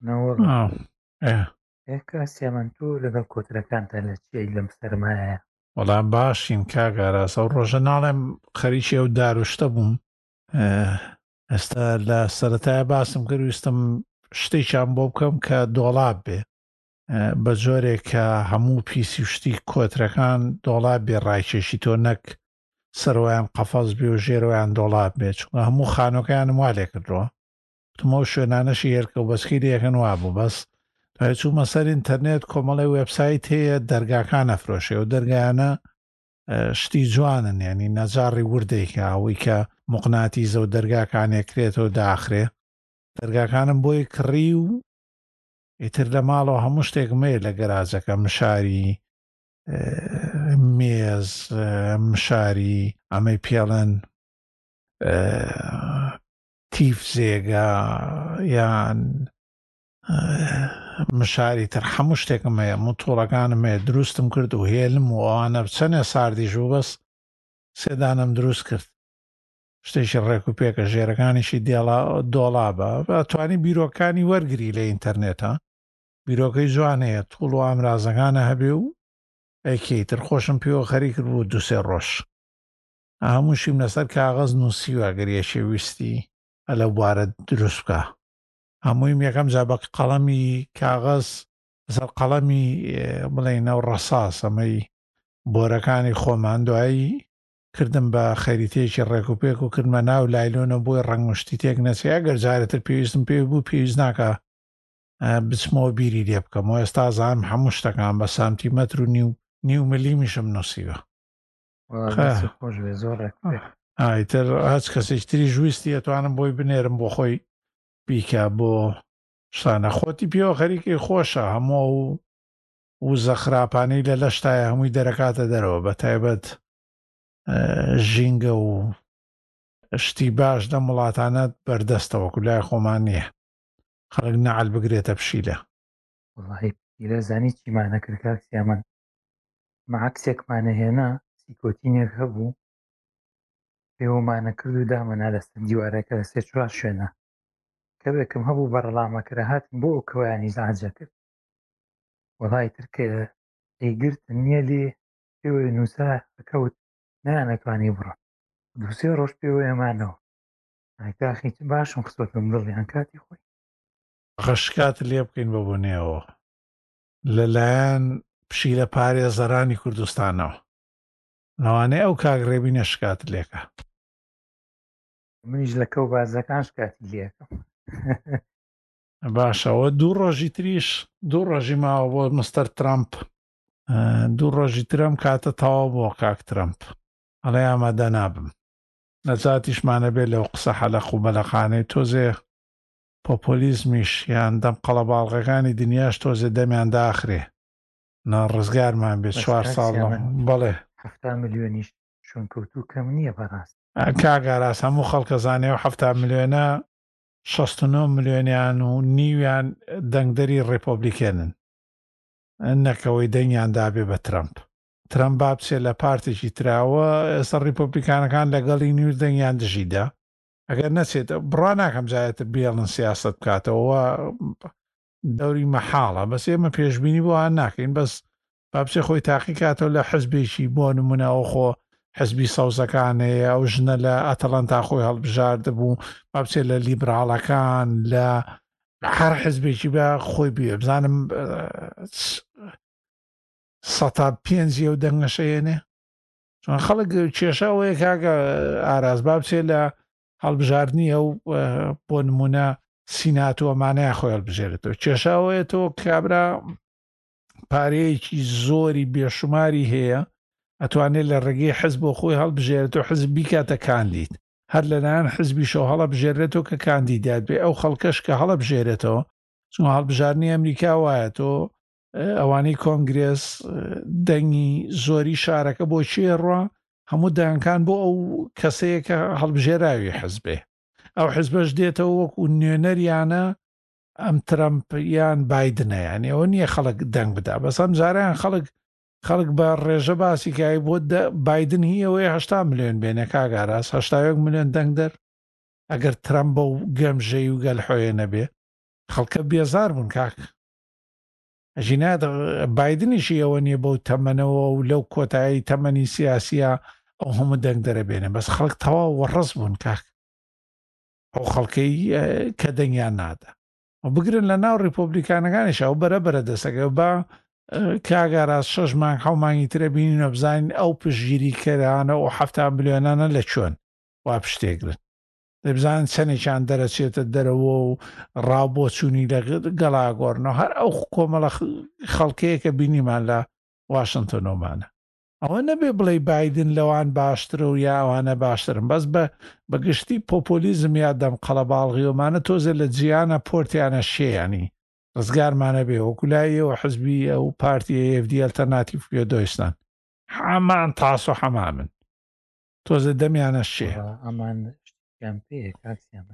Speaker 3: بوو کاسیامان تۆ لەگەڵ کۆترەکانتە لە چی لەم سەرمایە
Speaker 1: وەڵام باشین کاگاراس ئەو ڕۆژە ناڵێم خەریکی ئەو داروشتە بووم ئێستا لە سەرەتایە باسم کرد ویستم شتێکیان بۆ بکەم کە دۆڵاب بێ بە جۆرێک کە هەموو پیسی و شتی کۆترەکان دۆڵاب بێ ڕایکێشی تۆ نەک سەرۆیان قەفەز بێ و ژێرەوەیان دۆڵاب بێت چونکە هەموو خانۆکەیانم وا لێ کردەوە تمە و شوێنانەشی هێرکە و بەسکی لێکەن وا بوو بەس دوای چوومە سەر ئینتەرنێت کۆمەڵی وێبسایت هەیە دەرگاکان ئەفرۆشێ و دەرگایانە شتی جوانن ینی نەجاڕی وردێکە ئەوەی کە موقناتیزە و دەرگاکانێکرێتەوە داخرێ دەرگاکانم بۆی کڕی و ئیتر لە ماڵەوە هەموو شتێکمەیە لە گەراجەکە مشاری مێز مشاری ئەمەی پێڵەن تیف زێگا یان مشاری تر هەموو شتێکم هەیە مۆتۆڵەکانم هەیە دروستم کرد و هێلم و ئەوانە چەندێ ساردیش و بەس سێدانم دروست کرد شتێکی ڕێک و پێکە ژێرەکانیشی دۆڵابە توانی بیرۆکانی وەرگری لە ئینتەرنێتە بیرۆکەی جوانەیە توڵ و ئامرازەکانە هەبێ و ئەیکەیتر خۆشم پێوە خەری کرد بوو دوسێ ڕۆژ هەمووشیم لەسەر کاغەز نووسیوە گەریەشێ ویستی ئە لە بوارە دروست بکە هەموویم یەکەم جا بە قەڵەمی کاغەز لەسەر قەڵەمی بڵێنە و ڕەساس ئەمەی بۆرەکانی خۆمان دوایی کردم بە خەریتەیەکی ڕێک و پێک و کردمە ناو لایلۆنە بۆی ڕەنگشتی تێک نەچێ ئەگەر جارێتتر پێویستم پێ بوو پێویست ناکە بچمەوە بیری لێ بکەمەوە ئێستا زانم هەموو شتەکان بە سانتیمەتر و نیو نیو ملیمیشم نووسیوە ئایتر هەچ کەسێک تری ژویستی ئەتوانم بۆی بنێرم بۆ خۆی بیکە بۆ شتانە خۆتی پێوە خەریکی خۆشە هەموو و و زەخراپانەی لە لەشتایە هەمووی دەرەکاتە دەرەوە بە تایبەت ژینگە و شتی باش دە وڵاتانە بەردەستەوە کولای خۆمان نییە خەڵک نەعەل بگرێتە پشیلە
Speaker 3: وڵی زانی چیمانە کرد کاکسیامەن مەعکسێکمانە هێنا سیکۆتینێک هەبوو پێوەمانە کرد و دامەنا لەسەر دیوارەکە لە سێ چوار شوێنە کە بێکم هەبوو بەڕەڵامەکرە هاتن بۆ ئەو کەوایانی زعجە کرد وڵای ترکە ئەیگرت نییە لێ پێوە نووسە ئەکەوت نانەتوانی بڕۆ دووسێ ڕۆژ پێوە ئێمانەوە ئایکاخی باشم خستۆتم دڵیان کاتی خۆی
Speaker 1: غەشکات لێ بکەین بە بوونێەوە لەلایەن پشیلە پارێ زەرانی کوردستانەوە لەوانەیە ئەو کاگڕێبی نەشکات لێکە
Speaker 3: منیش لە کەو بازەکان شکاتی لێکم
Speaker 1: باشەوە دوو ڕۆژی تریش دوو ڕۆژی ماوە بۆ مستەر ترامپ دوو ڕۆژی ترم کاتە تەواو بۆ کاک ترامپ ئەڵێ ئامادە نابم نەجاتیشمانە بێت لەو قسە حەلەق و بەلەخانەی تۆزێ پۆپۆلیزمیش یان دەم قەڵەباڵغەکانی دنیاش تۆزێ دەمیان داخرێ ڕزگارمان بێت چوار ساڵ بەڵێ
Speaker 3: هەفتا ملیۆنیش چۆن کەوتوو کەم نییە بەڕاست
Speaker 1: کاگاراس هەموو خەڵکە زانێ و هەفتا ملیۆنە شەست و نۆ ملیۆنیان و نیویان دەنگدەری ڕێپۆبلیکێنن نەکەوەی دەنگیان دابێ بە ترامپ ترامپ با بچێت لە پارتێکی تراوە ئێستا ڕیپۆبلیکانەکان لەگەڵی نیوز دەنگیان دژیدا ئەگەر نەچێت بڕوا ناکەم جایەتر بێڵن سیاست بکاتەوە دەوری مەحاڵە بەس ئێمە پێشببینی بۆیان ناکەین بەس با بچێ خۆی تاقی کاتەوە لە حزبێکی بۆ نمونەوە خۆ حزبی سەوزەکانەیە ئەو ژنە لە ئەتەڵەنتا خۆی هەڵبژاردە بوو با بچێت لە لیبراڵەکان لە هەر حزبێکی بە خۆی بێ بزانم سەتا پێنجی ئەو دەنگەشەیەنێ چون خەڵک کێشەوەیە کاگە ئاراز با بچێت لە هەڵبژاردننی ئەو بۆ نمونە سینات و ئەمانەیە خۆی هەڵبژێرێتەوە کێشاوەیە تۆ کابرا پارەیەکی زۆری بێشماری هەیە ئەتوانێت لە ڕێگەی حزب بۆ خۆی هەڵبژێرێتەوە حزب بیکاتە کاندید هەر لەلایەن حزبی شەو هەڵە بژێرێتەوە کە کاندیدات بێ ئەو خەڵکەش کە هەڵە بژێرێتەوە چون هەڵبژارنی ئەمریکا وایە تۆ ئەوانەی کۆنگرێس دەنگی زۆری شارەکە بۆ چێڕوە هەموو دایانکان بۆ ئەو کەسەیە کە هەڵبژێراوی حزبێ ئەو حزبەش دێتەوە وەکو نوێنەریانە ئەم ترەمپیان بایدنە یانی ئەوە نییە خەڵک دەنگ بدا بەسەم جاریان خەڵک خەڵک بە ڕێژە باسی کای بۆ بایدن هی ئەوەیە هەشتا ملیۆن بێنە کاگاراس هەشتا یەک ملیۆن دەنگ دەر ئەگەر ترەمپ بە و گەمژەی و گەلحۆیە نەبێ خەڵکە بێزار بوون کاک ژینات بایدنیشی ئەوە نییە بەو تەمەنەوە و لەو کۆتایی تەمەنی سیاسیە ئەو هەموو دەنگ دەرەبێنێ بەس خەڵک تەواو وەڕەس بوون کاک ئەو خەڵکەی کە دەنگیان نادا و بگرن لە ناو ڕیپۆبلیکانەکانیش ئەو بەرە بەرە دەسەکە بە کاگاراز شەش مانگ حەو مانگی ترە بینینە بزانین ئەو پشگیری کەرانە و هەفتا ملیۆنانە لە چۆن وا پشتێگرن دەبزانن چەندێکیان دەرەچێتە دەرەوە و ڕاوبۆ چوونی لە گەڵاگۆڕنەوە هەر ئەو کۆمەڵە خەڵکەیە کە بینیمان لە واشنگتۆنۆمانە ئەوە نەبێ بڵێ بایدن لەوان باشترە و یا ئەوانە باشترن بەس بە بەگشتی پۆپۆلیزم یا دەم قەڵەباڵغیۆمانە تۆزە لە جیانە پۆرتیانە شێیانی ڕزگارمانە بێ وەکولایەوە حزبی ئەو پارتی ئێ ئێف دی ئەلتەرناتیڤ کوێدۆستان هەمان تاس و هەمامن تۆزە دەمیانە شێ
Speaker 3: ئەمان پێ کاکسیامەن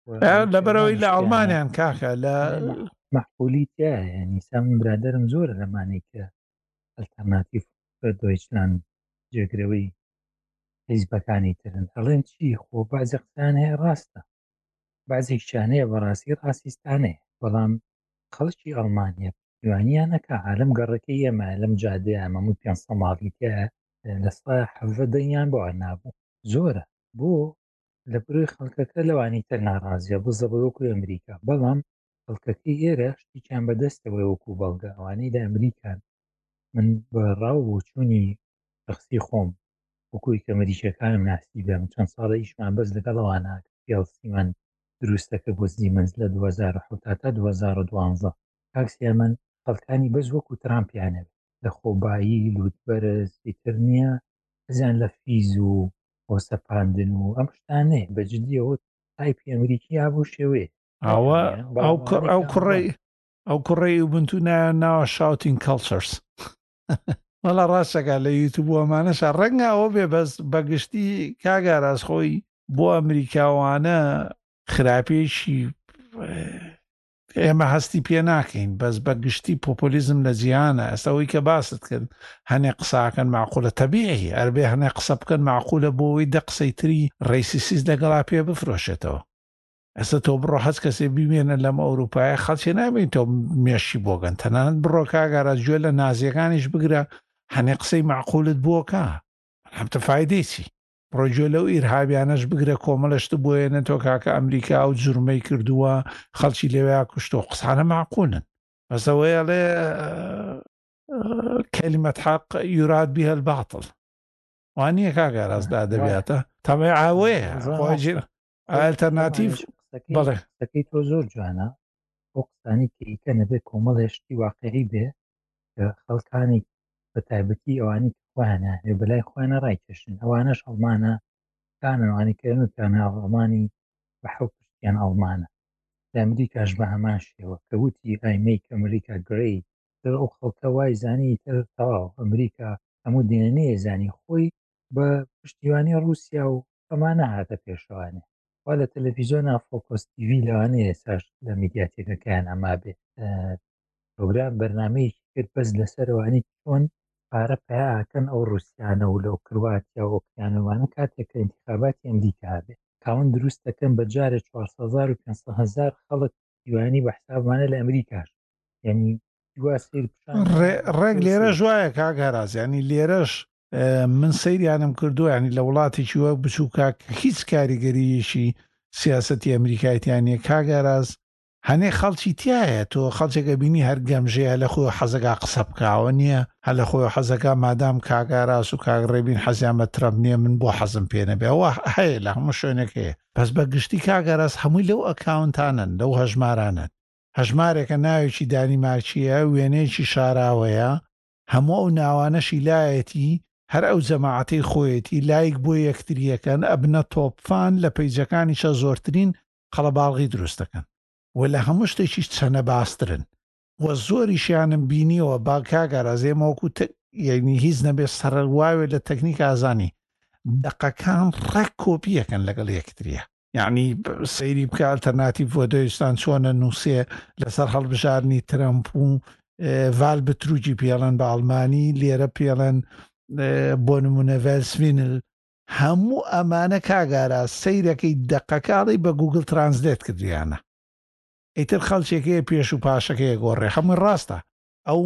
Speaker 1: لەبەرەوەی لە ئەڵمانیان کاکە لە
Speaker 3: مەحبولیتە ینی سام برادرم زۆرە لەمانەی کە ئەلتەرناتیڤ دۆیچلاند جێگرەوەی حیزبەکانی ترن هەڵێن چی خۆ بازی قسان هەیە ڕاستە بازێکیانەیە بەڕاستی ڕاستیستانەیە بەڵام خەڵکی ئەڵمانیا دوانیان نەکە عالم گەڕەکەی ئێمە لەم جادەیە مەموو پێ ماڵیتە لە سای حەڤە دەیان بۆوە نابوو زۆرە بۆ لە بروی خەڵکەکە لەوانی تر ناڕازیە بزە بەوەکو ئەمریکا بەڵام خەڵکەکەی ئێرە شتیان بەدەستەوەی وەکو بەڵگە ئەوانەی لە ئەمریکان من بە ڕاو بۆ چوونی شخصی خۆم وەکوی کە مەریشەکانم ناسی بێم چەند ساڵە ئیشمان بەس لەگەڵەوانە پیاڵسیمان دروستەکە بۆ زیمەنز لە دوو هەزار و حەوت تا دوو هەزار و دوانزە کاکسیا من خەڵکانی بەس وەکو ترامپیانەوێت لە خۆبایی لوتبەرز ئیتر نییە بزیان لە فیز و بۆسەپاندن و ئەم شتانەیە بەجددیەوە تایپی ئەمریکی بوو شێوێ
Speaker 1: ئەوە ئەو کوڕی ئەو کوڕی وبنتونە ناوە شاوتین کەڵچەرس وەڵا ڕاستەکە لە یوتوب ئەمانەش ڕەنگە ئەوە بێ بەس بەگشتی کاگاراز خۆی بۆ ئەمریکاوانە خراپێکی ئێمە هەستی پێ ناکەین بەس بەگشتی پۆپۆلیزم لە جیهانە ئەستەوەی کە باست کرد هەنێ قساکەن معقولە تەبیعی ئەربێ هەنێ قسە بکەن معقولە بۆەوەی دە قسەی تری ڕێسیسیز لەگەڵا پێ بفرۆشێتەوە ئێستا تۆ بڕۆ هەست کەسێ ببێنە لەم ئەوروپایە خەڵکی نابین تۆ مێشی بۆگەن تەنانەت بڕۆ کاگارە گوێ لە نازیەکانیش بگرە هەنێ قسەی معقولت بۆکە هەمتە فایدەی چی ڕۆژێ لەو ئیرهابیانەش بگرە کۆمەڵشت بۆیەنە تۆ کاکە ئەمریکا و جورمەی کردووە خەڵکی لێوەیە کوشتۆ قسانە معقولن بەسەوەیە لێ کەلیمەت حەق یوراد بیها الباطل وانییە کاگاڕازدا دەبێتە تەمای ئاوەیە خۆجی ئالتەرناتیڤ بەڵێ
Speaker 3: قسەکەی تۆ زۆر جوانە بۆ قسانی کەیکە نەبێت کۆمەڵ هێشتی واقعی بێ کە خەڵکانی بە تایبەتی ئەوانی خوانە هێ بەلای خوانە ڕایکێشن ئەوانەش ئەڵمانە کانەوانی کەنوتیان ئەڵمانی بە حەوت پشتیان ئەڵمانە لە ئەمریکاش بە هەمان شێوە کە وتی ئایمەیک ئەمریکا گرەی تر ئەو خەڵکە وای زانی تر تەواو ئەمریکا هەموو دێنەیە زانی خۆی بە پشتیوانی ڕووسیا و ئەمانە هاتە پێشەوانێ وا لە تەلەڤیزۆنا فۆکۆس تیڤی لەوانەیە ساش لە میدیاتێکەکەیان ئەما بێ پرۆگرام بەرنامەیەکی کرد بەس لەسەرەوانی چۆن پارە پیاکەن ئەو ڕووسیانە و لەو کرواتیا و ئۆکیانەوانە کاتێک کە ئینتیخاباتی ئەمریکا بێ کاون دروست دەکەن بە جارێک چوارسەد هەزار و پێنجسەد هەزار خەڵک دیوانی بە حسابمانە لە ئەمریکاش یعنی
Speaker 1: ڕێک لێرە ژوایە کاگەڕاز ینی لێرەش من سەیریانم کردو ینی لە وڵاتێکی وە بچووکە هیچ کاریگەریشی سیاسەتی ئەمریکایەتیانە کاگەڕاز هەنێ خەڵکی تایە تۆ خەڵچێکە بینی هەر گەمژەیە لە خۆی حەزەکە قسە بکاوە نییە هە لە خۆی حەزەکە مادام کاگاراس و کاگڕێبین حەزیامە ترەم نییە من بۆ حەزم پێ نەبێ ئەوە هەیە لە هەموو شوێنێک هەیە پس بە گشتی کاگەراس هەمووی لەو ئەکاونتانن لەو هەژمارانن هەژمارێکە ناوێکی دانیمارچیە وێنەیەکی شاراوەیە هەموو ئەو ناوانەشی لایەتی هەر ئەو جەماعەتەی خۆیەتی لایک بۆ یەکتریەکەن ئەبنە تۆپفان لە پەیجەکانیشە زۆرترین قەڵەباڵغی دروست دەکەن و لە هەموو شتێکی چەنە باسترن وە زۆریشیانم بینیەوە با کاگەڕازێمەوەکو یعنی هیچ نەبێت سەرواوێ لە تەکنیک ئازانی دەقەکان ڕێک کۆپیەکەن لەگەڵ یەکتریە یعنی سەیری بکە ئالتەرناتیڤ بۆ دۆیستان چۆنە نووسێ لەسەر هەڵبژارنی ترەمپ و ڤال بتروجی پێڵەن بە ئەڵمانی لێرە پێڵەن بۆ نمونە ڤێلسڤینل هەموو ئەمانە کاگارە سەیرەکەی دەقەکاڵی بە گوگل ترانسلێت کردیانە ئیتر خەڵچێکەیە پێش و پاشەکەیە گۆڕێ هەمووی ڕاستە ئەو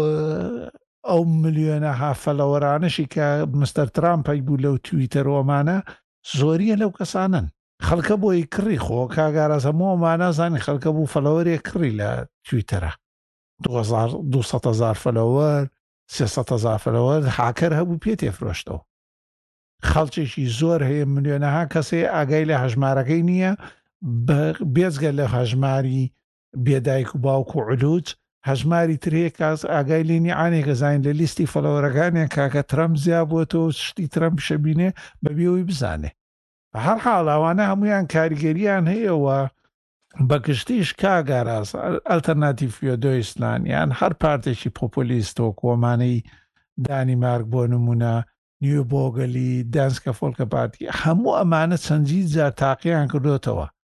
Speaker 1: ئەو ملیۆنە هافەلەوەرانشی کە مستەر ترامپی بوو لەو تویتەرۆمانە زۆریە لەو کەسانن خەڵکە بۆی کڕی خۆ کاگارەز هەمووەمانە زانی خەڵکە بوو فەلەوەرێ کڕی لە تویتەرە دووسەد هەزار فەلەوەر سێسەد هەزار فەلەوەر هاکەر هەبوو پێ تێفرۆشتەوە خەڵکێکی زۆر هەیە ملیۆنەها کەسێ ئاگای لە هەژمارەکەی نییە بێزگە لە هەژماری بێدایک و باوک و علوج هەژماری ترەیە کاس ئاگای لێنی ئانێکە زین لە لیستی فەلەوەرەکانیان کاکە ترەمپ زیاب بووەوە شتی ترەمپ شەبینێ بەبێەوەی بزانێ بە هەر حاڵاوانە هەمویان کاریگەریان هەیەوە بەگشتیش کاگاراز ئەلتەرناتیڤ فیۆدۆیسلان یان هەر پارتێکی پۆپۆلیستۆ کۆمانەی دانیمارک بۆ نمونە نیو بۆگەلی دانسکە فۆلکە پارتی هەموو ئەمانە چەندی جار تاقییان کردوتەوە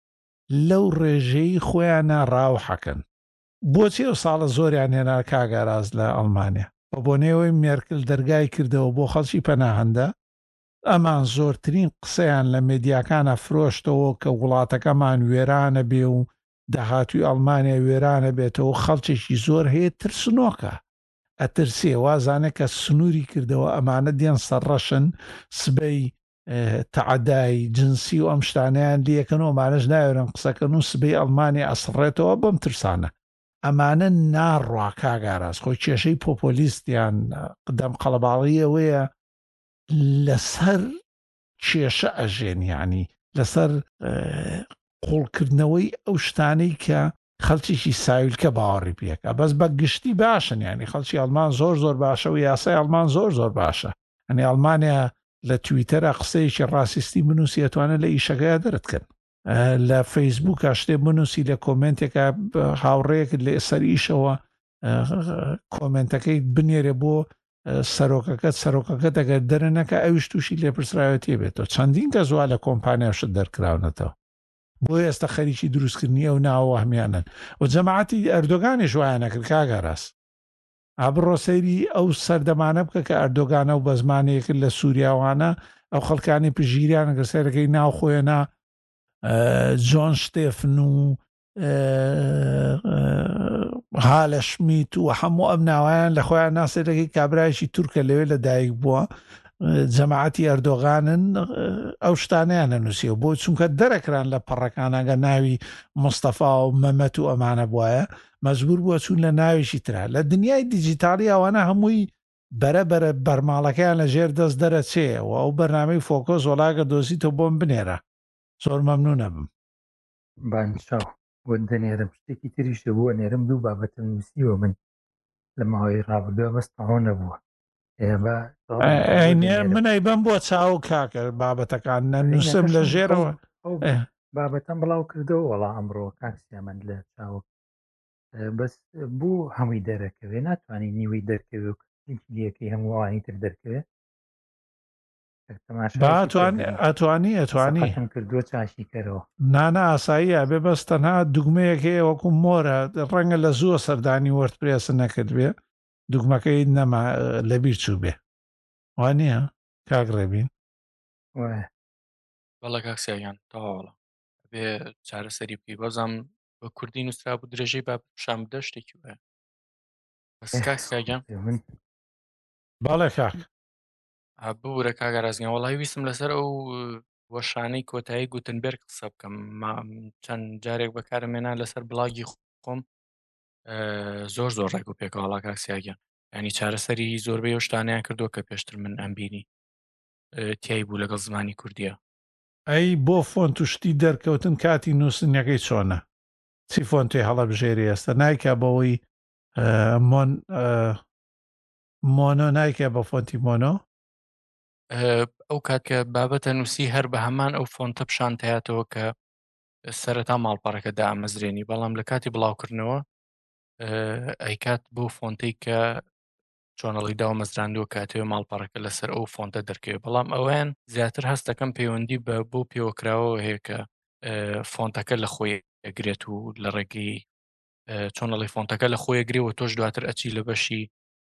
Speaker 1: لەو ڕێژەی خۆیانە ڕاوحەکەن. بۆچی ئەو ساڵە زۆریان هێنا کاگاراز لە ئەڵمانیا بە بۆنێەوەی مێرکل دەرگای کردەوە بۆ خەڵکی پەناهەندە، ئەمان زۆرترین قسەیان لە مێدیاکانە فرۆشتەوە کە وڵاتەکەمان وێرانە بێ و داهاتوی ئەڵمانیا وێرانە بێتەوە، خەڵکێکی زۆر هەیە ترسنۆکە، ئەترسێ وازانە کە سنووری کردەوە ئەمانە دێن سەرڕەشن سبەی تەعەدای جنسی و ئەم شتانیان لەکەنەوە مانەش ناوێرن قسەکەن و سبەی ئەڵمانی ئەسڕێتەوە بەم ترسانە. ئەمانە ناڕوا کاگاراز خۆی کێشەی پۆپۆلیستیان قدەم قەڵەباڵیەوەیە لەسەر کێشە ئەژێنیانی لەسەر قوڵکردنەوەی ئەو شتانەی کە خەڵکیشی ساویلکە باوەڕی پێکە، بەس بە گشتی باشن، ینی خەڵکی ئەڵمان زۆر زۆر باشە و یاسای ئەڵمان زۆر زۆر باشە. ئەنی ئەڵمانیا لە تویتەرە قسەیەکی ڕاسیستی بنووسی ئەتوانێت لە ئیشەکەیە دەرەتکەن، لە فەیسبووکە شتێ بنووسی لە کۆمنتێکە هاوڕێیەکت لە ئێسەر ئیشەوە کۆمنتەکەی بنێرێ بۆ سەرۆکەکەت سەرۆکەکە دەگەر دەرەنەکە ئەویش تووشی لێپرسراوەتێ بێتەوە. چەندین کە زووا لە کۆمپانیاشت دەرکراونەتەوە بۆ ئێستا خەریکی دروستکردنی ئەو ناوەهمیانن و جەماعەتی ئەردۆگانی ژوایان نەکرد کاگاراس. ئابڕۆ سەیری ئەو سەردەمانە بکە کە ئەردۆگانە و بە زمانەیەکرد لە سووریاوانە ئەو خەڵکانی پژیریان گەسەرەکەی ناو خۆیەنا جۆن شتێفن و هالە شمیت و هەموو ئەم ناوایان لە خۆیان ناسێتەکەی کابرایشی تورکە لەوێ لە دایک بووە، جەماعەتی ئەردۆغانن ئەو شتانیان نووسیەوە بۆ چونکە دەرەکران لە پەڕەکانەگە ناوی مستەفا و مەمەت و ئەمانە بواە مەجبور بووە چون لە ناویشی ترا. لە دنیای دیجیتالی ئەوانە هەمووی بەرە بەرە بەرماڵەکەیان لە ژێر دەست دەرەچێەوە ئەو بەرنامەی فۆکۆس وڵاگە دۆزیتەوە بۆم بنێرە. زۆر مەمنونە بم.
Speaker 3: بانچاو بۆ دەنێرم شتێکی تریشە بووە نێرم دوو بابەتە نووسیوە من لە ماوەی ڕابردووە بەستەوە نەبووە
Speaker 1: منەی بم بۆ چاو کاکە بابەتەکان نەنووسم لە ژێرەوە
Speaker 3: بابەتەم بڵاو کردەوە وەڵا ئەمڕۆ کاکسیامەند لە چاو بەس بوو هەمووی دەرەکەوێ ناتوانانی نیوەی دەرکەوێ لەکەی هەمووانی تر دەرکەوێت
Speaker 1: ئەتوانی ئەتوانی
Speaker 3: کردووە چاشیکەرەوە
Speaker 1: نانە ئاساییە بێ بەس تەنها دوگمەیەک هەیە وەکو مۆرە ڕەنگە لە زووە سەردانی وەردپرێسە نەکرد بێ دوگمەکەی نەما لەبیر چوو بێ وانە کاگڕێبین
Speaker 2: بەڵە کاکسیان تەواوەڵە بێ چارەسەری بکەی بەزام بە کوردی نووسرا بوو درێژەی با شام بدە شتێکی وایە بەس کاکسیاگەم
Speaker 1: باڵێ کاک
Speaker 2: ببوورە کاگەڕازگەیان وەڵی ویستم لەسەر ئەو وەشانەی کۆتایی گوتنبێرگ قسە بکەم چەند جارێک بەکارمێنان لەسەر بڵاگی خۆم زۆر زۆر ڕێک و پێکەوەڵا کاکسیاگەن ینی چارەسەری زۆربەی ئەو شتانیان کردو کە پێشتر من ئەمبینی تیای بوو لەگەڵ زمانی کوردیە.
Speaker 1: ئەی بۆ فۆن توشتی دەرکەوتن کاتی نووسنیەکەی چۆنە چی فۆن توی هەڵە بژێری ئێستا نایکە بەوەی مۆنۆ نایکە بە فۆنتی مۆنۆ
Speaker 2: ئەو کات کە بابەتە نووسی هەر بە هەمان ئەو فۆنتە پیشانتایەتەوە کە سەرەتا ماڵپەڕەکە دا ئەمەزرێنی بەڵام لە کاتی بڵاوکردنەوە ئەیکات بۆ فۆنتەی کە چۆنەڵی داوە مەزراندووە کاتێوە ماڵپەڕەکە لەسەر ئەو فۆنتە دەرکەوێت بەڵام ئەویان زیاتر هەستەکەم پەیوەندی بە بۆ پێوەکراوە هەیە کە فۆنتەکە لە خۆی ئەگرێت و لە ڕێگەی چۆنەڵی فۆنتەکە لە خۆی ئەگرێەوە تۆش دواتر ئەچی لە بەشی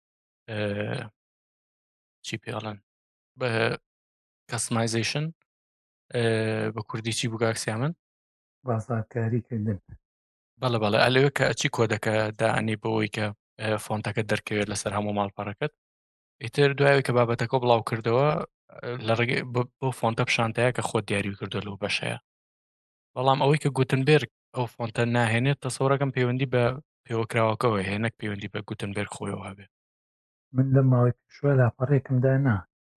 Speaker 2: چی پێڵەن بە کەسمایزیشن بە کوردی چی بووگاکسیا من
Speaker 3: بازاکاریکردن
Speaker 2: بەڵە بەڵێ ئەلەوە کە ئەچی کۆدەکە دائنی بەوەی کە فۆنتەکە دەرکەوێت لەسەر هەموو ماڵپەڕەکەت ئیتر دوایەوە کە بابەتەکە بڵاو کردەوە لە ڕێگەی بۆ فۆنتە پیشانتەیە کە خۆت دیاری کردو لەو بەشەیە بەڵام ئەوەی کە گوتنبێرگ ئەو فۆنتە ناهێنێت تەسەوڕەکەم پەیوەندی بە پێوەکراوەکەەوە هێنەک پەیوەندی بە گوتنبێرگ خۆیەوە هەبێت.
Speaker 3: من لە ماوەی پێشوە لاپەڕێکمدا نا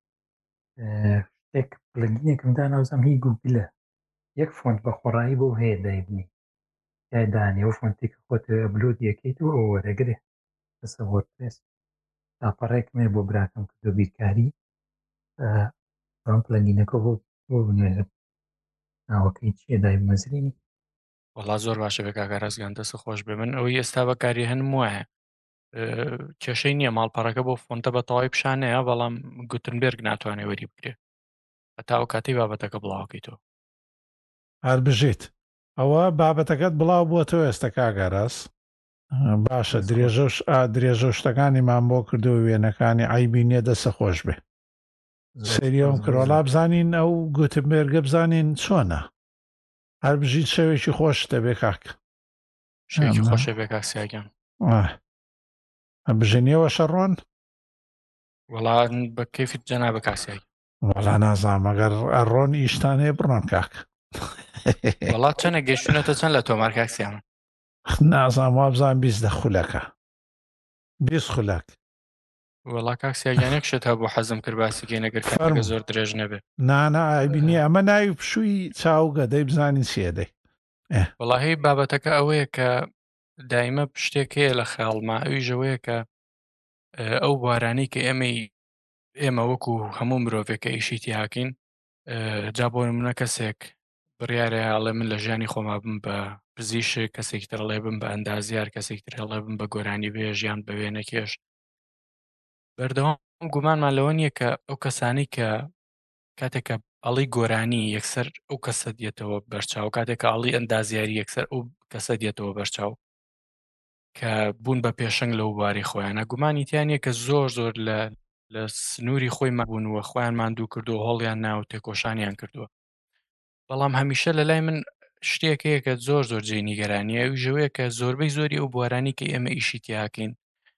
Speaker 3: شتێک پلگینێکمدا ناوزەم هی گوگلە یەک فۆنت بە خۆڕایی بۆ هەیە دایبنی یای دانێ و فۆنتێکە خۆت بلود یەکەیت و ئەو وەرەگرێ لەسەر وەردپرێس لاپەڕێکمێ بۆ براکەم کردو بیرکاری ئەم پلگینەکە بۆ بۆ بنوێرم ناوەکەی چیە دای مەزرینی
Speaker 2: وەڵا زۆر باشە بێ کاکەڕازگیان دەسە خۆش بێ من ئەوەی ئێستا بەکاری هەنم وایە کێشەی نییە ماڵپەڕەکە بۆ فۆنتە بە تەواوی پیشانەیە بەڵام گوتنبێرگ ناتوانێت وەری بگرێ هەتا ئەو کاتەی بابەتەکە بڵاوکەیتەوە
Speaker 1: هەر بژێت ئەوە بابەتەکەت بڵاو بووە ئێستا کاگەڕاست باشە درێژە درێژە شتەکانیمان بۆ کردو وێنەکانی ئایبینێ دەسە خۆش بێ سریۆم کڕۆلا بزانین ئەو گوتمبێرگە بزانین چۆنە هەر بژیت شەوێکی خۆش دەبێ کاک
Speaker 2: شێکی خۆشە بێ کاکسیاگیان
Speaker 1: بژێنیەوە شەڕۆن
Speaker 2: وەڵان بە کەیفیت جەنا بە کاسیایی
Speaker 1: وەڵا نازام ئەگەر ئەڕۆن ئیشتانەیە بڕۆن کاک
Speaker 2: وڵات چەنە گەشتونەتە چەند لە تۆمار کاکسیان
Speaker 1: نازام وابزان بیست دە خولەکە بیست خولەک
Speaker 2: وەڵا کاکسیاگیانێک شت هەبوو حەزم کرد باسیگەی نەگەر کارگە زۆر درێژ نەبێ
Speaker 1: نانا ئایبینی ئەمە ناوی پشووی چاوگە دەی بزانین سێدەی
Speaker 2: وەڵاهی بابەتەکە ئەوەیە کە دایمە پشتێک هەیە لە خەڵما ئەوی ژەوەیە کە ئەو بوارانەی کە ئێمەی ئێمە وەکو هەموو مرۆڤێکە ئیشی تیاکەین جا بۆ نمونە کەسێک بڕیارە هەڵێ من لە ژیانی خۆما بم بە پزیشک کەسێکی تر هەڵێ بم بە ئەندازیار کەسێکی تر هەڵێ بم بە گۆرانی بێ ژیان بە وێنەکێش بەردەوام گومانمان لەوە نییە کە ئەو کەسانی کە کاتێکە ئەڵی گۆرانی یەکسەر ئەو کەسە دێتەوە بەرچاو کاتێکە ئەڵی ئەندازیاری یەکسەر ئەو کەسە دێتەوە بەرچاو کە بوون بە پێشنگ لەو بواری خۆیانە گومانی تیانە کە زۆر زۆر لە لە سنووری خۆی مەبوونوە خۆیان ماندوو کردو هەڵیان ناو تێکۆشانیان کردووە بەڵام هەمیشە لە لای من شتێکەیە کە زۆر زۆر جێ نیگەرانیە ئەو ژەوەیە کە زۆربەی زۆری ئەو بوارانی کە ئێمە ئیشی تیاکەین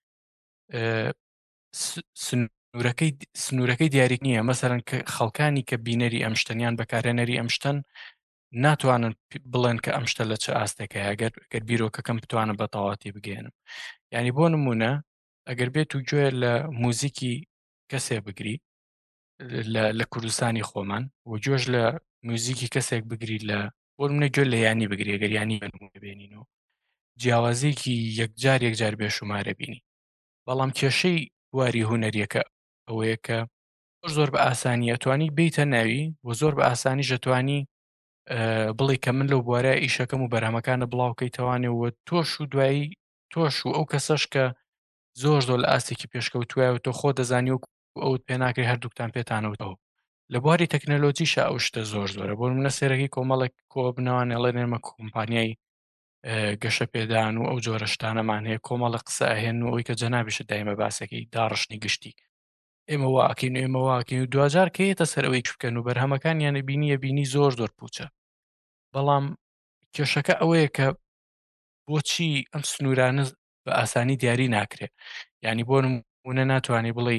Speaker 2: سنوورەکەی سنوورەکەی دیاری نییە مەسەرەن کە خەڵکانی کە بینەری ئەم شتەنیان بەکارێنەری ئەم شتەن ناتوانن بڵێن کە ئەم شتە لە چه ئاستێکە ئەگەر گەر بیرۆکەکەم بتوانە بە تەواتی بگێنم یعنی بۆ نمونە ئەگەر بێت و گوێ لە موزیکی کەسێک بگری لە کوردستانی خۆمان و گوێژ لە موزیکی کەسێک بگری لە بۆ منە گوێ لە یانی بگری ئەگەر ینی بێنینەوە جیاوازێکی یەکجار یەکجار بێشومارە بینی بەڵام کێشەی واری هوەریەکە ئەوەیە کە زۆر زۆر بە ئاسانی ئەتوانی بیتە ناوی و زۆر بە ئاسانی ژەتوانی بڵێ کە من لەو بوارە ئیشەکەم و بەرهەمەکانە بڵاوکەیتەوانێەوە تۆش و دوایی تۆش و ئەو کەسەش کە زۆر زۆر لە ئاستێکی پێشکەوتوایە تۆ خۆ دەزانی و ئەوت پێ ناکرێت هەردووکتان پێتانەوەەوە لە بواری تەکنەلۆجیشە ئەو شتە زۆر زۆرە بۆ منە سێرەکی کۆمەڵێک کۆ بنەوان ئەڵێ نێمە کۆمپانیای گەشە پێدان و ئەو جۆرە شتانەمان هەیە کۆمەڵە قسە ئەهێن و ئەوی کە جەنابیشە دایمە باسەکەی داڕشنی گشتی ئێمە واکەین و ئێمە واکەین و دوجار کەیتە سەر ئەوەی بکەن و بەرهەمەکانیانە بینیە بینی زۆر زۆر پوچە بەڵام کێشەکە ئەوەیە کە بۆچی ئەم سنوورانە بە ئاسانی دیاری ناکرێت ینی بۆ نمونە ناتوانانی بڵێ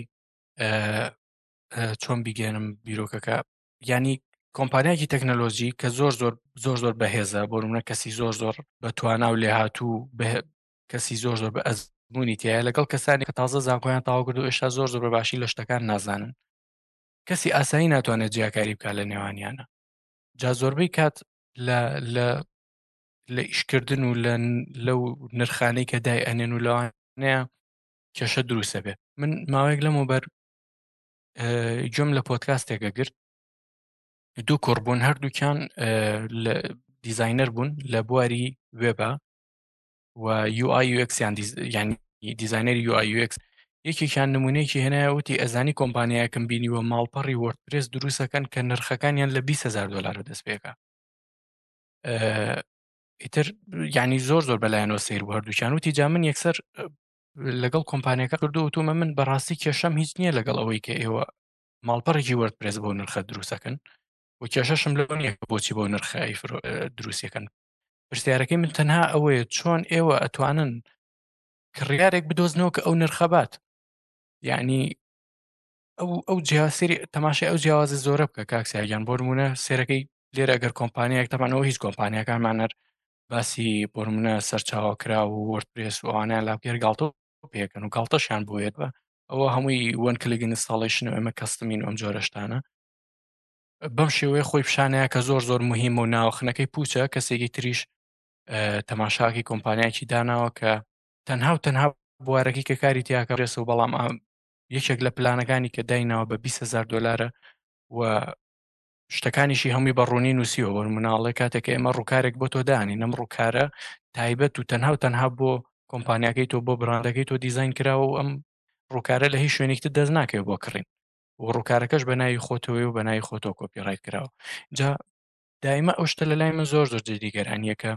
Speaker 2: چۆن بیگەێنم بیرۆکەکە ینی کۆمپانیاکی تەکنەلۆژی کە زۆر زۆر زۆر زۆر بەهێزە بۆ نمونە کەسی زۆر زۆر بەتوانە و لێ هاتوو کەسی زۆر زۆر بە ئەزمموی تایە لەگەڵ کەسانی کە تازە زانکۆیان تاوا کرد و ئێشتا زۆر زۆر بەباشی لە شتەکان نازانن کەسی ئاسایی ناتوانێت جیاکاری بکات لە نێوانیانە جا زۆربەی کات لە لە لە ئیشکردن و لەو نرخانەی کە دای ئەنێن و لەوانەیە کێشە دروستە بێ من ماوەیەک لەمەوبەر گوێم لە پۆدکاستێکە گرت دوو کوڕبوون هەردووکیان دیزاینەر بوون لە بواری وێبە و یو آی یو ئێکس یان ینی دیزاینەری یو آی یو ئێکس یەکێکیان نمونەیەکی هێنایە وتی ئەزانی کۆمپانیایەکەم بینیوە ماڵپەڕی وەردپرێس دروستەکەن کە نرخەکانیان لە بیست هەزار دۆلارە دەست پێکە ئیتر ینی زۆر زۆر بەلایەنەوە سیر بوو هەردووچیان وتی جا من یەکسەر لەگەڵ کۆمپانیەکە کردو وتومە من بەڕاستی کێشەم هیچ نییە لەگەڵ ئەوەی کە ئێوە ماڵپەڕێکی وەردپرێس بۆ نرخە دروستەکەن و کێشەشم لەوە نییە بۆچی بۆ نرخی دروستیەکەن پرسیارەکەی من تەنها ئەوەیە چۆن ئێوە ئەتوانن کڕیارێک بدۆزنەوە کە ئەو نرخەبات یعنی ئەو ئەو جیاسری تەماشای ئەو جیاوازی زۆرە بکە کاکسیاگیان بۆ نمونە سێرەکەی لێرە ئەگەر کۆمپانیایەک تەمانەوە هیچ کۆمپانیەکانمانەر باسی بۆ نمونە سەرچاوەکرا و وەردپرێس و ئەوانیان لاپێر گاڵتە پێکەن و گاڵتەشیان بۆیێت بە ئەوە هەمووی وەن کلیک ئینستاڵیشن و ئەمە کەستمین و ئەم جۆرە شتانە بەم شێوەیە خۆی پیشانەیە کە زۆر زۆر مهمە و ناوەخنەکەی پوچە کەسێکی تریش تەماشاکی کۆمپانیایکی داناوە کە تەنها و تەنها بوارەکەی کە کاری تیاکە ڕێسە و بەڵام یەکێک لە پلانەکانی کە دایناوە بە بیست هەزار دۆلارە و شتەکانیشی هەمووی بەڕوونی نووسیەوە بۆ مناڵێ کاتێک ئێمە ڕووکارێک بۆ تۆ دانی نەم ڕووکارە تایبەت و تەنها و تەنها بۆ کۆمپانیاکەی تۆ بۆ براندەکەی تۆ دیزاین کراوە و ئەم ڕووکارە لە هیچ شوێنێکتر دەست ناکەوێت بۆ کڕین و ڕووکارەکەش بە ناوی خۆتەوەی و بە ناوی خۆتۆ کۆپیڕایت کراوە جا دایما ئەو شتە لە لای من زۆر زۆر جددیگەرانیە کە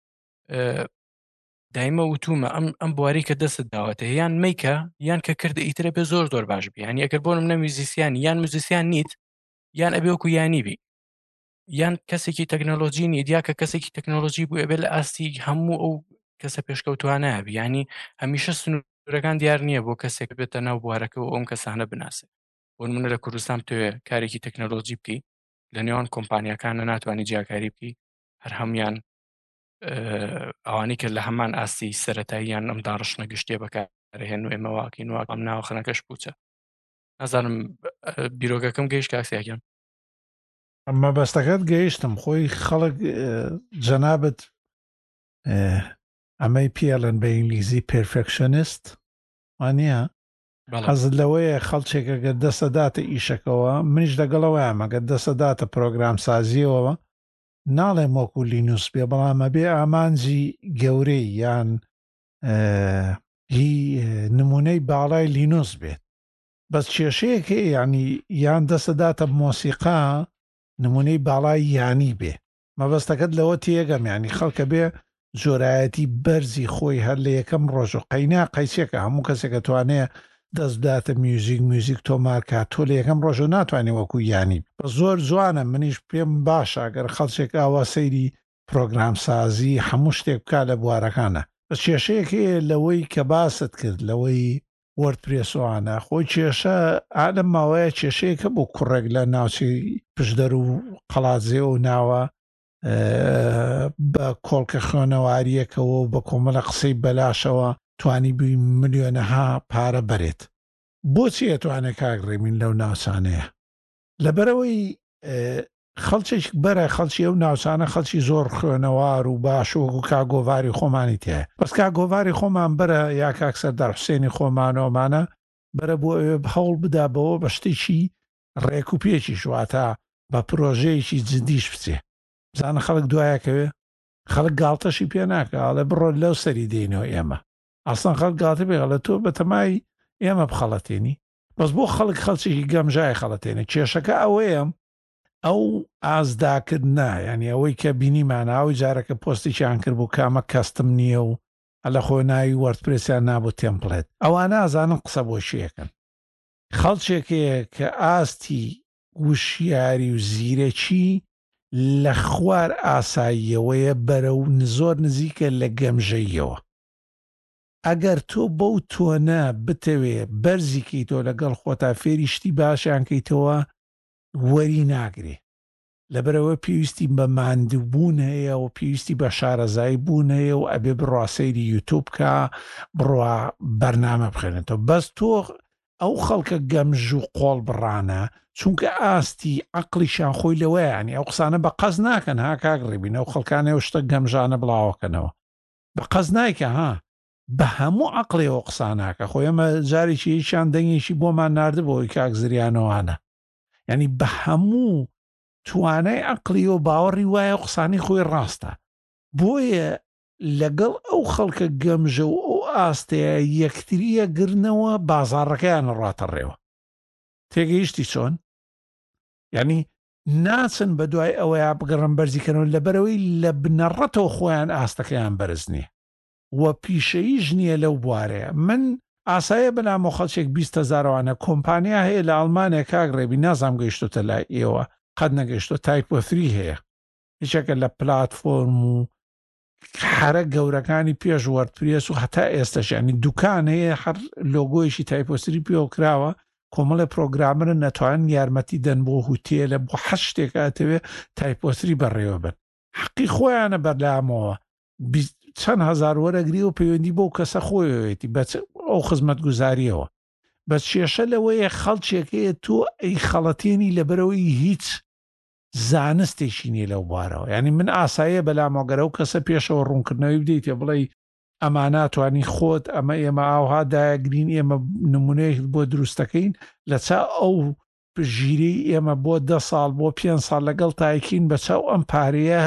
Speaker 2: دایمە وتومە ئەم ئەم بواری کە دەست داوەتە یان میکە یان کە کردە ئیترە بێ زۆر زۆر باش بی هەنی ئەگەر بۆنم نە میوزیسیانی یان موزیسیان نیت یان ئەبێ وەکو یانی بی یان کەسێکی تەکنۆلۆژی نیت یا کە کەسێکی تەکنۆلۆژی بوو ئەبێ لە ئاستی هەموو ئەو کەسە پێشکەوتوانە بی ینی هەمیشە سنوورەکان دیار نییە بۆ کەسێک بێتە ناو بوارەکەەوە ئەوم کەسانە بناسێت بۆ منە لە کوردستان توێ کارێکی تەکنۆلۆژی بکەی لە نێوان کۆمپانیەکانە ناتوانانی جیاکاری بکەی هەر هەمویان ئەوانی کە لە هەمان ئاستی سەرەتاییان ئەم داڕشنە گشتێ بەکارهێن و ئێمە واکەین و ئەم ناوەخەنەکەش بووچە نازانم بیرۆگەکەم گەیشت کاکسیاکەم
Speaker 1: ئەمە بەستەکەت گەیشتم خۆی خەڵک جەنابەت ئەمەی پیاڵن بە ئینگلیزی پرفکشنست وانە حەزت لەوەیە خەڵچێکەگە دەسەداتە ئیشەکەەوە منیش لەگەڵەوەی ئەمەگە دەسەداتە پرۆگرام سازیەوە ناڵێم وەکو لینوس بێ بەڵامە بێ ئامانجی گەورەی یان هی نمونەی باڵای لینوس بێت بەس کێشەیەکە ینی یان دەسەداتە مۆسیقا نمونەی باڵای یانی بێ مەبەستەکەت لەوە تێگەم ینی خەڵکە بێ جۆرایەتی بەرزی خۆی هەر لە یەکەم ڕۆژ و قەینا قەیسێکە هەموو کەسێکە توانێت دەست بداتە میوزیک میوزیک تۆمارکات تۆ لە یەکەم ڕۆژ و ناتوانێت وەکو یانی بە زۆر جوانە منیش پێم باشە ئەگەر خەڵچێک ئاوا سەیری پرۆگرام سازی هەموو شتێک بکا لە بوارەکانە بەس کێشەیەکێ لەوەی کە باست کرد لەوەی وەردپرێسوانە خۆی کێشە ئادەم ماوەیە کێشەیەکە بۆ کوڕێک لە ناوچی پشدەر و قەڵاتزێ و ناوە بە کۆڵکە خوێنەواریەکەەوە بە کۆمەلە قسەی بەلاشەوە توانی بووی ملیۆنەها پارە بەرێت بۆچی ئەتوانێت کاگڕێمین لەو ناوچانەیە لەبەرەوەی خەڵچێک بەرە خەڵکی ئەو ناوچانە خەڵکی زۆر خوێنەوار و باش وەکو کاگۆڤاری خۆمانی تایە بەس کاگۆڤاری خۆمان بەرە یا کاکسەر دەرحوسێنی خۆمانەوەمانە بەرە بۆ ئەوێ هەوڵ بدابەوە بە شتێکی ڕێک و پێکی شواتە بە پرۆژەیەکی جدیش بچێ بزانە خەڵک دوایەکەوێ خەڵک گاڵتەشی پێ ناکە ئاڵێ بڕۆ لەو سەری دێنەوە ئێمە ئاسان خەڵک گاتە بێغە لە تۆ بەتەمای ئێمە بخەڵەتێنی بەس بۆ خەڵک خەڵچێکی گەمژای خەڵەتێنە کێشەکە ئەوەیە ئەو ئازداکردنا ینی ئەوەی کە بینیماناوی جارەکە پۆستێکیان کرد بوو کامە کەستم نییە و لە خۆ ناوی وەردپرسیان نابوو تێمپڵێت ئەوان نازانن قسە بۆ شیەکەن خەڵچێکەیە کە ئاستی وشیاری و زیرەکی لە خوار ئاساییەوەیە بەرە و زۆر نزیکە لە گەمژەیەوە ئەگەر تۆ بەو تۆنە بتەوێ بەرزیکەی تۆ لەگەڵ خۆتا فێری شتی باشیان کەیتەوە وەری ناگرێ لەبەرەوە پێویستی بە ماندووبوون هەیە و پێویستی بە شارەزایی بوون هەیە و ئەبێ بڕاسەیری یوتوب کە بڕوا بەرنامە بخێنێتەوە بەس تۆ ئەو خەڵکە گەمژ و قۆڵ بڕانە چونکە ئاستی عەقڵیشان خۆی لەوەیانی ئەو قسانە بە قەز ناکەن ها کاگڕێبین ئەو خەڵکانەوە شتە گەمژانە بڵاوەکەنەوە بە قەز نایکە ها بە هەموو عەقڵێەوە قساناکە خۆی ئەمە جارێکی هیچیان دەنگێکی بۆمان ناردبەوەی کاک زریانەوانە ینی بە هەموو توانای عەقلی و باوەڕی وایە قسانی خۆی ڕاستە بۆیە لەگەڵ ئەو خەڵکە گەمژە و ئەو ئاستەیە یەکتریە گرنەوە بازاڕەکەیان ڕاتەڕێەوە تێگەیشتی چۆن ینی ناچن بە دوای ئەوەیە بگەڕم بەرزیکەنەوە لەبەرەوەی لە بنەڕەتەوە خۆیان ئاستەکەیان بەرز نییە وە پیشەییش نییە لەو بوارەیە من ئاسایە بەنامۆ خەڵچێک بیست هەزارەوانە کۆمپانیا هەیە لە ئەڵمانیا کاگڕێبی نازام گەیشتۆتە لای ئێوە قەت نەگەیشتۆ تایپۆفری هەیە هیچەکە لە پلاتفۆرم و حرە گەورەکانی پێش وەردپرێس و هەتا ئێستاشانی دوکان هەیە هەر لۆگۆیشی تایپۆسری پێوە کراوە کۆمەڵە پرۆگرامرن نەتوانن یارمەتی دەن بۆ هوتێلە بۆ حەش شتێکاتەوێ تایپۆسری بەڕێوە بن حەقی خۆیانە بەردامەوە چەند هەزار وەرەگری و پەیوەندی بۆ کەسە خۆیەوێتی بە ئەو خزمەت گوزاریەوە بەس کێشە لەوەیە خەڵکێکەیە تۆ ئەی خەڵەتێنی لەبەرەوەی هیچ زانستێکی نیە لەو بوارەوە ینی من ئاساییە بەلامۆگەرە و کەسە پێشەوە ڕوونکردنەوەی بدەیتێ بڵێ ئەما ناتوانانی خۆت ئەمە ئێمە ئاوها داگرین ئێمە نمونەیەک بۆ دروستەکەین لە چا ئەو ژیری ئێمە بۆ دە ساڵ بۆ پێنج ساڵ لەگەڵ تایکین بە چاو ئەم پارەیە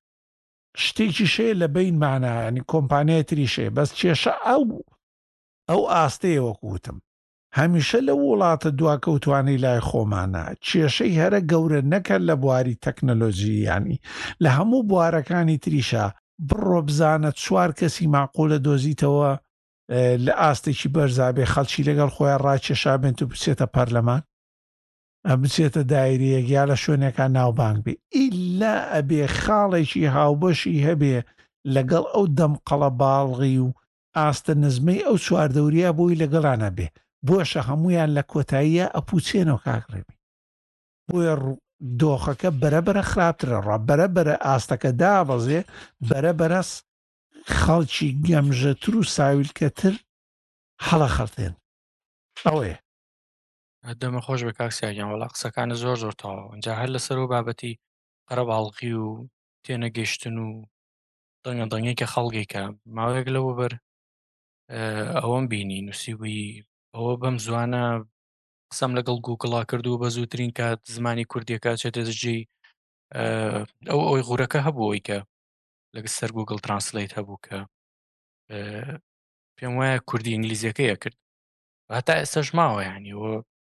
Speaker 1: شتێکی شەیە لە بینمانە ینی کۆمپانیای تریشەیە بەس کێشە ئەو ئەو ئاستەیە وەکوتم هەمیشە لە وڵاتە دواکەوتوانی لای خۆمانە کێشەی هەرە گەورە نەکەن لە بواری تەکنەلۆژیانی لە هەموو بوارەکانی تریشە بڕۆ بزانە چوار کەسی ماقۆلە دۆزیتەوە لە ئاستێکی بەرزابێ خەڵکی لەگەڵ خۆیان ڕاکێشابێن و بچێتە پەرلەمان بچێتە دایرەیەک یا لە شوێنێکان ناوبانگ بێ ئیلا ئەبێ خاڵێکی هاوبەشی هەبێ لەگەڵ ئەو دەمقەڵە باڵغی و ئاستە نزمەی ئەو چواردەوریە بۆی لەگەڵانە بێ بۆشە هەمویان لە کۆتاییە ئەپوچێنەوە کاکڕێبی بۆیە دۆخەکە بەرەبرە خراپترە ڕ بەرەبرە ئاستەکە دابەزێ بەرەبەرەس خەڵکی گەمژەتر و ساویلکەتر هەڵە خەڵتێن ئەوەیە
Speaker 2: دەمە خۆش بە کاکسیاگیان وەڵا قسەکانە زۆر زۆر تەواو ئەجا هەر لەسەر و بابەتی قەرە باڵقی و تێنەگەیشتن و دەنگە دەنگێکە خەڵگێکە ماوەیەک لەوە بەر ئەوەم بینی نووسیبووی ئەوە بەم زوانە قسەم لەگەڵ گوگڵا کردو بە زووترین کات زمانی کوردیەکە چێتە دژی ئەو ئەوی غورەکە هەبووەوەی کە لەگە سەر گوگڵ ترانسلیت هەبوو کە پێم وایە کوردی ئینگلیزیەکەیە کرد هەتا ئێستاش ماوە یعنیەوە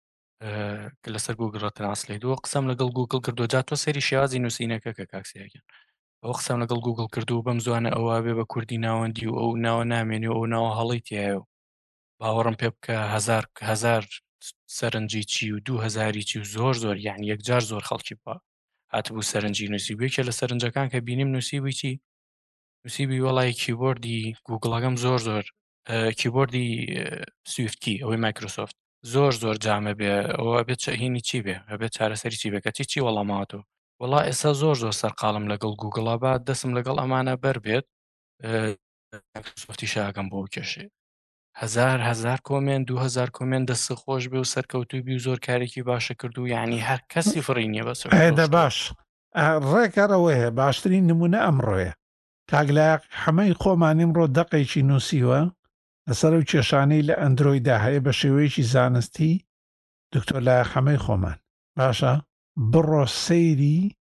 Speaker 2: کە لەسەر گوگڵ ترانسلیت وە قسەم لەگەڵ گوگڵ کردو جا تۆ سەری شێوازی نووسینەکە کە کاکسیاگەن ئەو قسەم لەگەڵ گوگڵ کردو بەم زوانە ئەوە بێ بە کوردی ناوەندی و ئەو ناوە نامێنی و ئەو ناوە هەڵی تایە و باوەڕم پێ بکە هەزار هەزار سەرنجی چی و دوو هەزاری چی و زۆر زۆر یعنی یەکجار زۆر خەڵکی پا هاتبوو سەرنجی نووسیبوویەکە لە سەرنجەکان کە بینیم نووسیبووی چی نووسیبی وەڵی کیبۆردی گوگڵەکەم زۆر زۆر کیبۆردی سویفتکی ئەوەی مایکرۆسۆفت زۆر زۆر جامە بێ ئەوە بێت هینی چی بێ ئەبێت چارەسەری چی بێ کە چی چی وەڵاماتەوە وەڵا ئێستا زۆر زۆر سەرقاڵم لەگەڵ گوگڵا با دەسم لەگەڵ ئەمانە بەر بێت مایکرۆسۆفتی شاگەم بۆ کێشێ هەزار هەزار کۆمێن دوو هەزار کۆمێن دەست خۆش بێ و سەرکەوتوبی و زۆر کارێکی باشە کردو یعنی هەر کەسی فڕی نییە بەس
Speaker 1: ئێدە باش ڕێکارەوەیە باشترین نمونە ئەمڕۆیە کاگلایق هەمەی خۆمانیم ڕۆ دەقێکی نووسیوە لەسەر و کێشانەی لە ئەندرۆیدا هەیە بە شێوەیەکی زانستی دکتۆر لایق هەمەی خۆمان باشە بڕۆ سەیری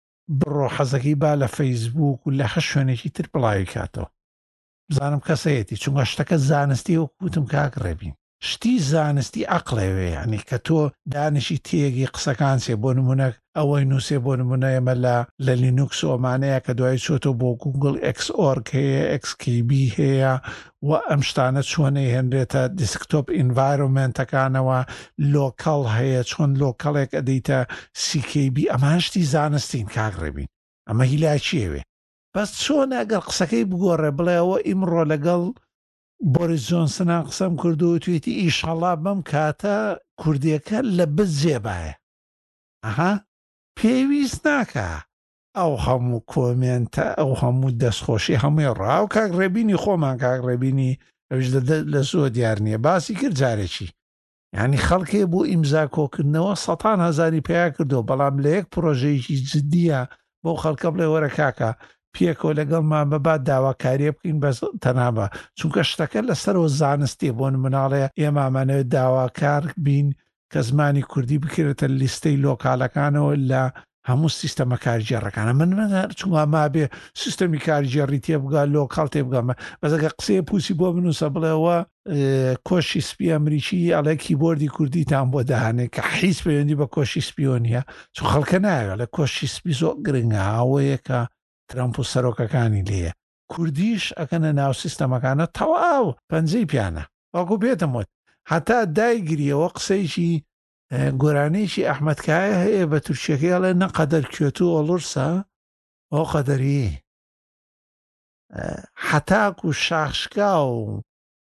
Speaker 1: بڕۆ حەزەکەی با لە فەیسبووک و لە هە شوێنێکی تر بڵاوی کاتەوە بزانم کەسەیەتی چونگە شتەکە زانستی وەکوتم کاک ڕێبین شتی زانستی عەقڵێوێ ینی کە تۆ دانشی تێگی قسەکان سێ بۆ نمونە ئەوەی نووسێ بۆ نمونە ئێمە لە لە لینوکس ئۆمانەیە کە دوای چۆتۆ بۆ گوگل ئەکس ئۆرگ هەیە ئەکسکیبی هەیە و ئەم شتانە چۆنەی هێنرێتە دیسکتۆپ ئینڤایرۆمنتەکانەوە لۆکەڵ هەیە چۆن لۆکەڵێک ئەدەیتە سیکیبی ئەمان شتی زانستین کاک ڕێبین ئەمە هیلای چیەوێ بەس چۆن ئەگەر قسەکەی بگۆڕێ بڵێەوە ئیمڕۆ لەگەڵ بۆریس جۆنسنان قسەم کردو توێتی ئیشەڵا بەم کاتە کوردیەکە لە بز جێبایە ئەها پێویست ناکە ئەو هەموو کۆمێنتە ئەو هەموو دەستخۆشی هەمووی ڕاو کاک ڕێبینی خۆمان کاک ڕێبینی ئەوش لە زۆر دیار نییە باسی کرد جارێکی یعنی خەڵکێ بۆ ئیمزا کۆکردنەوە سەتان هەزاری پێیا کردو بەڵام لە یەک پرۆژەیەکی جددیە بۆ خەڵکە بڵێ وەرە کاکە پێکۆ لەگەڵمان بەبات داواکاریە بکەین بەس تەنابە چونکە شتەکە لەسەرەوە زانستی بۆ مناڵێ ئێمامانەوێت داواکار بین کە زمانی کوردی بکرێتە لیستەی لۆکالەکانەوە لە هەموو سیستەمە کارژێڕەکانە من من چونگە ما بێ سیستەمی کارژێڕی تێبگا لۆکاڵ تێبگەمە بەزەگە قسەیە پوسی بۆ بنووسە بڵێەوە کۆشی سپی ئەمریکی ئەڵێ کیبۆردی کوردیتان بۆ داهانێت کە حیز پەیوەندی بە کۆشی سپیۆنیە چون خەڵکە ناوێت لە کۆشی سپی زۆر گرنگە ئەوەیە کە ترامپ و سەرۆکەکانی لێیە کوردیش ئەکەنە ناو سیستەمەکانە تەواو پەنجەی پیانە وەکو پێتم وت هەتا دایگریەوە قسەیشی گۆرانەیەکی ئەحمەدکایە هەیە بە تورکیەکەیڵێ نەقەدەر کوێت و ئۆڵورسە ئەو قەدەری حەتاک و شاخشکا و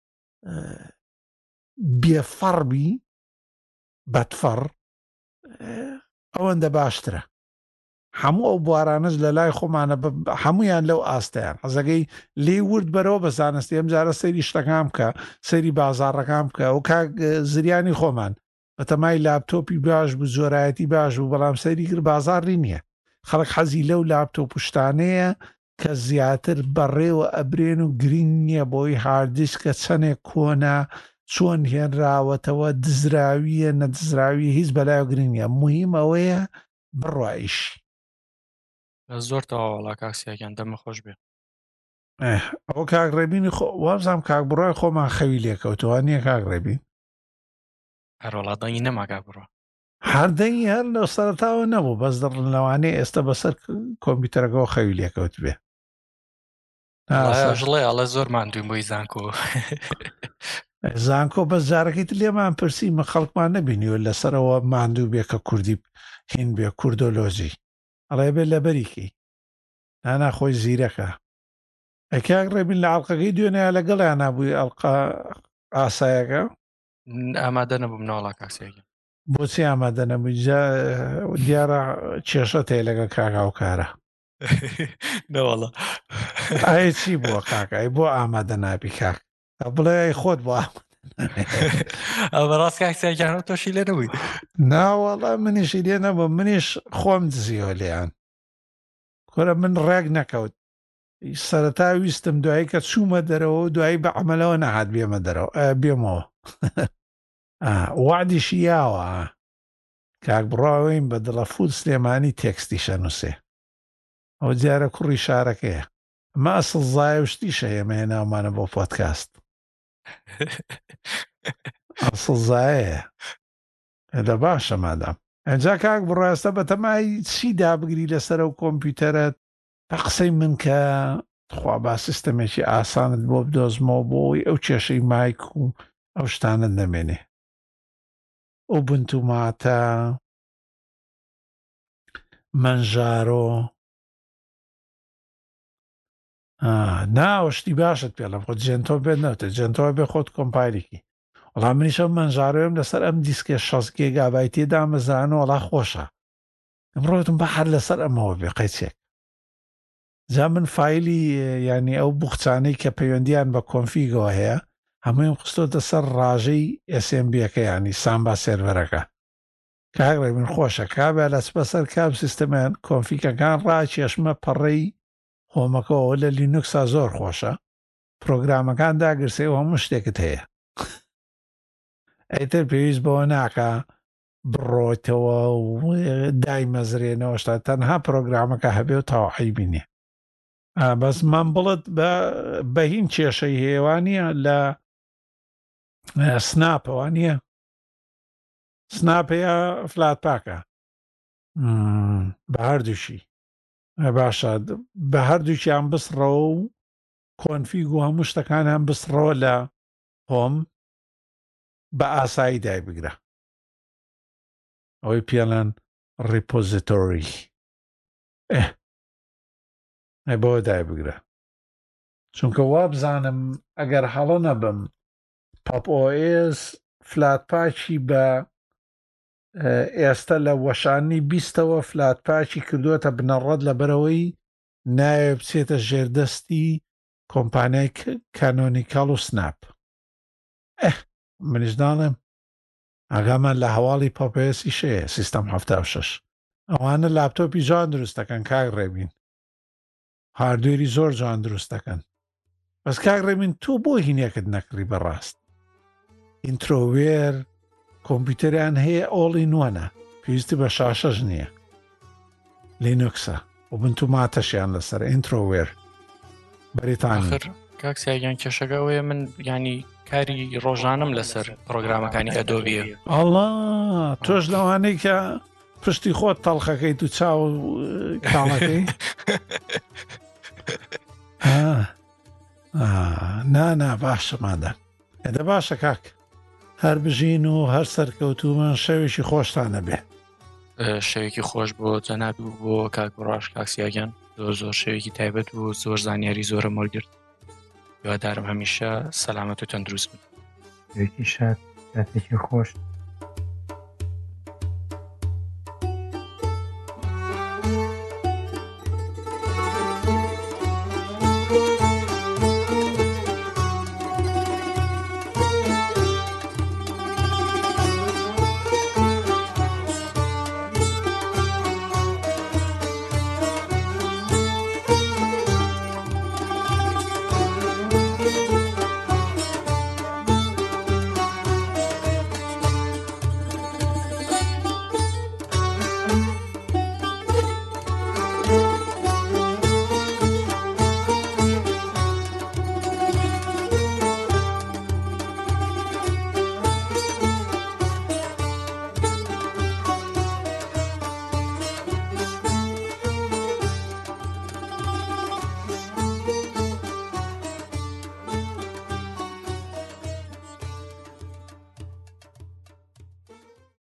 Speaker 1: بێفەڕبی بەدفەڕ ئەوەندە باشترە هەموو ئەو بوارانش لە لای خۆمانە هەمویان لەو ئاستەیان حەزەکەی لێ ورد بەرەوە بە زانستی ئەم جارە سەیری شتەکان بکە سەیری بازاڕەکان بکە و کاک زریانی خۆمان بەتەمای لاپتۆپی باش بوو زۆرایەتی باش بوو بەڵام سەیری کرد بازاڕی نییە خەڵک حەزی لەو لاپتۆپ پشتانەیە کە زیاتر بەڕێوە ئەبرێن و گرنگ نییە بۆی هاردیسکە چەندێک کۆنا چۆن هێنراوەتەوە دزراویە نەدزراوی هیچ بەلایە گرنگ نییە مهم ئەوەیە بڕایش
Speaker 2: زۆر تەواوەڵا کاکسیاگیان دەمە خۆش بێ
Speaker 1: ئەو کاک ڕێبینی وابزانام کاک بڕای خۆمان خەوی لێکەوتەوە نییە کاک ڕێبین
Speaker 2: هەروەڵاتدەنگی نەماگا بڕۆ
Speaker 1: هەردەنگی هەر لە سەرتاوە نەبوو بەس دڵنەوانەی ئێستا بەسەر کۆمپیوتەرەکەەوە خەوی لێکەوت بێ
Speaker 2: ژڵێ ئەڵە زۆر ماندووی بۆی زانکۆ
Speaker 1: زانکۆ بەس جارەکەیت لێمان پرسی مە خەڵکمان نەبینیوە لەسەرەوە ماندوو بێ کە کوردی هین بێ کوردۆلۆژی ئەڵێ بێت لە بەریکی نانا خۆی زیرەکە ئەکیاک ڕێبین لە ئاڵلقەکەی دوێنەیە لەگەڵیان نبووی ئەڵقا ئاسایەکە
Speaker 2: ئامادە نەبووم ناوڵا کاکسێکی
Speaker 1: بۆچی ئامادە نەبووی دیارە کێشە تێ لەگە کاکا و کارە
Speaker 2: نەوەڵە
Speaker 1: ئایا چی بووە کاکای بۆ ئامادە نابی کاک بڵێ خۆت بۆ
Speaker 2: ئەمە ڕاست کاکسێکیان تۆشی لێ نەبووی
Speaker 1: ناوەڵە منیشی لێ نەبوو منیش خۆم دزیۆ لێیان کۆرە من ڕێک نەکەوت سەرەتا ویستم دوایی کە چوومە دەرەوە و دوایی بە عملەوە نەهات بێمە دەرەوە بێمەوە وعدیشی یاوە کاک بڕاوین بە دڵە فود سلێمانی تێکستی شەنووسێ ئەو جارە کوڕی شارەکەیە ئەمە ئەسڵ زایە و شتیشە ئێمە ناومانە بۆ پۆدکاست ئەسڵ زایەیە لە باشە مادام ئەجا کاک بڕاستە بە تەمای چی دابگری لەسەر و کۆمپیوتەرت بە قسەی من کە خوا با سیستەمێکی ئاسانت بۆ بدۆزمەوە بۆی ئەو کێشەی مایک و ئەو شتانت نەمێنێ ئەو بنتوماتە منژارۆ ناوەشتی باشت پێڵم خۆ جێنتۆ بێت نەوتە جێنتەوە بێ خۆت کۆمپایلێکی وەڵام منیشە منژارۆیم لەسەر ئەم دیسکێ شەش گێگابای تێدا مەزانە وەڵا خۆشە ئەمڕۆتم بە هەر لەسەر ئەمەوە بێ قەیچێک جا من فایلی ینی ئەو بوخچانەی کە پەیوەندیان بە کۆنفیگەوە هەیە هەموویم خستۆتە سەر ڕاژەی ئێس ئێم بیەکە ینی سامبا سێرڤەرەکە کاگڕێ من خۆشە کابێ لەس بەسەر کام سیستەمیان کۆنفیگەکان ڕاکێشمە پەڕەی هۆمەکەەوە لە لینوکسا زۆر خۆشە پرۆگرامەکان داگرسێ و هەموو شتێکت هەیە ئەیتر پێویست بەوە ناکە بڕۆیتەوە و دایمەزرێنەوە شتا تەنها پرۆگرامەکە هەبێ و تاوحی بینێ بەس من بڵت بە هین کێشەی هێوانیە لە سناپەوانیە سناپەیە فلات پاکە بە هەردووشی باشە بە هەردووکیان بسڕەوە و کۆنفیگ و هەموو شتەکانیان بسڕەوە لە هۆم بە ئاسایی دای بگرە ئەوەی پێڵەن ریپۆزیتۆری ئەی بۆ دای بگرە چونکە وا بزانم ئەگەر هەڵە نەبم پاپ ئۆ ئێس فلات پاچی بە ئێستا لە وەشانی بیستەوە فلات پاچی کردووەتە بنەڕەت لەبەرەوەی نایە بچێتە ژێردەستی کۆمپانیای کانۆنیکاڵ و سناپ منیش داڵێم ئاگامان لە هەواڵی پاپێسی شەیە سیستەم هەفتا و شەش ئەوانە لاپتۆپی جوان دروست دەکەن کاک ڕێبین هاردوێری زۆر جوان دروست دەکەن بەس کاک ڕێبین تۆ بۆ هینێکت نەکڕی بەڕاست ئینترۆوێر کۆمپیوتەریان هەیە ئۆڵی نوانە پێویستی بە شاشەش نییە لینوکسە و بنتوماتەشیان لەسەر ئینترۆوێر بەریتانی
Speaker 2: کاکسیاگیان کێشەکەوەیە من ینی کاری ڕۆژانم لەسەر پرۆگرامەکانی ئەدۆبیە
Speaker 1: ئەڵڵا تۆش لەوانەی کە پشتی خۆت تەڵخەکەی تو چاو کاڵەکەی نانا باشە مادە ئەدە باشە کاک هەر بژین و هەر سەرکەوتومە شەوێکی خۆشتانە بێ
Speaker 2: شەوێکی خۆش بۆ جەنابی و بۆ کاک بڕاش کاکسیاگیان زۆر زۆر شەوێکی تایبەت و زۆر زانیاری زۆرە مۆرگرت هیوادارم هەمیشە سەلامەت و تەندروست بن
Speaker 3: شەوێکی شاد کاتێکی خۆش